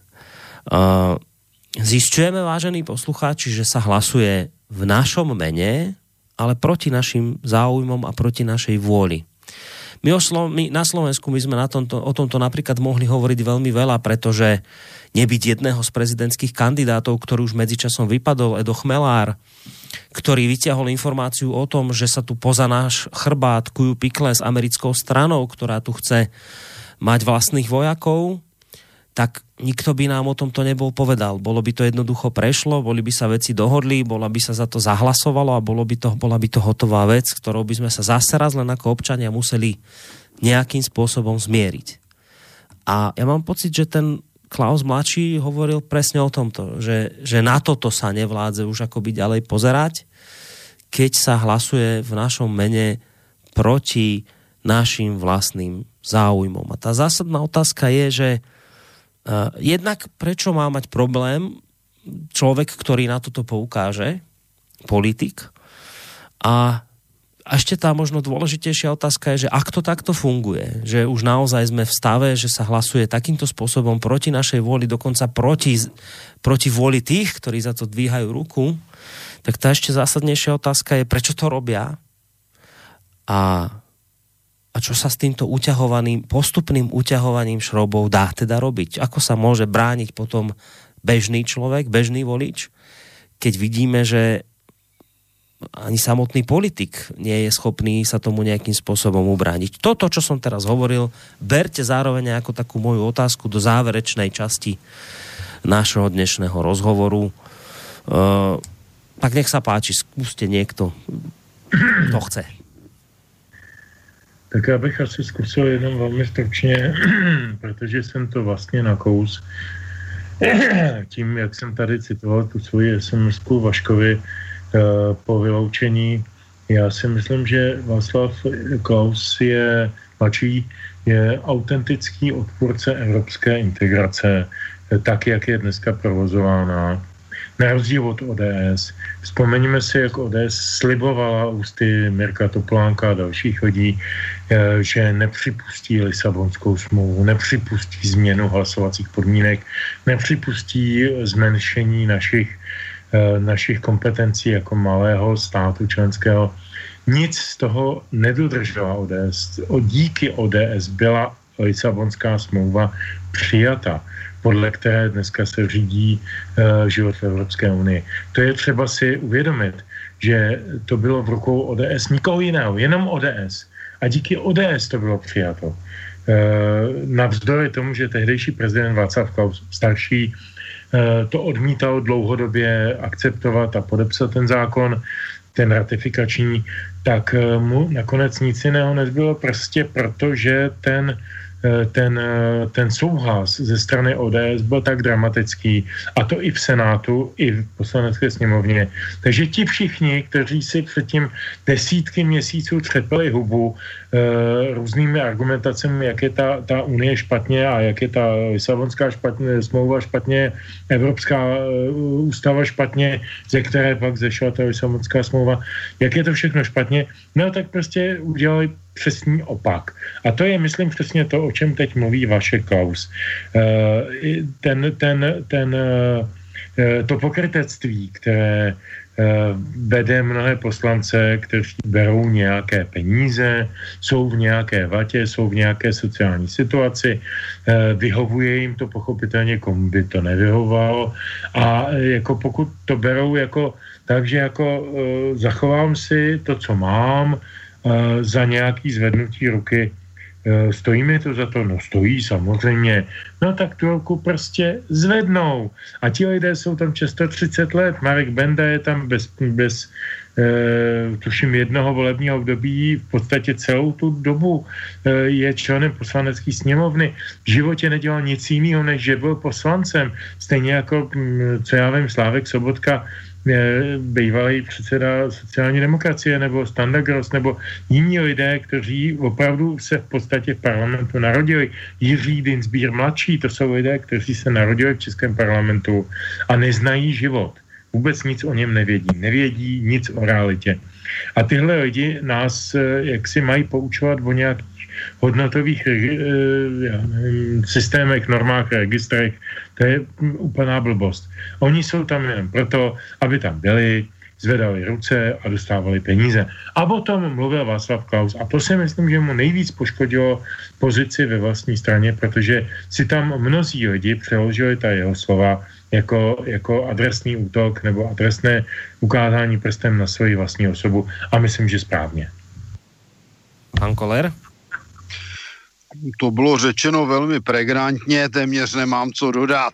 Uh, zisťujeme, vážení poslucháči, že sa hlasuje v našom mene, ale proti našim záujmom a proti našej vôli. My, oslo, my na Slovensku my sme na tomto, o tomto napríklad mohli hovoriť veľmi veľa, pretože nebyť jedného z prezidentských kandidátov, ktorý už medzičasom vypadol, Edo Chmelár, ktorý vyťahol informáciu o tom, že sa tu poza náš chrbát kujú pikle s americkou stranou, ktorá tu chce mať vlastných vojakov, tak nikto by nám o tomto nebol povedal. Bolo by to jednoducho prešlo, boli by sa veci dohodli, bola by sa za to zahlasovalo a bolo by to, bola by to hotová vec, ktorou by sme sa zase raz len ako občania museli nejakým spôsobom zmieriť. A ja mám pocit, že ten Klaus mladší hovoril presne o tomto, že, že na toto sa nevládze už akoby ďalej pozerať, keď sa hlasuje v našom mene proti našim vlastným záujmom. A tá zásadná otázka je, že Uh, jednak prečo má mať problém človek, ktorý na toto poukáže, politik. A ešte tá možno dôležitejšia otázka je, že ak to takto funguje, že už naozaj sme v stave, že sa hlasuje takýmto spôsobom proti našej vôli, dokonca proti, proti vôli tých, ktorí za to dvíhajú ruku, tak tá ešte zásadnejšia otázka je, prečo to robia a A čo sa s týmto uťahovaným, postupným uťahovaním šroubov dá teda robiť? Ako sa môže brániť potom bežný človek, bežný volič, keď vidíme, že ani samotný politik nie je schopný sa tomu nejakým spôsobom ubrániť. Toto, čo som teraz hovoril, berte zároveň ako takú moju otázku do záverečnej časti nášho dnešného rozhovoru. Uh, tak nech sa páči, skúste niekto, kto chce. Tak já bych asi zkusil jenom velmi stručně, protože jsem to vlastně nakous tím, jak jsem tady citoval tu svoji es em esku Vaškovi uh, po vyloučení. Já si myslím, že Václav Klaus je mladší, je autentický odpůrce evropské integrace, tak, jak je dneska provozována. Na rozdíl od O D S. Vzpomeňme si, jak O D S slibovala ústy Mirka Topolánka a dalších lidí, že nepřipustí Lisabonskou smlouvu, nepřipustí změnu hlasovacích podmínek, nepřipustí zmenšení našich, našich kompetencí jako malého státu členského. Nic z toho nedodržela O D S. Díky O D S byla Lisabonská smlouva přijata, podle které dneska se řídí uh, život v Evropské unii. To je třeba si uvědomit, že to bylo v rukou O D S, nikoho jiného, jenom O D S. A díky O D S to bylo přijato. Uh, navzdory tomu, že tehdejší prezident Václav Klaus starší uh, to odmítal dlouhodobě akceptovat a podepsat ten zákon, ten ratifikační, tak uh, mu nakonec nic jiného nezbylo prostě proto, že ten ten, ten souhlas ze strany O D S byl tak dramatický, a to i v Senátu, i v poslanecké sněmovně. Takže ti všichni, kteří si předtím desítky měsíců třepali hubu e, různými argumentacemi, jak je ta, ta unie špatně a jak je ta Lisabonská špatně, smlouva špatně, Evropská e, ústava špatně, ze které pak zešla ta Lisabonská smlouva, jak je to všechno špatně, no tak prostě udělali přesný opak. A to je, myslím, přesně to, o čem teď mluví Vašek Klaus. E, ten, ten, ten, e, to pokrytectví, které vede mnohé poslance, kteří berou nějaké peníze, jsou v nějaké vatě, jsou v nějaké sociální situaci, vyhovuje jim to pochopitelně, komu by to nevyhovovalo, a jako pokud to berou jako tak, že jako zachovám si to, co mám, za nějaký zvednutí ruky, stojí mi to za to? No stojí samozřejmě. No tak tu ruku prostě zvednou. A ti lidé jsou tam často třicet let. Marek Benda je tam bez, bez e, tuším jednoho volebního období v podstatě celou tu dobu e, je členem poslanecké sněmovny. V životě nedělal nic jiného, než že byl poslancem. Stejně jako, co já vím, Slávek Sobotka, bývalý předseda sociální demokracie, nebo Standa Gross, nebo jiní lidé, kteří opravdu se v podstatě v parlamentu narodili. Jiří Dinsbír mladší, to jsou lidé, kteří se narodili v českém parlamentu a neznají život. Vůbec nic o něm nevědí. Nevědí nic o realitě. A tyhle lidi nás jaksi mají poučovat o nějakých hodnotových já nevím, systémech, normách, registrech. To je úplná blbost. Oni jsou tam jen proto, aby tam byli, zvedali ruce a dostávali peníze. A o tom mluvil Václav Klaus. A to si myslím, že mu nejvíc poškodilo pozici ve vlastní straně, protože si tam mnozí lidi přeložili ta jeho slova jako, jako adresný útok nebo adresné ukázání prstem na svoji vlastní osobu. A myslím, že správně. Pan Koller? To bylo řečeno velmi pregnantně, téměř nemám co dodat.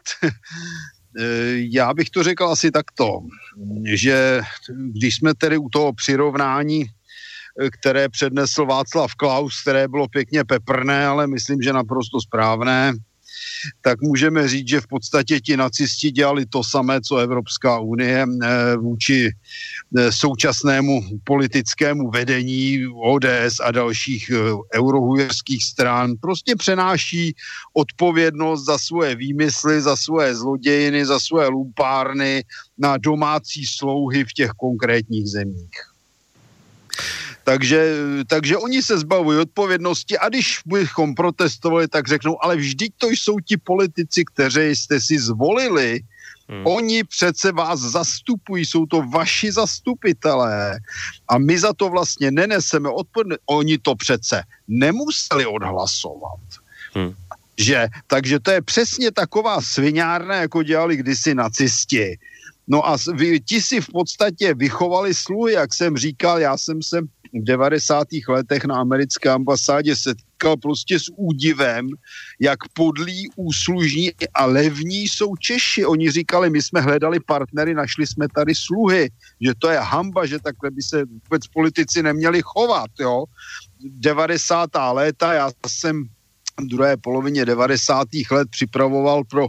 Já bych to řekl asi takto, že když jsme tedy u toho přirovnání, které přednesl Václav Klaus, které bylo pěkně peprné, ale myslím, že naprosto správné, tak můžeme říct, že v podstatě ti nacisti dělali to samé, co Evropská unie vůči současnému politickému vedení O D S a dalších eurohujerských stran. Prostě přenáší odpovědnost za svoje výmysly, za svoje zlodějiny, za svoje lumpárny na domácí slouhy v těch konkrétních zemích. Takže, takže oni se zbavují odpovědnosti a když bychom protestovali, tak řeknou, ale vždyť to jsou ti politici, kteří jste si zvolili. Hmm. Oni přece vás zastupují, jsou to vaši zastupitelé a my za to vlastně neneseme odpovědnost. Oni to přece nemuseli odhlasovat. Hmm. Že? Takže to je přesně taková sviňárna, jako dělali kdysi nacisti. No a vy, ti si v podstatě vychovali sluhy, jak jsem říkal, já jsem se v devadesátých letech na americké ambasádě setkal prostě s údivem, jak podlí, úslužní a levní jsou Češi. Oni říkali, my jsme hledali partnery, našli jsme tady sluhy, že to je hanba, že takhle by se vůbec politici neměli chovat, jo. devadesátá léta, já jsem v druhé polovině devadesátých let připravoval pro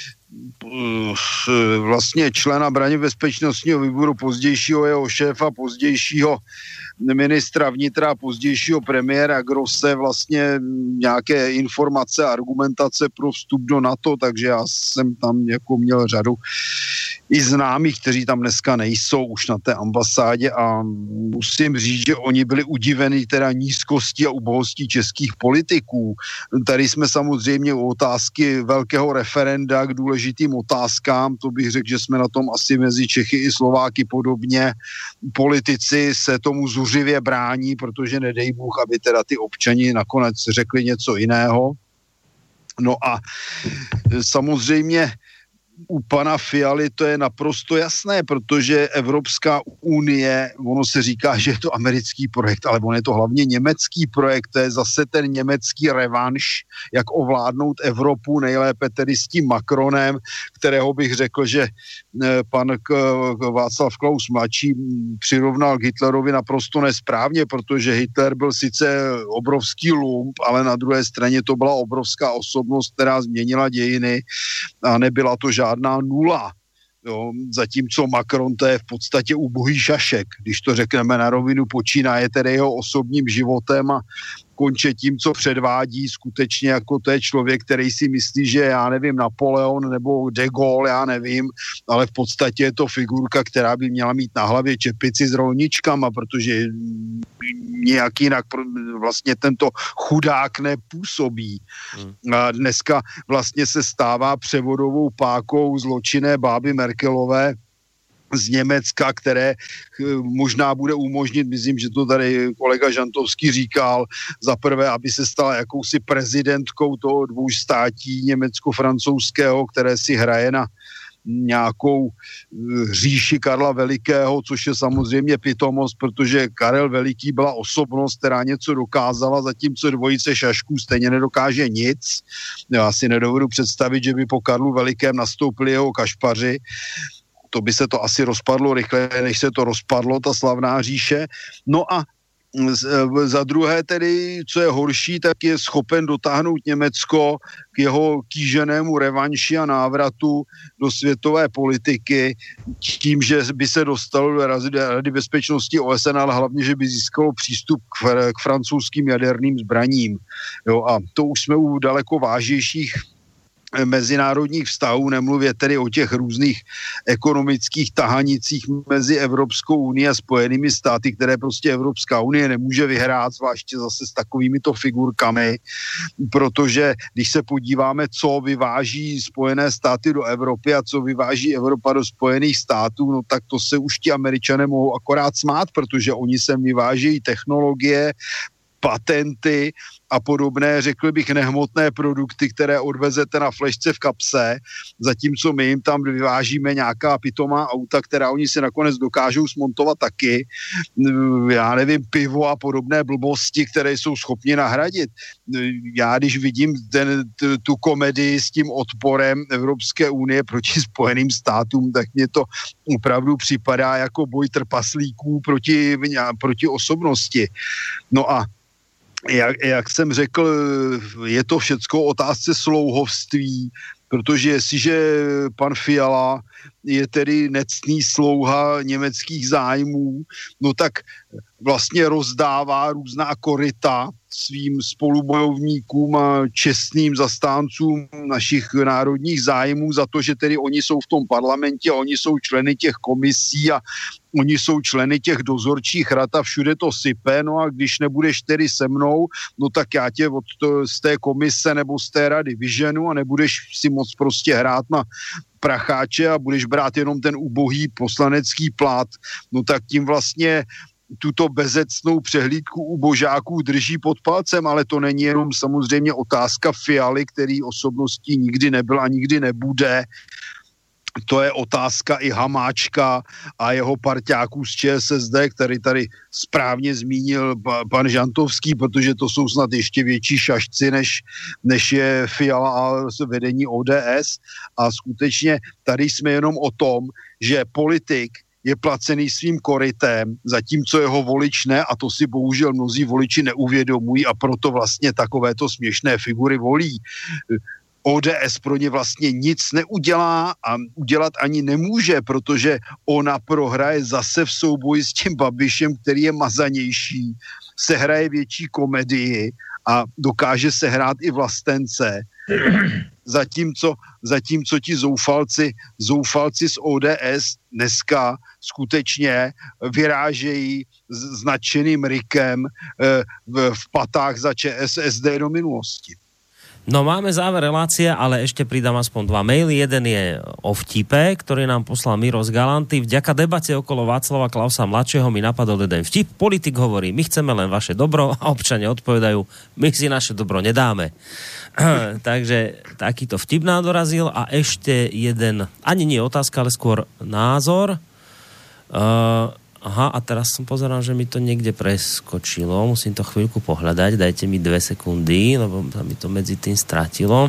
vlastně člena braně bezpečnostního výboru, pozdějšího jeho šéfa, pozdějšího ministra vnitra, pozdějšího premiéra Grosse, vlastně nějaké informace a argumentace pro vstup do NATO, takže já jsem tam jako měl řadu i známých, kteří tam dneska nejsou už na té ambasádě a musím říct, že oni byli udiveni teda nízkostí a ubohostí českých politiků. Tady jsme samozřejmě u otázky velkého referenda k důležitým otázkám, to bych řekl, že jsme na tom asi mezi Čechy i Slováky podobně. Politici se tomu zuřivě brání, protože nedej Bůh, aby teda ty občani nakonec řekli něco jiného. No a samozřejmě u pana Fialy to je naprosto jasné, protože Evropská unie, ono se říká, že je to americký projekt, ale on je to hlavně německý projekt, to je zase ten německý revanš, jak ovládnout Evropu, nejlépe tedy s tím Macronem, kterého bych řekl, že pan Václav Klaus mladší přirovnal k Hitlerovi naprosto nesprávně, protože Hitler byl sice obrovský lump, ale na druhé straně to byla obrovská osobnost, která změnila dějiny a nebyla to žádná nula. Jo, zatímco Macron to je v podstatě ubohý šašek, když to řekneme na rovinu, počínaje tedy jeho osobním životem a konče tím, co předvádí, skutečně jako to je člověk, který si myslí, že já nevím, Napoleon nebo de Gaulle, já nevím, ale v podstatě je to figurka, která by měla mít na hlavě čepici s rolničkama, protože nějak jinak vlastně tento chudák nepůsobí. Hmm. A dneska vlastně se stává převodovou pákou zločinné báby Merkelové z Německa, které možná bude umožnit, myslím, že to tady kolega Žantovský říkal, za prvé, aby se stala jakousi prezidentkou toho dvojstátí německo-francouzského, které si hraje na nějakou říši Karla Velikého, což je samozřejmě pitomost, protože Karel Veliký byla osobnost, která něco dokázala, zatímco dvojice šašků stejně nedokáže nic. Já si nedovedu představit, že by po Karlu Velikém nastoupili jeho kašpaři. To by se to asi rozpadlo rychle, než se to rozpadlo, ta slavná říše. No a za druhé tedy, co je horší, tak je schopen dotáhnout Německo k jeho kýženému revanši a návratu do světové politiky tím, že by se dostalo do Rady bezpečnosti O S N, ale hlavně, že by získalo přístup k, k francouzským jaderným zbraním. Jo, a to už jsme u daleko vážnějších mezinárodních vztahů, nemluvě tedy o těch různých ekonomických tahanicích mezi Evropskou unii a Spojenými státy, které prostě Evropská unie nemůže vyhrát, zvláště zase s takovýmito figurkami, protože když se podíváme, co vyváží Spojené státy do Evropy a co vyváží Evropa do Spojených států, no tak to se už ti Američané mohou akorát smát, protože oni sem vyvážejí technologie, patenty a podobné, řekl bych, nehmotné produkty, které odvezete na flešce v kapse, zatímco my jim tam vyvážíme nějaká pitomá auta, která oni si nakonec dokážou smontovat taky. Já nevím, pivo a podobné blbosti, které jsou schopni nahradit. Já když vidím ten, tu komedii s tím odporem Evropské unie proti Spojeným státům, tak mě to opravdu připadá jako boj trpaslíků proti, proti osobnosti. No a Jak, jak jsem řekl, je to všecko otázce slouhovství, protože jestliže pan Fiala je tedy nectný slouha německých zájmů, no tak vlastně rozdává různá koryta svým spolubojovníkům a čestným zastáncům našich národních zájmů za to, že tedy oni jsou v tom parlamentě a oni jsou členy těch komisí a oni jsou členy těch dozorčích rad a všude to sype, no a když nebudeš tedy se mnou, no tak já tě od to, z té komise nebo z té rady vyženu a nebudeš si moc prostě hrát na pracháče a budeš brát jenom ten ubohý poslanecký plát, no tak tím vlastně tuto bezecnou přehlídku ubožáků drží pod palcem, ale to není jenom samozřejmě otázka Fialy, který osobností nikdy nebyl a nikdy nebude. To je otázka i Hamáčka a jeho parťáků z Č S S D, který tady správně zmínil pan Žantovský, protože to jsou snad ještě větší šašci, než, než je Fiala a vedení O D S. A skutečně tady jsme jenom o tom, že politik je placený svým korytem, zatímco jeho volič ne, a to si bohužel mnozí voliči neuvědomují a proto vlastně takovéto směšné figury volí. O D S pro ně vlastně nic neudělá a udělat ani nemůže, protože ona prohraje zase v souboji s tím Babišem, který je mazanější, sehraje větší komedii a dokáže sehrát i vlastence. Zatímco, zatímco ti zoufalci, zoufalci z O D S dneska skutečně vyrážejí s nadšeným rykem v, v patách za Č S S D do minulosti. No máme záver relácie, ale ešte pridám aspoň dva maily. Jeden je o vtipe, ktorý nám poslal Miro z Galanty. Vďaka debate okolo Václava Klausa mladšieho mi napadol jeden vtip. Politik hovorí, my chceme len vaše dobro a občania odpovedajú, my si naše dobro nedáme. Takže takýto vtip nám dorazil a ešte jeden, ani nie otázka, ale skôr názor. Uh, aha, a teraz som pozeral, že mi to niekde preskočilo. Musím to chvíľku pohľadať. Dajte mi dve sekundy, lebo sa mi to medzi tým stratilo.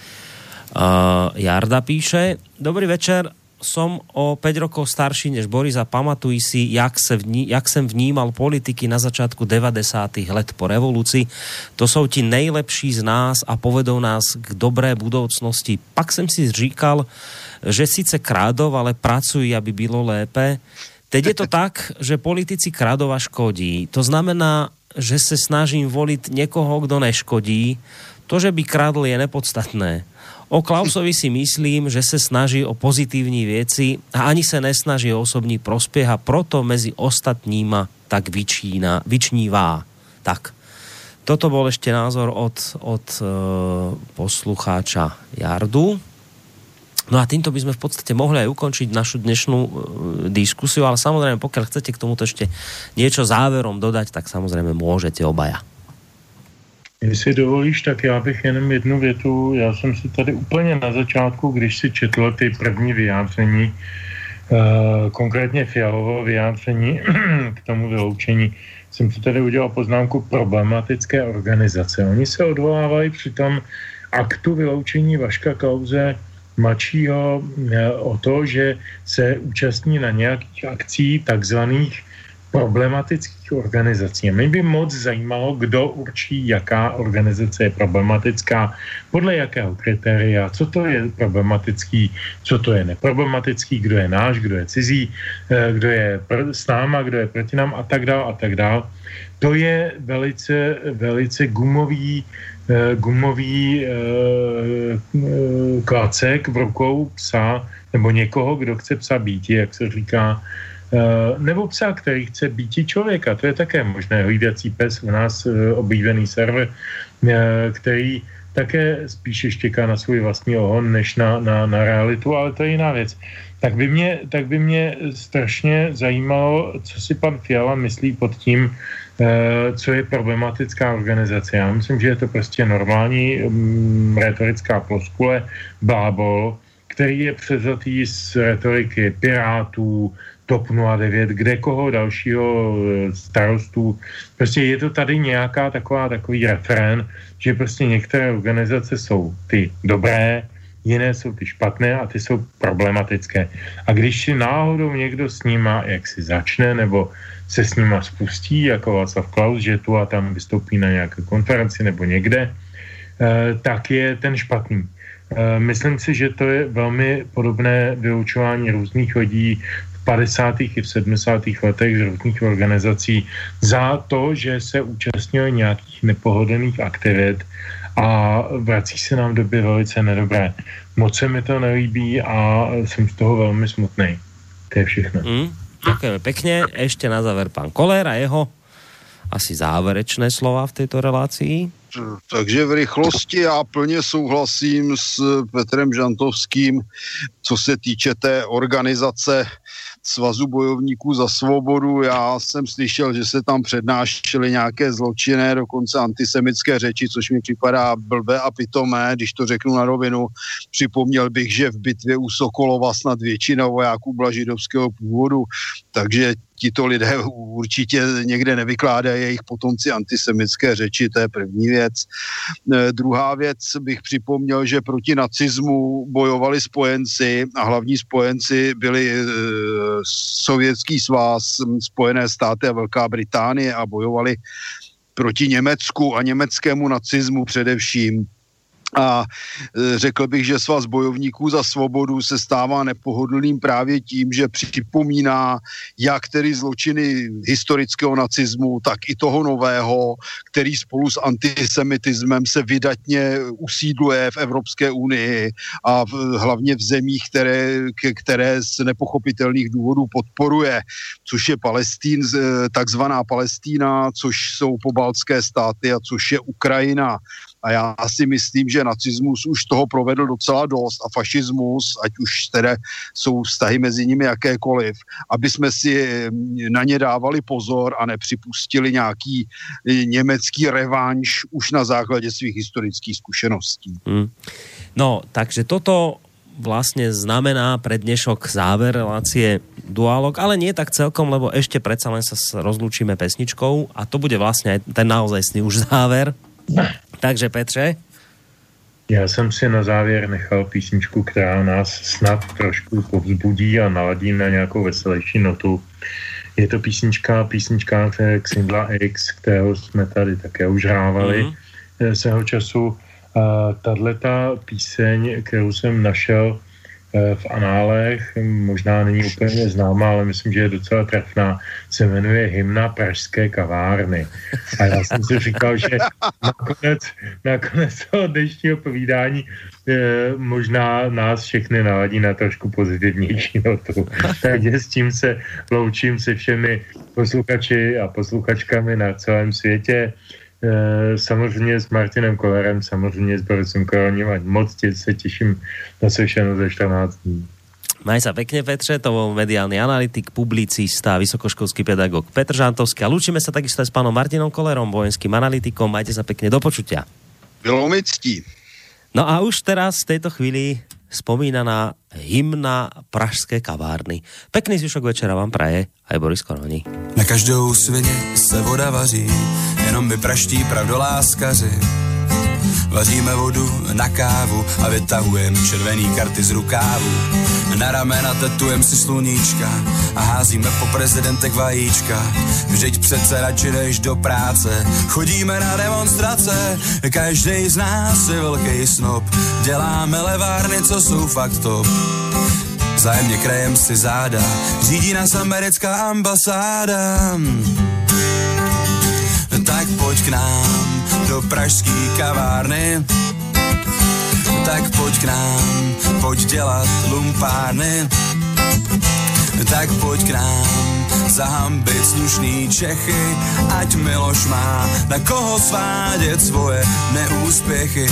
Uh, Jarda píše, dobrý večer, som o päť rokov starší než Boris a pamatuj si, jak, se vní, jak jsem vnímal politiky na začátku devadesátých let po revoluci. To jsou ti nejlepší z nás a povedou nás k dobré budoucnosti. Pak jsem si říkal, že sice krádov, ale pracují, aby bylo lépe. Teď je to tak, že politici kradov a škodí. To znamená, že se snažím voliť niekoho, kdo neškodí. To, že by kradl, je nepodstatné. O Klausovi si myslím, že se snaží o pozitívní věci a ani se nesnaží o osobní prospěch a proto mezi ostatníma tak vyčína, vyčnívá. Tak. Toto bol ešte názor od, od e, poslucháča Jardu. No a týmto by sme v podstate mohli aj ukončiť našu dnešnú e, diskusiu, ale samozrejme, pokiaľ chcete k tomuto ešte niečo záverom dodať, tak samozrejme môžete obaja. Jestli dovolíš, tak já bych jenom jednu větu. Já jsem si tady úplně na začátku, když si četl ty první vyjádření, e, konkrétně Fialovo vyjádření k tomu vyloučení, jsem si tady udělal poznámku problematické organizace. Oni se odvolávají při tom aktu vyloučení Vaška Klause mladšího o to, že se účastní na nějakých akcí takzvaných problematických organizací. Mě by moc zajímalo, kdo určí, jaká organizace je problematická, podle jakého kritéria, co to je problematický, co to je neproblematický, kdo je náš, kdo je cizí, kdo je s náma, kdo je proti nám a tak dál a tak dál. To je velice, velice gumový gumový e, klacek v rukou psa nebo někoho, kdo chce psa býti, jak se říká, e, nebo psa, který chce býti člověka. To je také možné. Hlídací pes u nás e, oblíbený server, e, který také spíše štěká na svůj vlastní ohon, než na, na, na realitu, ale to je jiná věc. Tak by mě, tak by mě strašně zajímalo, co si pan Fiala myslí pod tím, co je problematická organizace. Já myslím, že je to prostě normální um, retorická floskule, blábol, který je převzatý z retoriky Pirátů, TOP nula devět, kde koho dalšího starostů. Prostě je to tady nějaká taková, takový referén, že prostě některé organizace jsou ty dobré, jiné jsou ty špatné a ty jsou problematické. A když si náhodou někdo s nima, jak si začne, nebo se s nima spustí, jako Václav Klaus, že tu a tam vystoupí na nějaké konferenci nebo někde, tak je ten špatný. Myslím si, že to je velmi podobné vyučování různých lidí v padesátých i v sedmdesátých letech z různých organizací za to, že se účastnili nějakých nepohodlných aktivit a vrací se nám v době velice nedobré. Moc se mi to nelíbí a jsem z toho velmi smutnej. To je všechno. Mm. Ďakujeme pekne. Ešte na záver pán Koller a jeho asi záverečné slova v tejto relácii. Takže v rychlosti já plně souhlasím s Petrem Žantovským, co se týče té organizace Svazu bojovníků za svobodu. Já jsem slyšel, že se tam přednášely nějaké zločinné, dokonce antisemické řeči, což mi připadá blbé a pitomé, když to řeknu na rovinu. Připomněl bych, že v bitvě u Sokolova snad většina vojáků byla židovského původu, takže tito lidé určitě někde nevykládají jejich potomci antisemické řeči, to je první věc. E, druhá věc bych připomněl, že proti nacismu bojovali spojenci a hlavní spojenci byli e, Sovětský svaz, Spojené státy a Velká Británie a bojovali proti Německu a německému nacismu především. A řekl bych, že Svaz bojovníků za svobodu se stává nepohodlným právě tím, že připomíná jak tedy zločiny historického nacismu, tak i toho nového, který spolu s antisemitismem se vydatně usídluje v Evropské unii a v, hlavně v zemích, které, které z nepochopitelných důvodů podporuje, což je Palestín, takzvaná Palestína, což jsou pobaltské státy a což je Ukrajina. A já si myslím, že nacismus už toho provedl docela dost a fašismus, ať už teda jsou vztahy mezi nimi jakékoliv, aby jsme si na ně dávali pozor a nepřipustili nějaký německý revanš už na základě svých historických zkušeností. Hmm. No, takže toto vlastne znamená pre dnešok záver relácie Dualog, ale nie tak celkom, lebo ešte predsa len sa rozlúčime pesničkou a to bude vlastne aj ten naozajstný už záver. Takže Petře? Já jsem si na závěr nechal písničku, která nás snad trošku povzbudí a naladí na nějakou veselější notu. Je to písnička, písnička Xindla X, kterého jsme tady také už hrávali mm-hmm. svého času. A tato píseň, kterou jsem našel v análech, možná není úplně známá, ale myslím, že je docela trefná, se jmenuje Hymna pražské kavárny. A já jsem si říkal, že nakonec, nakonec toho dnešního povídání eh, možná nás všechny naladí na trošku pozitivnější notu. Takže s tím se loučím se všemi posluchači a posluchačkami na celém světě. Samozřejmě s Martinem Kollerem, samozřejmě s Borisem Koroním a moc se těším na sešenou ze čtrnáct dní. Maj sa pekne, Petře, to bol mediálny analytik, publicista, vysokoškolský pedagóg Petr Žantovský. A lúčime sa takisto aj s pánom Martinom Kollerom, vojenským analytikom. Majte sa pekne, do počutia. Bylo mi ctí. No a už teraz v tejto chvíli spomínaná hymna pražské kavárny. Pekný zvyšok večera vám praje aj Boris Koroni. Na každou svině se voda vaří, jenom my praští pravdoláskaři. Vaříme vodu na kávu a vytahujem červený karty z rukávu. Na ramena tetujem si sluníčka a házíme po prezidentech vajíčka. Vždyť přece radši než do práce chodíme na demonstrace. Každej z nás je velký snob, děláme levárny, co jsou fakt top. Vzájemně krejem si záda, řídí nás americká ambasáda. Tak pojď k nám do pražský kavárny, tak pojď k nám, pojď dělat lumpárny, tak pojď k nám zahambit slušný Čechy, ať Miloš má na koho svádět svoje neúspěchy.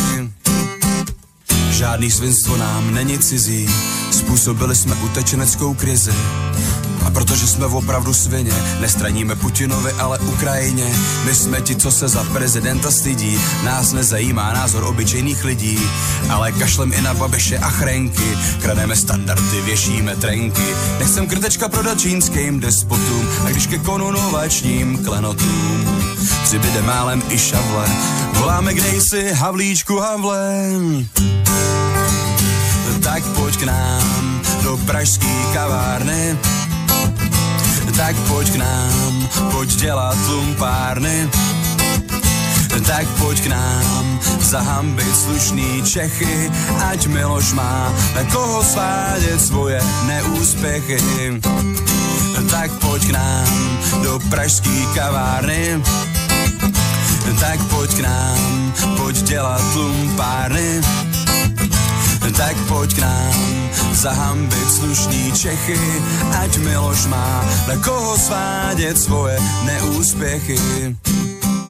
Žádný svinstvo nám není cizí, způsobili jsme utečeneckou krizi. A protože jsme opravdu svině, nestraníme Putinovi, ale Ukrajině. My jsme ti, co se za prezidenta stydí, nás nezajímá názor obyčejných lidí, ale kašlem i na Babiše a Chrenky, krademe standardy, věšíme trenky. Nechcem krtečka prodat čínským despotům, a když ke korunovačním klenotům přibyde málem i šavle, voláme kde jsi Havlíčku Havlem. Tak pojď k nám do pražský kavárny, tak pojď k nám, pojď dělat lumpárny, tak pojď k nám zahambit slušný Čechy, ať Miloš má na koho svádět svoje neúspěchy. Tak pojď k nám do pražský kavárny, tak pojď k nám, pojď dělat lumpárny, tak pojď k nám zahambit slušný Čechy, ať Miloš má na koho svádět svoje neúspěchy.